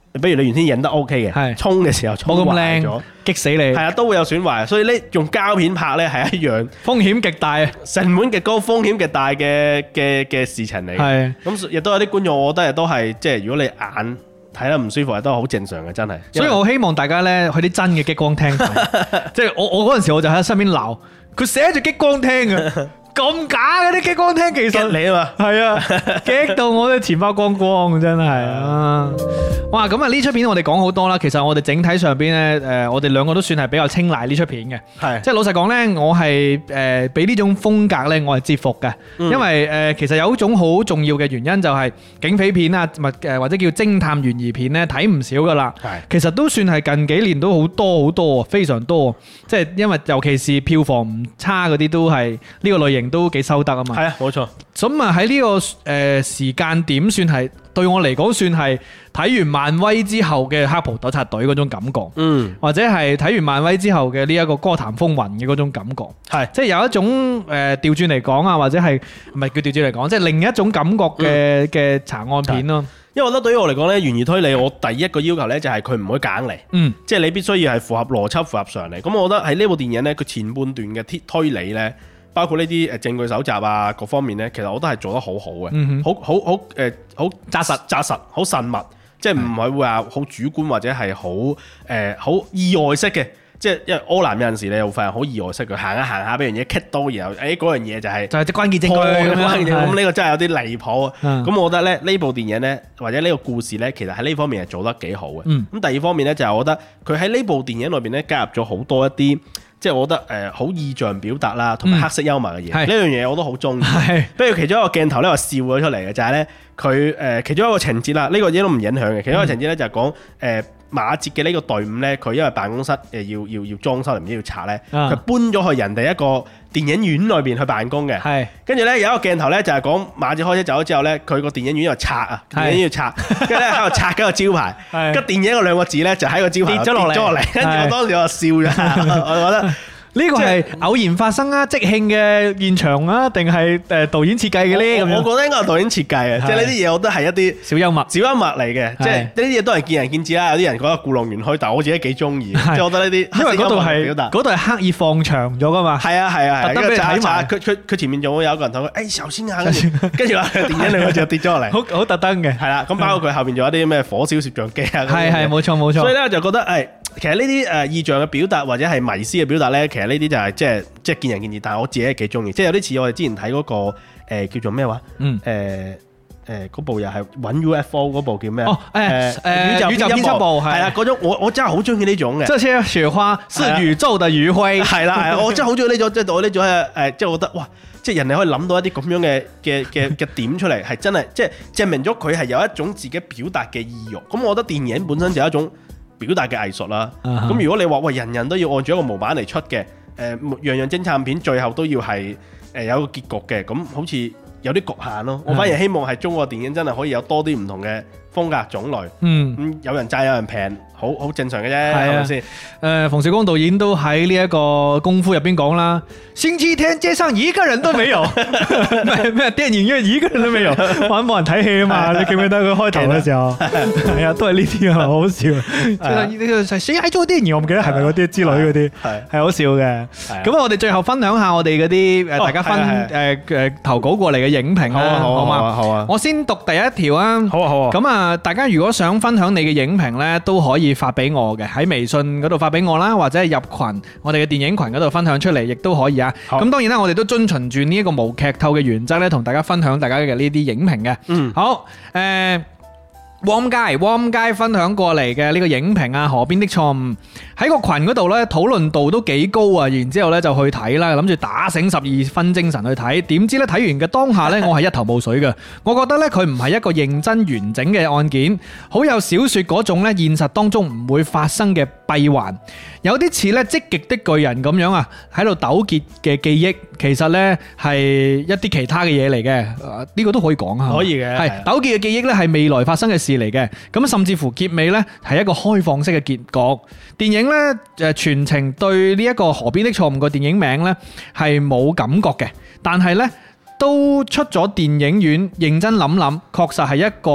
比如你原先影得 OK 嘅，沖嘅時候沖壞咗，
激死你。係
啊，都會有損壞。所以呢，用膠片拍呢係一樣
風險極大，
成本極高、風險極大嘅事情嚟。係咁，亦都有啲觀眾，我覺得亦都係即係如果你眼睇得唔舒服，亦都好正常嘅，真係。
所以我希望大家呢去啲真嘅激光廳睇，即係我嗰陣時我就喺身邊鬧，佢寫住激光廳嘅。咁假嘅啲激光廳，其實
你啊嘛，
係啊，激到我啲錢包光光，真係啊！哇，咁啊呢出片我哋講好多啦，其實我哋整體上邊咧，我哋兩個都算係比較青睞呢出片嘅，係，即係老實講咧，我係俾呢種風格咧，我係折服嘅，因為其實有一種好重要嘅原因就係警匪片啊，或者叫偵探懸疑片咧，睇唔少噶啦，係，其實都算係近幾年都好多，非常多，即係因為尤其是票房唔差嗰啲都係呢個類型。都幾收得啊嘛，係啊，冇錯。咁啊喺呢個時間點，算係對我嚟講，算係睇完漫威之後嘅黑袍糾察隊嗰種感覺，或者係睇完漫威之後嘅呢一個歌壇風雲嘅嗰種感覺，係即係有一種調轉嚟講啊，或者係唔係叫調轉嚟講，即係另一種感覺嘅查案片咯。因為我覺得對於我嚟講咧，懸疑推理我第一個要求咧就係佢唔可以夾硬嚟，即係你必須要係符合邏輯、符合常理。咁我覺得喺呢部電影咧，佢前半段嘅推理咧。包括呢啲證據搜集啊，各方面咧，其實我都係做得好好嘅，好紮實，好慎密，即係唔係會話好主觀或者係好意外式嘅，即係因為柯南有陣時你又發現好意外式嘅，行下俾樣嘢棘到，然後嗰樣嘢就係啲關鍵證據咁呢個真係有啲離譜。咁我覺得咧呢部電影咧或者呢個故事咧，其實喺呢方面係做得幾好嘅。咁第二方面咧就係我覺得佢喺呢部電影裏邊咧加入咗好多一啲。即係我覺得好意象表達啦，同埋黑色幽默嘅嘢，呢樣嘢我都好中意。不如其中一個鏡頭咧，我笑咗出嚟嘅就係咧，佢其中一個情節啦，呢個嘢都唔影響嘅。其中一個情節咧就係講馬哲嘅呢個隊伍咧，佢因為辦公室要裝修，唔知要拆咧，佢搬咗去人哋一個電影院裏邊去辦公嘅。係，跟住咧有一個鏡頭咧就係講馬哲開車走咗之後咧，佢個電影院又拆啊，電影院要拆，跟住咧喺度拆緊個招牌，跟電影嗰兩個字咧就喺個招牌跌咗落嚟，跟住我當時我笑咗，我覺得。呢個係偶然發生啊，即興嘅現場啊，定係導演設計嘅咧？我覺得應該係導演設計嘅，即係呢啲嘢，我覺得係一啲小幽默嚟嘅。即係呢啲嘢都係見仁見智啦。有啲人覺得故弄玄虛，但係我自己幾中意。即係我覺得呢啲，因為嗰度係刻意放長咗噶嘛。係啊，特登俾你睇埋。佢前面仲會有個人同佢誒首先啊，跟住話電影裏面就跌咗落嚟，好特登嘅。係啦，咁包括佢後邊仲有啲咩火燒攝像機啊。係冇錯。所以咧就覺得誒。其實呢啲意象嘅表達或者係迷思嘅表達呢，其實呢啲就係即係見仁見智，但係我自己係幾中意，即係有啲似我哋之前睇嗰個叫做咩話？嗰部又係揾 UFO 嗰部叫咩？宇宙編輯部係啦，嗰種我真係好中意呢種嘅。這些雪花是宇宙的餘暉。係啦，我真係好中意呢種，即係我呢種即係我覺得哇，即係人哋可以諗到一啲咁樣嘅點出嚟，係真係即係證明咗佢係有一種自己表達嘅意欲。咁我覺得電影本身就係一種表達嘅藝術啦，咁如果你話喂人人都要按住一個模板嚟出嘅，樣樣偵探片最後都要係有一個結局嘅，咁好似有啲局限咯。我反而希望係中國電影真係可以有多啲唔同嘅風格種類，咁有人賺有人平，好正常嘅啫，係咪先？馮小剛導演都喺呢一個功夫入邊講啦，星期天街上一個人都沒有，咩電影院一個人都沒有，玩冇人睇戲啊嘛？你記唔記得佢開頭嘅時候？係啊，都係呢啲啊，好好笑。誰喺做電影？我唔記得係咪嗰啲之類嗰啲，係好笑嘅。咁我哋最後分享下我哋嗰啲大家投稿過嚟嘅影評啦，好嘛？好啊。我先讀第一條啊。好啊。咁啊，大家如果想分享你嘅影評咧，都可以發俾我嘅，喺微信嗰度發俾我啦，或者係入群我哋嘅電影群嗰度分享出嚟，亦都可以啊。咁當然啦，我哋都遵循住呢一個無劇透嘅原則咧，同大家分享大家嘅呢啲影評嘅。好，Warm Guy 分享過嚟嘅呢個影評啊，河邊的錯誤喺個群嗰度呢，討論度都幾高啊，然之後呢就去睇啦，諗住打醒12分精神去睇，點知呢睇完嘅當下呢，我係一頭霧水嘅。我覺得呢，佢唔係一個認真完整嘅案件，好有小說嗰種呢現實當中唔會發生嘅閉環，有啲似呢積極的巨人咁樣啊，喺度糾結嘅記憶，其實呢係一啲其他嘅嘢嚟嘅，呢個都可以講下。可以嘅，係糾結嘅記憶呢係未來發生嘅事嚟嘅，咁甚至乎結尾呢係一個開放式嘅結局。電影呢全程對呢一個河邊的錯誤個電影名呢係冇感覺嘅，但係呢都出咗電影院認真諗諗，確實係一個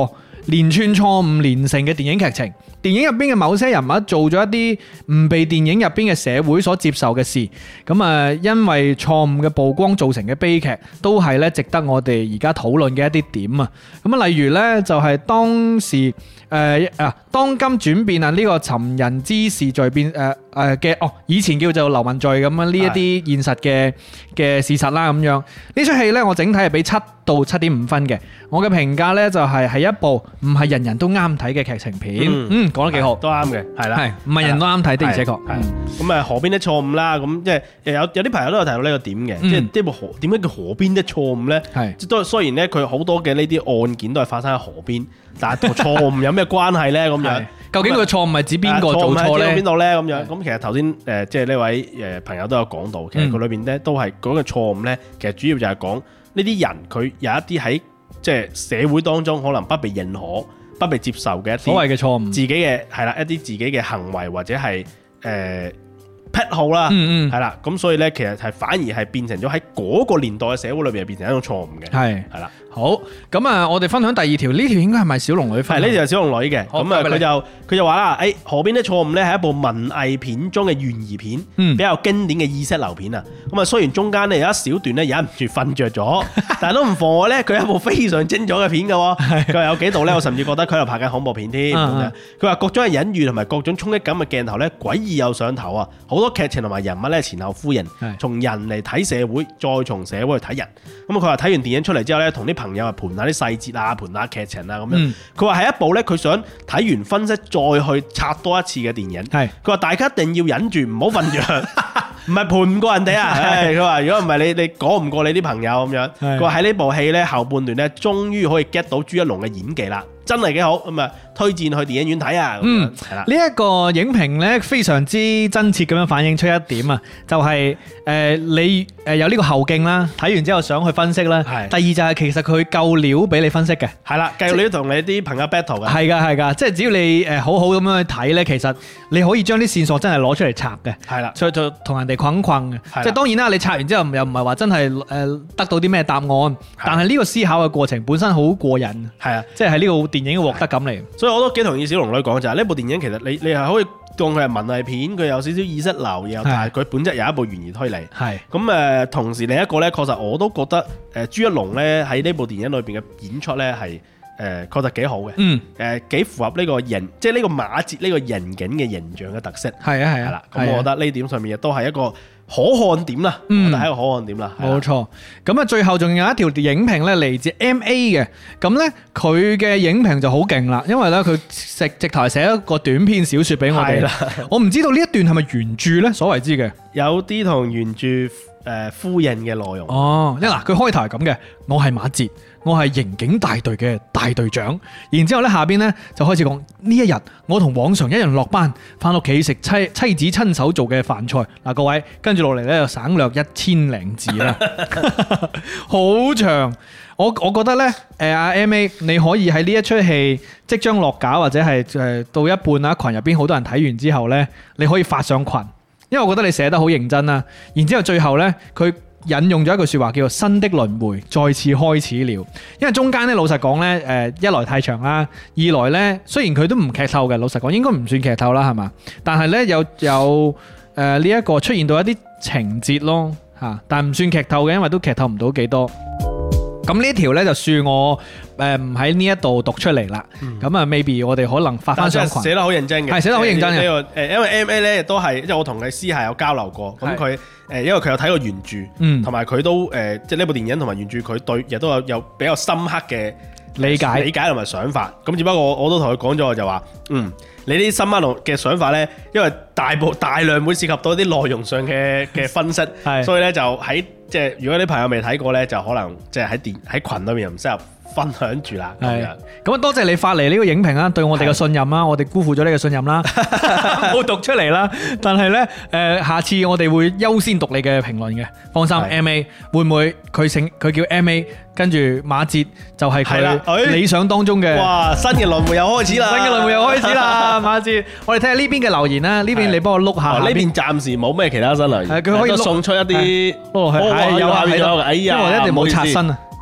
連串錯誤連成嘅電影劇情。電影入邊嘅某些人物做咗一啲唔被電影入邊嘅社會所接受嘅事，咁啊，因為錯誤嘅曝光造成嘅悲劇，都係咧值得我哋而家討論嘅一啲點啊。咁啊，例如咧就係當時當今轉變啊，呢個尋人之事在變嘅以前叫做流氓罪咁樣呢一啲現實嘅事實啦咁樣。呢出戲咧我整體係俾7到7.5分嘅，我嘅評價咧就係一部唔係人人都啱睇嘅劇情片。講得幾好，
都啱嘅，係啦，
係唔係人都啱睇的，而且確。
咁啊，河邊的錯誤啦，咁即係有啲朋友都有提到呢個點嘅，即係呢部點解叫河邊的錯誤咧？係都雖然咧佢好多嘅呢啲案件都係發生喺河邊，但係同錯誤有咩關係咧？咁樣
究竟個錯誤係指邊個做錯咧？
邊度咧？咁樣咁其實頭先即係呢位朋友都有講到，其實佢裏邊咧都係講嘅錯誤咧，其實主要就係講呢啲人佢有一啲喺即係社會當中可能不被認可、不被接受嘅一啲
所謂嘅錯誤，
自己嘅係啦，一啲自己嘅行為或者係癖好啦，係啦，咁所以咧，其實係反而係變成咗喺嗰個年代嘅社會裏邊，係變成一種錯誤嘅，係啦。
好，咁啊，我哋分享第二條，呢條應該係咪小龍女分？
係呢條係小龍女嘅，咁啊佢就話啦，河邊的錯誤咧係一部文藝片中嘅懸疑片，比較經典嘅意識流片啊。咁啊，雖然中間咧有一小段咧忍唔住瞓着咗，但係都唔妨礙咧，佢係一部非常精彩嘅片嘅喎。佢話有幾度咧，我甚至覺得佢喺度拍緊恐怖片添。佢話各種嘅隱喻同埋各種衝擊感嘅鏡頭咧，詭異又上頭啊！好多劇情同埋人物咧前後呼應，從人嚟睇社會，再從社會去睇人。咁佢話睇完電影出嚟之後咧，同啲朋友啊盤下啲細節啊，盤下劇情啊咁樣。佢話係一部咧，佢想睇完分析再去拆多一次嘅電影。佢話大家一定要忍住唔好瞓着，唔係盤唔過人哋啊。佢話如果唔係你講唔過你啲朋友咁樣。佢話喺呢部戲咧後半段咧，終於可以 get 到朱一龍嘅演技啦。真係幾好咁啊！推薦去電影院睇啊！係啦，呢
一個影評咧非常之真切咁樣反映出一點啊，就係你有呢個後勁啦，睇完之後想去分析啦。第二就係其實佢夠料俾你分析嘅，係啦，夠料同你啲朋友 battle 嘅。係㗎，即係只要你好好咁樣去睇咧，其實你可以將啲線索真係攞出嚟拆嘅。係啦，所以就同人哋困嘅。即係當然啦，你拆完之後又唔係話真係得到啲咩答案，但係呢個思考嘅過程本身好過癮。係啊，即係喺呢個電影嘅獲得感嚟，
所以我都幾同意小龍女講就係呢部電影其實你係可以當佢係文藝片，佢有少少意識流，然後但係佢本質有一部懸疑推理。係咁同時另一個咧，確實我都覺得朱一龍咧喺呢部電影裏邊嘅演出咧係確實幾好嘅。幾符合呢個人，即係呢個馬哲呢個人景嘅形象嘅特色。係啦，咁我覺得呢點上面亦都係一個可看點啦，我覺得係一個可看點啦。
冇錯，咁啊最後仲有一條影評咧嚟自 MA 嘅，咁咧佢嘅影評就好勁啦，因為咧佢直頭係寫一個短篇小說俾我哋。我唔知道呢一段係咪原著咧，所謂之嘅，
有啲同原著呼應嘅內容。
嗱佢開頭係咁嘅，我係馬哲，我係刑警大隊嘅大隊長。然之後咧下邊咧就開始講呢一日，我同往常一樣落班，翻屋企食妻子親手做嘅飯菜。嗱，各位跟住落嚟咧就省略1000零字啦，好長。我覺得咧，阿 MA 你可以喺呢一出戲即將落架或者係到一半啦，群入邊好多人睇完之後咧，你可以發上群，因為我覺得你寫得好認真啦。然之後最後咧，佢引用咗一句說話叫做新的輪迴再次開始了。因為中間咧老實講咧，一來太長啦，二來咧雖然佢都唔劇透嘅，老實講應該唔算劇透啦，係嘛？但係咧有呢一個出現到一啲情節咯嚇，但唔算劇透嘅，因為都劇透唔到幾多。咁呢條咧就算我唔喺呢一度讀出嚟啦。咁啊 maybe 我哋可能發翻上群。
寫得好認真嘅，
係寫得好認真嘅。
因為 MA 咧都係，即係我同佢私下有交流過。咁佢因為佢有睇過原著，同埋佢都即係呢部電影同埋原著，佢對亦都有比較深刻嘅理解同埋想法。咁只不過我都同佢講咗，我就話你啲深刻嘅想法咧，因為大量會涉及到啲內容上嘅分析，所以咧就喺即係如果啲朋友未睇過咧，就可能即係喺群裏面又唔適合分享住啦。咁
啊，多謝你發嚟呢個影評啦，對我哋嘅信任啦，我哋辜負咗呢個信任啦，冇讀出嚟啦。但係咧下次我哋會優先讀你嘅評論嘅，放心。MA 會唔會佢叫 MA， 跟住馬哲就係佢理想當中嘅。哇！
新嘅輪迴又開始啦，
馬哲，我哋睇下呢邊嘅留言啦，呢邊你幫我碌下。
呢邊暫時冇咩其他新留言，
佢可以
送出一啲。
有下邊咗，因為我一定冇刷新啊。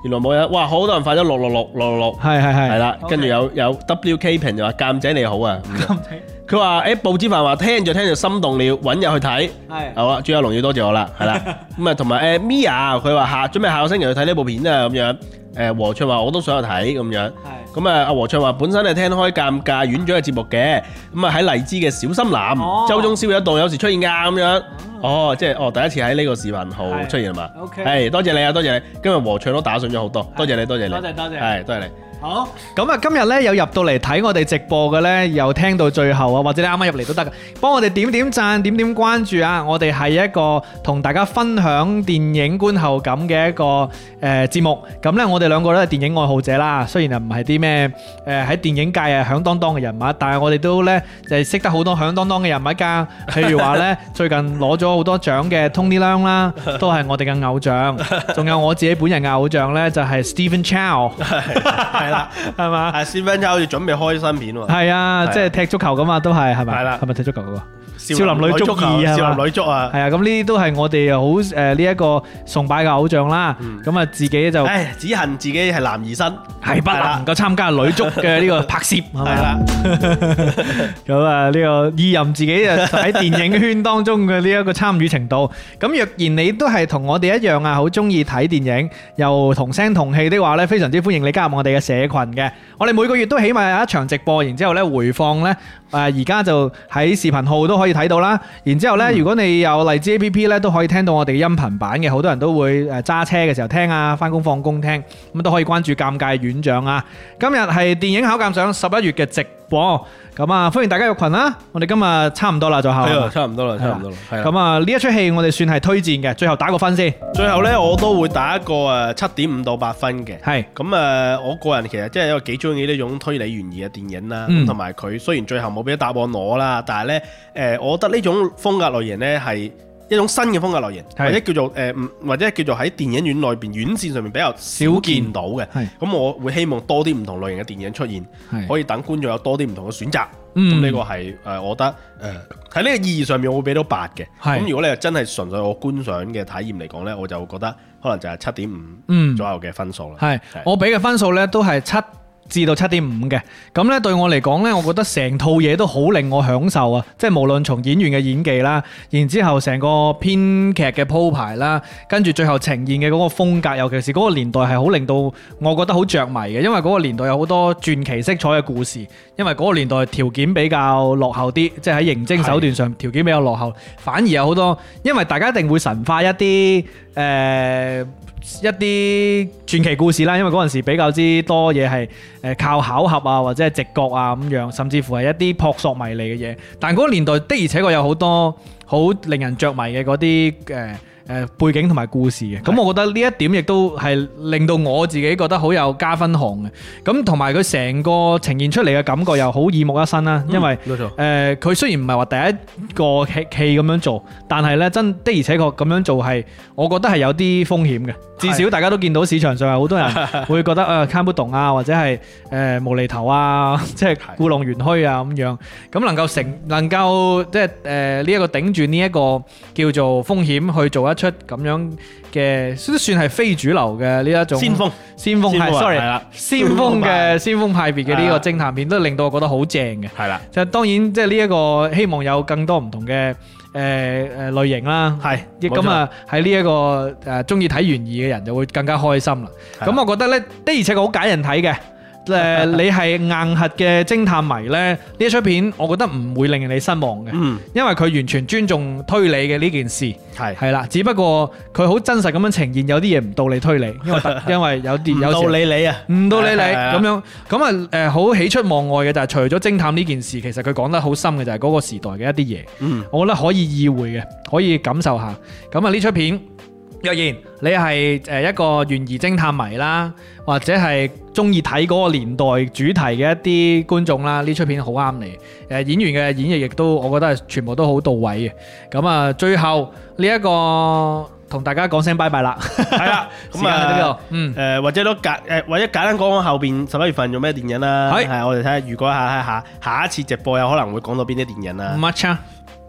原來冇人，哇！好多人發咗666，係啦，跟住有 WK 評就話鑑仔你好啊，佢話誒報紙飯話聽就心動了，揾日去睇，好啦，朱一龍要多謝我啦，係啦，咁啊同埋Mia 佢話準備下個星期去睇呢部片啊咁樣。和暢話我都想去睇咁樣，咁啊阿和暢話本身係聽開尷尬院長嘅節目嘅，咁啊喺荔枝嘅小森林，周中宵夜檔有時出現㗎咁樣，即係第一次喺呢個視頻號出現係嘛？係多謝你啊，多謝你，今日和暢都打賞咗好多，多謝你，多謝你，多謝，係多謝你。
好，咁啊，今日咧有入到嚟睇我哋直播嘅咧，又聽到最後啊，或者你啱啱入嚟都得嘅，幫我哋點讚、點關注啊！我哋係一個同大家分享電影觀後感嘅一個節目。咁咧，我哋兩個都係電影愛好者啦，雖然唔係啲咩喺電影界響當當嘅人物，但係我哋都咧就係識得好多響當當嘅人物㗎。譬如話咧，最近攞咗好多獎嘅 Tony Leung 啦，都係我哋嘅偶像。仲有我自己本人嘅偶像咧，就係 Stephen Chow。係嘛？係
Stephen Chow 好似準備開新片喎。
係啊，即係踢足球咁嘛，都係咪？係啦，係咪踢足球嗰個？少林女足2
少林女足啊，
係啊，咁呢啲都係我哋好呢一個崇拜嘅偶像啦。咁啊，自己就
只恨自己係男兒身，
係不能夠參加女足嘅呢個拍攝，係啦。咁啊，呢個意淫自己啊喺電影圈當中嘅呢一個參與程度。咁若然你都係同我哋一樣啊，好中意睇電影，又同聲同氣的話咧，非常之歡迎你加入我哋嘅社群嘅。我哋每個月都起碼有一場直播，然之後咧回放咧，而家就喺視頻號都可以睇到啦。然之後咧，如果你有荔枝 APP 咧，都可以聽到我哋嘅音頻版嘅。好多人都會揸車嘅時候聽啊，翻工放工聽，咁都可以關注尷尬院長啊。今日係電影考鑑賞11月嘅直播，咁啊歡迎大家入群啦。我哋今日差唔多啦，就係
差唔多啦。
咁啊呢一出戲我哋算係推薦嘅，最後打個分先。
最後咧我都會打一個7.5到8分嘅。係咁我個人其實真係一個幾中意呢種推理懸疑嘅電影啦，同埋佢雖然最後冇俾答案我啦，但係咧我覺得呢種風格類型咧係一種新嘅風格類型，或者叫做或者叫做喺電影院內邊院線上面比較少見到嘅。咁我會希望多啲唔同類型嘅電影出現，可以等觀眾有多啲唔同嘅選擇。咁呢個係我覺得喺呢個意義上面我會俾到8嘅。咁如果你係真係純粹我觀賞嘅體驗嚟講呢，我就覺得可能就係7.5左右嘅分數啦。係
我俾嘅分數呢都係7至到7.5嘅，咁咧對我嚟講咧，我覺得成套嘢都好令我享受啊！即係無論從演員嘅演技啦，然之後成個編劇嘅鋪排啦，跟住最後呈現嘅嗰個風格，尤其是嗰個年代係好令到我覺得好着迷嘅，因為嗰個年代有好多傳奇色彩嘅故事，因為嗰個年代條件比較落後啲，即係喺刑偵手段上條件比較落後，反而有好多，因為大家一定會神化一啲一啲傳奇故事啦，因為嗰陣時比較之多嘢係靠巧合啊，或者係直覺啊咁樣，甚至乎係一啲撲朔迷離嘅嘢。但嗰個年代的而且確有好多好令人着迷嘅嗰啲背景同埋故事嘅，咁我覺得呢一點亦都係令到我自己覺得好有加分項嘅。咁同埋佢成個呈現出嚟嘅感覺又好耳目一新啦，因為佢雖然唔係話第一個戲咁樣做，但係呢真的而且確咁樣做係，我覺得係有啲風險嘅。至少大家都見到市場上有好多人會覺得看不懂啊，或者係無厘頭啊，即係故弄玄虛啊咁樣。咁能夠即係呢一個頂住呢一個叫做風險去做一出咁樣嘅，都算係非主流嘅呢一種先鋒係 sorry 先鋒派別嘅呢個偵探片，都令到我覺得好正嘅。係啦，就當然即係呢一個希望有更多唔同嘅類型啦。係咁啊，喺呢一個中意睇懸疑嘅人就會更加開心啦。咁我覺得呢的而且確好解人睇嘅。你係硬核嘅偵探迷呢，呢一出片我覺得唔會令你失望嘅，因為佢完全尊重推理嘅呢件事，係啦，只不過佢好真實咁樣呈現有啲嘢唔到你推理，因為有啲有時唔到你咁啊，好喜出望外嘅就係除咗偵探呢件事，其實佢講得好深嘅就係嗰個時代嘅一啲嘢，我覺得可以意會嘅，可以感受下。咁啊呢出片，若然你係一個懸疑偵探迷啦，或者係中意睇嗰個年代主題嘅一啲觀眾啦，呢出片好啱你。演員嘅演繹亦都，我覺得係全部都好到位嘅。咁啊，最後呢一個同大家講聲拜拜啦。係啦，咁啊，或者或者簡單講講後邊11月份做咩電影啦。係，我哋睇下，如果下一次直播有可能會講到邊啲電影啦。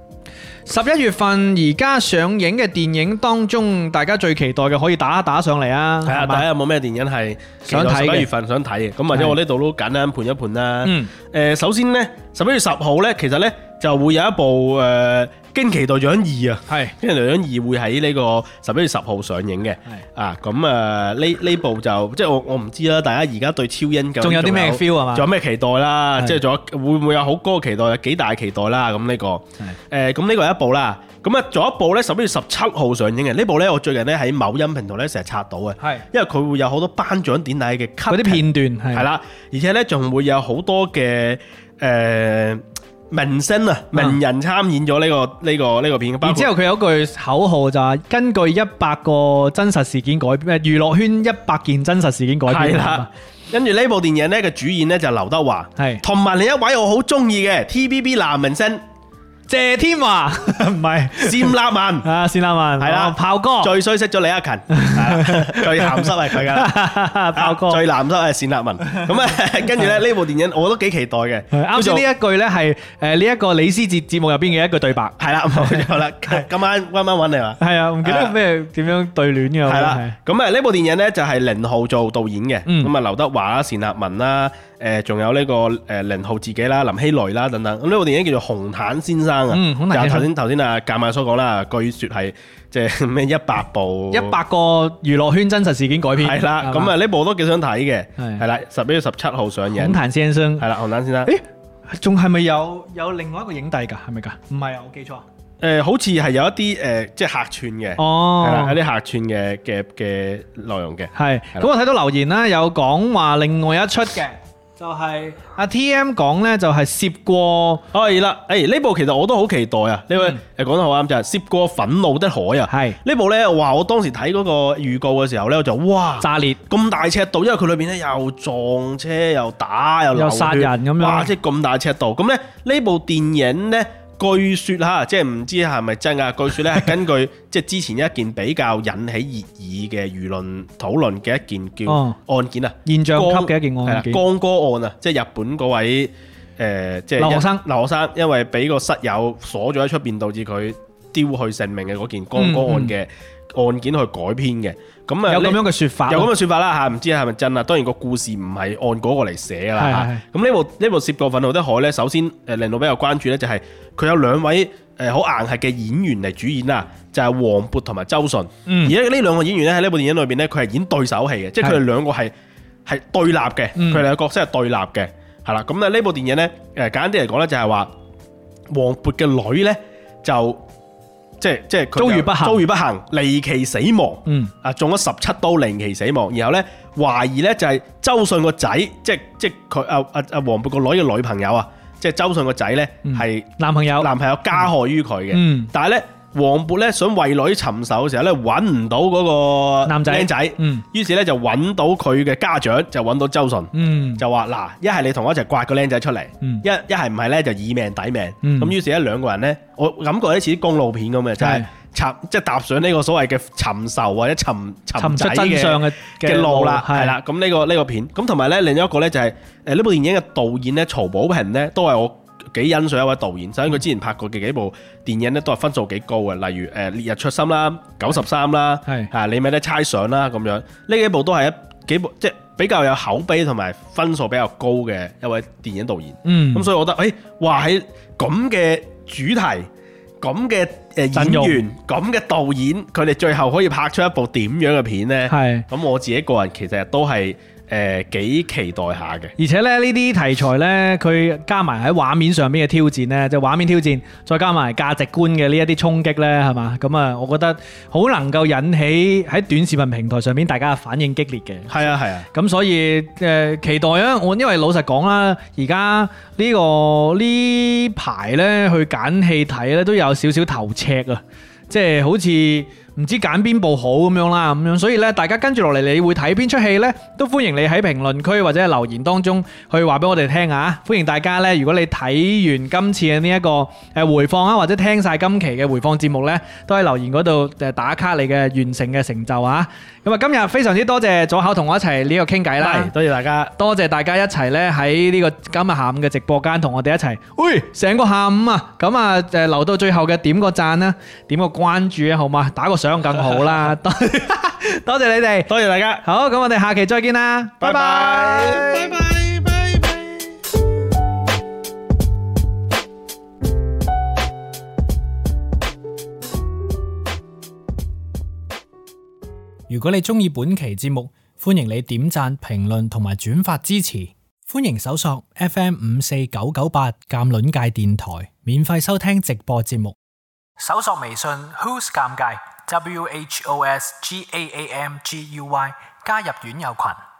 11月份而家上映嘅電影當中，大家最期待嘅可以打上嚟啊！
係啊，大家有冇咩電影係
想睇嘅
11月份想睇嘅？咁或者我呢度都簡單盤一盤啦。首先呢，11月10號呢，其實呢就會有一部驚奇隊長2啊，
係
驚奇隊長2會喺呢個11月10號上映嘅。啊，咁呢部就即係我唔知啦，大家而家對超英
仲有啲咩 feel 係嘛？
仲有咩期待啦？即係仲有會唔會有好高嘅期待？有幾大期待啦？咁呢個咁呢個係一部啦。咁啊，仲有一部咧11月17號上映嘅呢部咧，我最近咧喺某音平台咧成日刷到嘅，
係
因為佢會有好多頒獎典禮嘅
嗰啲片段係
啦，而且咧仲會有好多嘅明星啊名人參演咗呢個片，
然之後佢有句口號就係根據100個真實事件改編，娛樂圈100件真實事件改編。
係啦，跟住呢部電影咧嘅主演咧就劉德華，
係
同埋另一位我好中意嘅 TVB 男明星
謝天華，唔係
單立文
啊，單立文係啦，炮哥
最衰識咗李克勤，最鹹濕係佢噶啦，
炮哥
最鹹濕係單立文。咁啊，跟住咧呢部電影我都幾期待嘅。
啱先呢一句咧係呢一個李思捷節目入邊嘅一句對白。
係啦，冇錯啦。今晚揾你話。
係啊，唔記得咩點樣對聯嘅。
係啦，咁啊呢部電影咧就係寧浩做導演嘅，咁啊劉德華啦、單立文啦。仲有呢個寧浩自己啦、林熙蕾啦等等，咁呢部電影叫做《紅毯先生》啊，就頭先啊夾埋所講啦，據說係即係咩100個
娛樂圈真實事件改編，
係啦，咁啊呢部我都幾想睇嘅，係啦，11月17號上映，《
紅毯先生》係
啦，《紅毯先生》，
仲係咪有另外一個影帝㗎？係咪㗎？唔係啊，我記錯。
好似係有一啲即係客串嘅，係啦，有啲客串嘅內容嘅，係。
咁我睇到留言啦，有講話另外一出嘅。就係阿 TM 講咧，就係涉過
係啦，呢部其實我都好期待啊！呢位講得好啱，就係涉過憤怒的海啊！係呢部咧，哇！我當時睇嗰個預告嘅時候咧，我就哇炸裂咁大尺度，因為佢裏邊咧又撞車又打又
殺人咁樣，
哇！即係咁大尺度，咁咧呢部電影咧。據說嚇，即係唔知係咪真㗎？據說咧係根據即係之前一件比較引起熱議嘅輿論討論嘅一件叫案件啊，
現象級嘅一件案件，
江歌案啊，即係日本嗰位即係留學生，因為俾個室友鎖咗喺出邊，導致佢丟去性命嘅嗰件江歌案嘅案件去改編嘅。咁啊，
有咁樣嘅説法，
有咁嘅説法啦嚇，唔知係咪真啊？當然個故事唔係按嗰個嚟寫㗎啦。咁呢部涉過憤怒的海咧，首先令到比較關注咧，就係佢有兩位好硬核嘅演員嚟主演啊，就係黃渤同埋周迅。而家呢兩個演員咧喺呢部電影裏邊咧，佢係演對手戲嘅，即係佢哋兩個係對立嘅，佢哋嘅角色係對立嘅，係啦。咁呢部電影咧簡單啲嚟講咧，就係話黃渤嘅女咧就。即係佢遭遇不幸，離奇死亡。中咗17刀，離奇死亡。然後咧懷疑咧就係周迅個仔，即係佢黃渤個女嘅女朋友啊，即係周迅個仔咧係男朋友加害於佢嘅。但係咧黃渤咧想為女尋仇嘅時候咧揾唔到嗰個男仔僆仔，於是咧就揾到佢嘅家長，就揾到周迅，就話嗱，一係你同我一齊刮個僆仔出嚟，一係唔係咧就以命抵命。咁於是咧兩個人咧，我感覺咧似啲公路片咁嘅，就係即係踏上呢個所謂嘅尋仇或者尋仔
真相
嘅路啦，係啦。咁呢個片，咁同埋咧另一個咧就係呢部電影嘅導演咧曹保平咧都係我幾欣賞一位導演，首先佢之前拍過嘅幾部電影咧都係分數幾高嘅，例如烈日灼心啦、93啦，你咪得猜想啦咁樣，呢幾部都係幾部即係比較有口碑同埋分數比較高嘅一位電影導演。咁所以我覺得哇喺咁嘅主題、咁嘅演員、咁嘅導演，佢哋最後可以拍出一部點樣嘅片呢？咁我自己個人其實都係幾期待下嘅。
而且咧呢啲題材呢，佢加埋喺畫面上邊嘅挑戰呢，就畫面挑戰，再加埋價值觀嘅呢一啲衝擊呢，係嘛？咁啊，我覺得好能夠引起喺短視頻平台上面大家嘅反應激烈嘅。
係啊係啊。咁
所以期待啊！我因為老實講啦，而家呢排呢去揀戲睇呢都有少少頭赤啊，即係好似唔知揀邊部好咁樣啦，咁樣所以咧，大家跟住落嚟，你會睇邊出戲呢？都歡迎你喺評論區或者係留言當中去話俾我哋聽啊！歡迎大家呢，如果你睇完今次嘅呢一個回放啊，或者聽晒今期嘅回放節目呢，都喺留言嗰度打卡你嘅完成嘅成就啊！咁啊，今日非常之多謝左考同我一齊呢個傾偈啦，
多謝大家，
多謝大家一齊呢喺呢個今日下午嘅直播間同我哋一齊，喂，成個下午啊！咁啊留到最後嘅點個讚啦，點個關注啊，好嘛？打個賞更好啦，多謝你哋，
多謝大家。
好，咁我哋下期再見啦，拜拜，拜拜，拜拜。
如果你鍾意本期節目，歡迎你點讚、評論同埋轉發支持。歡迎搜索 FM54998鑑論界電台，免費收聽直播節目。搜索微信 Who's 尷尬 WHOSGAAMGUY 加入院友群。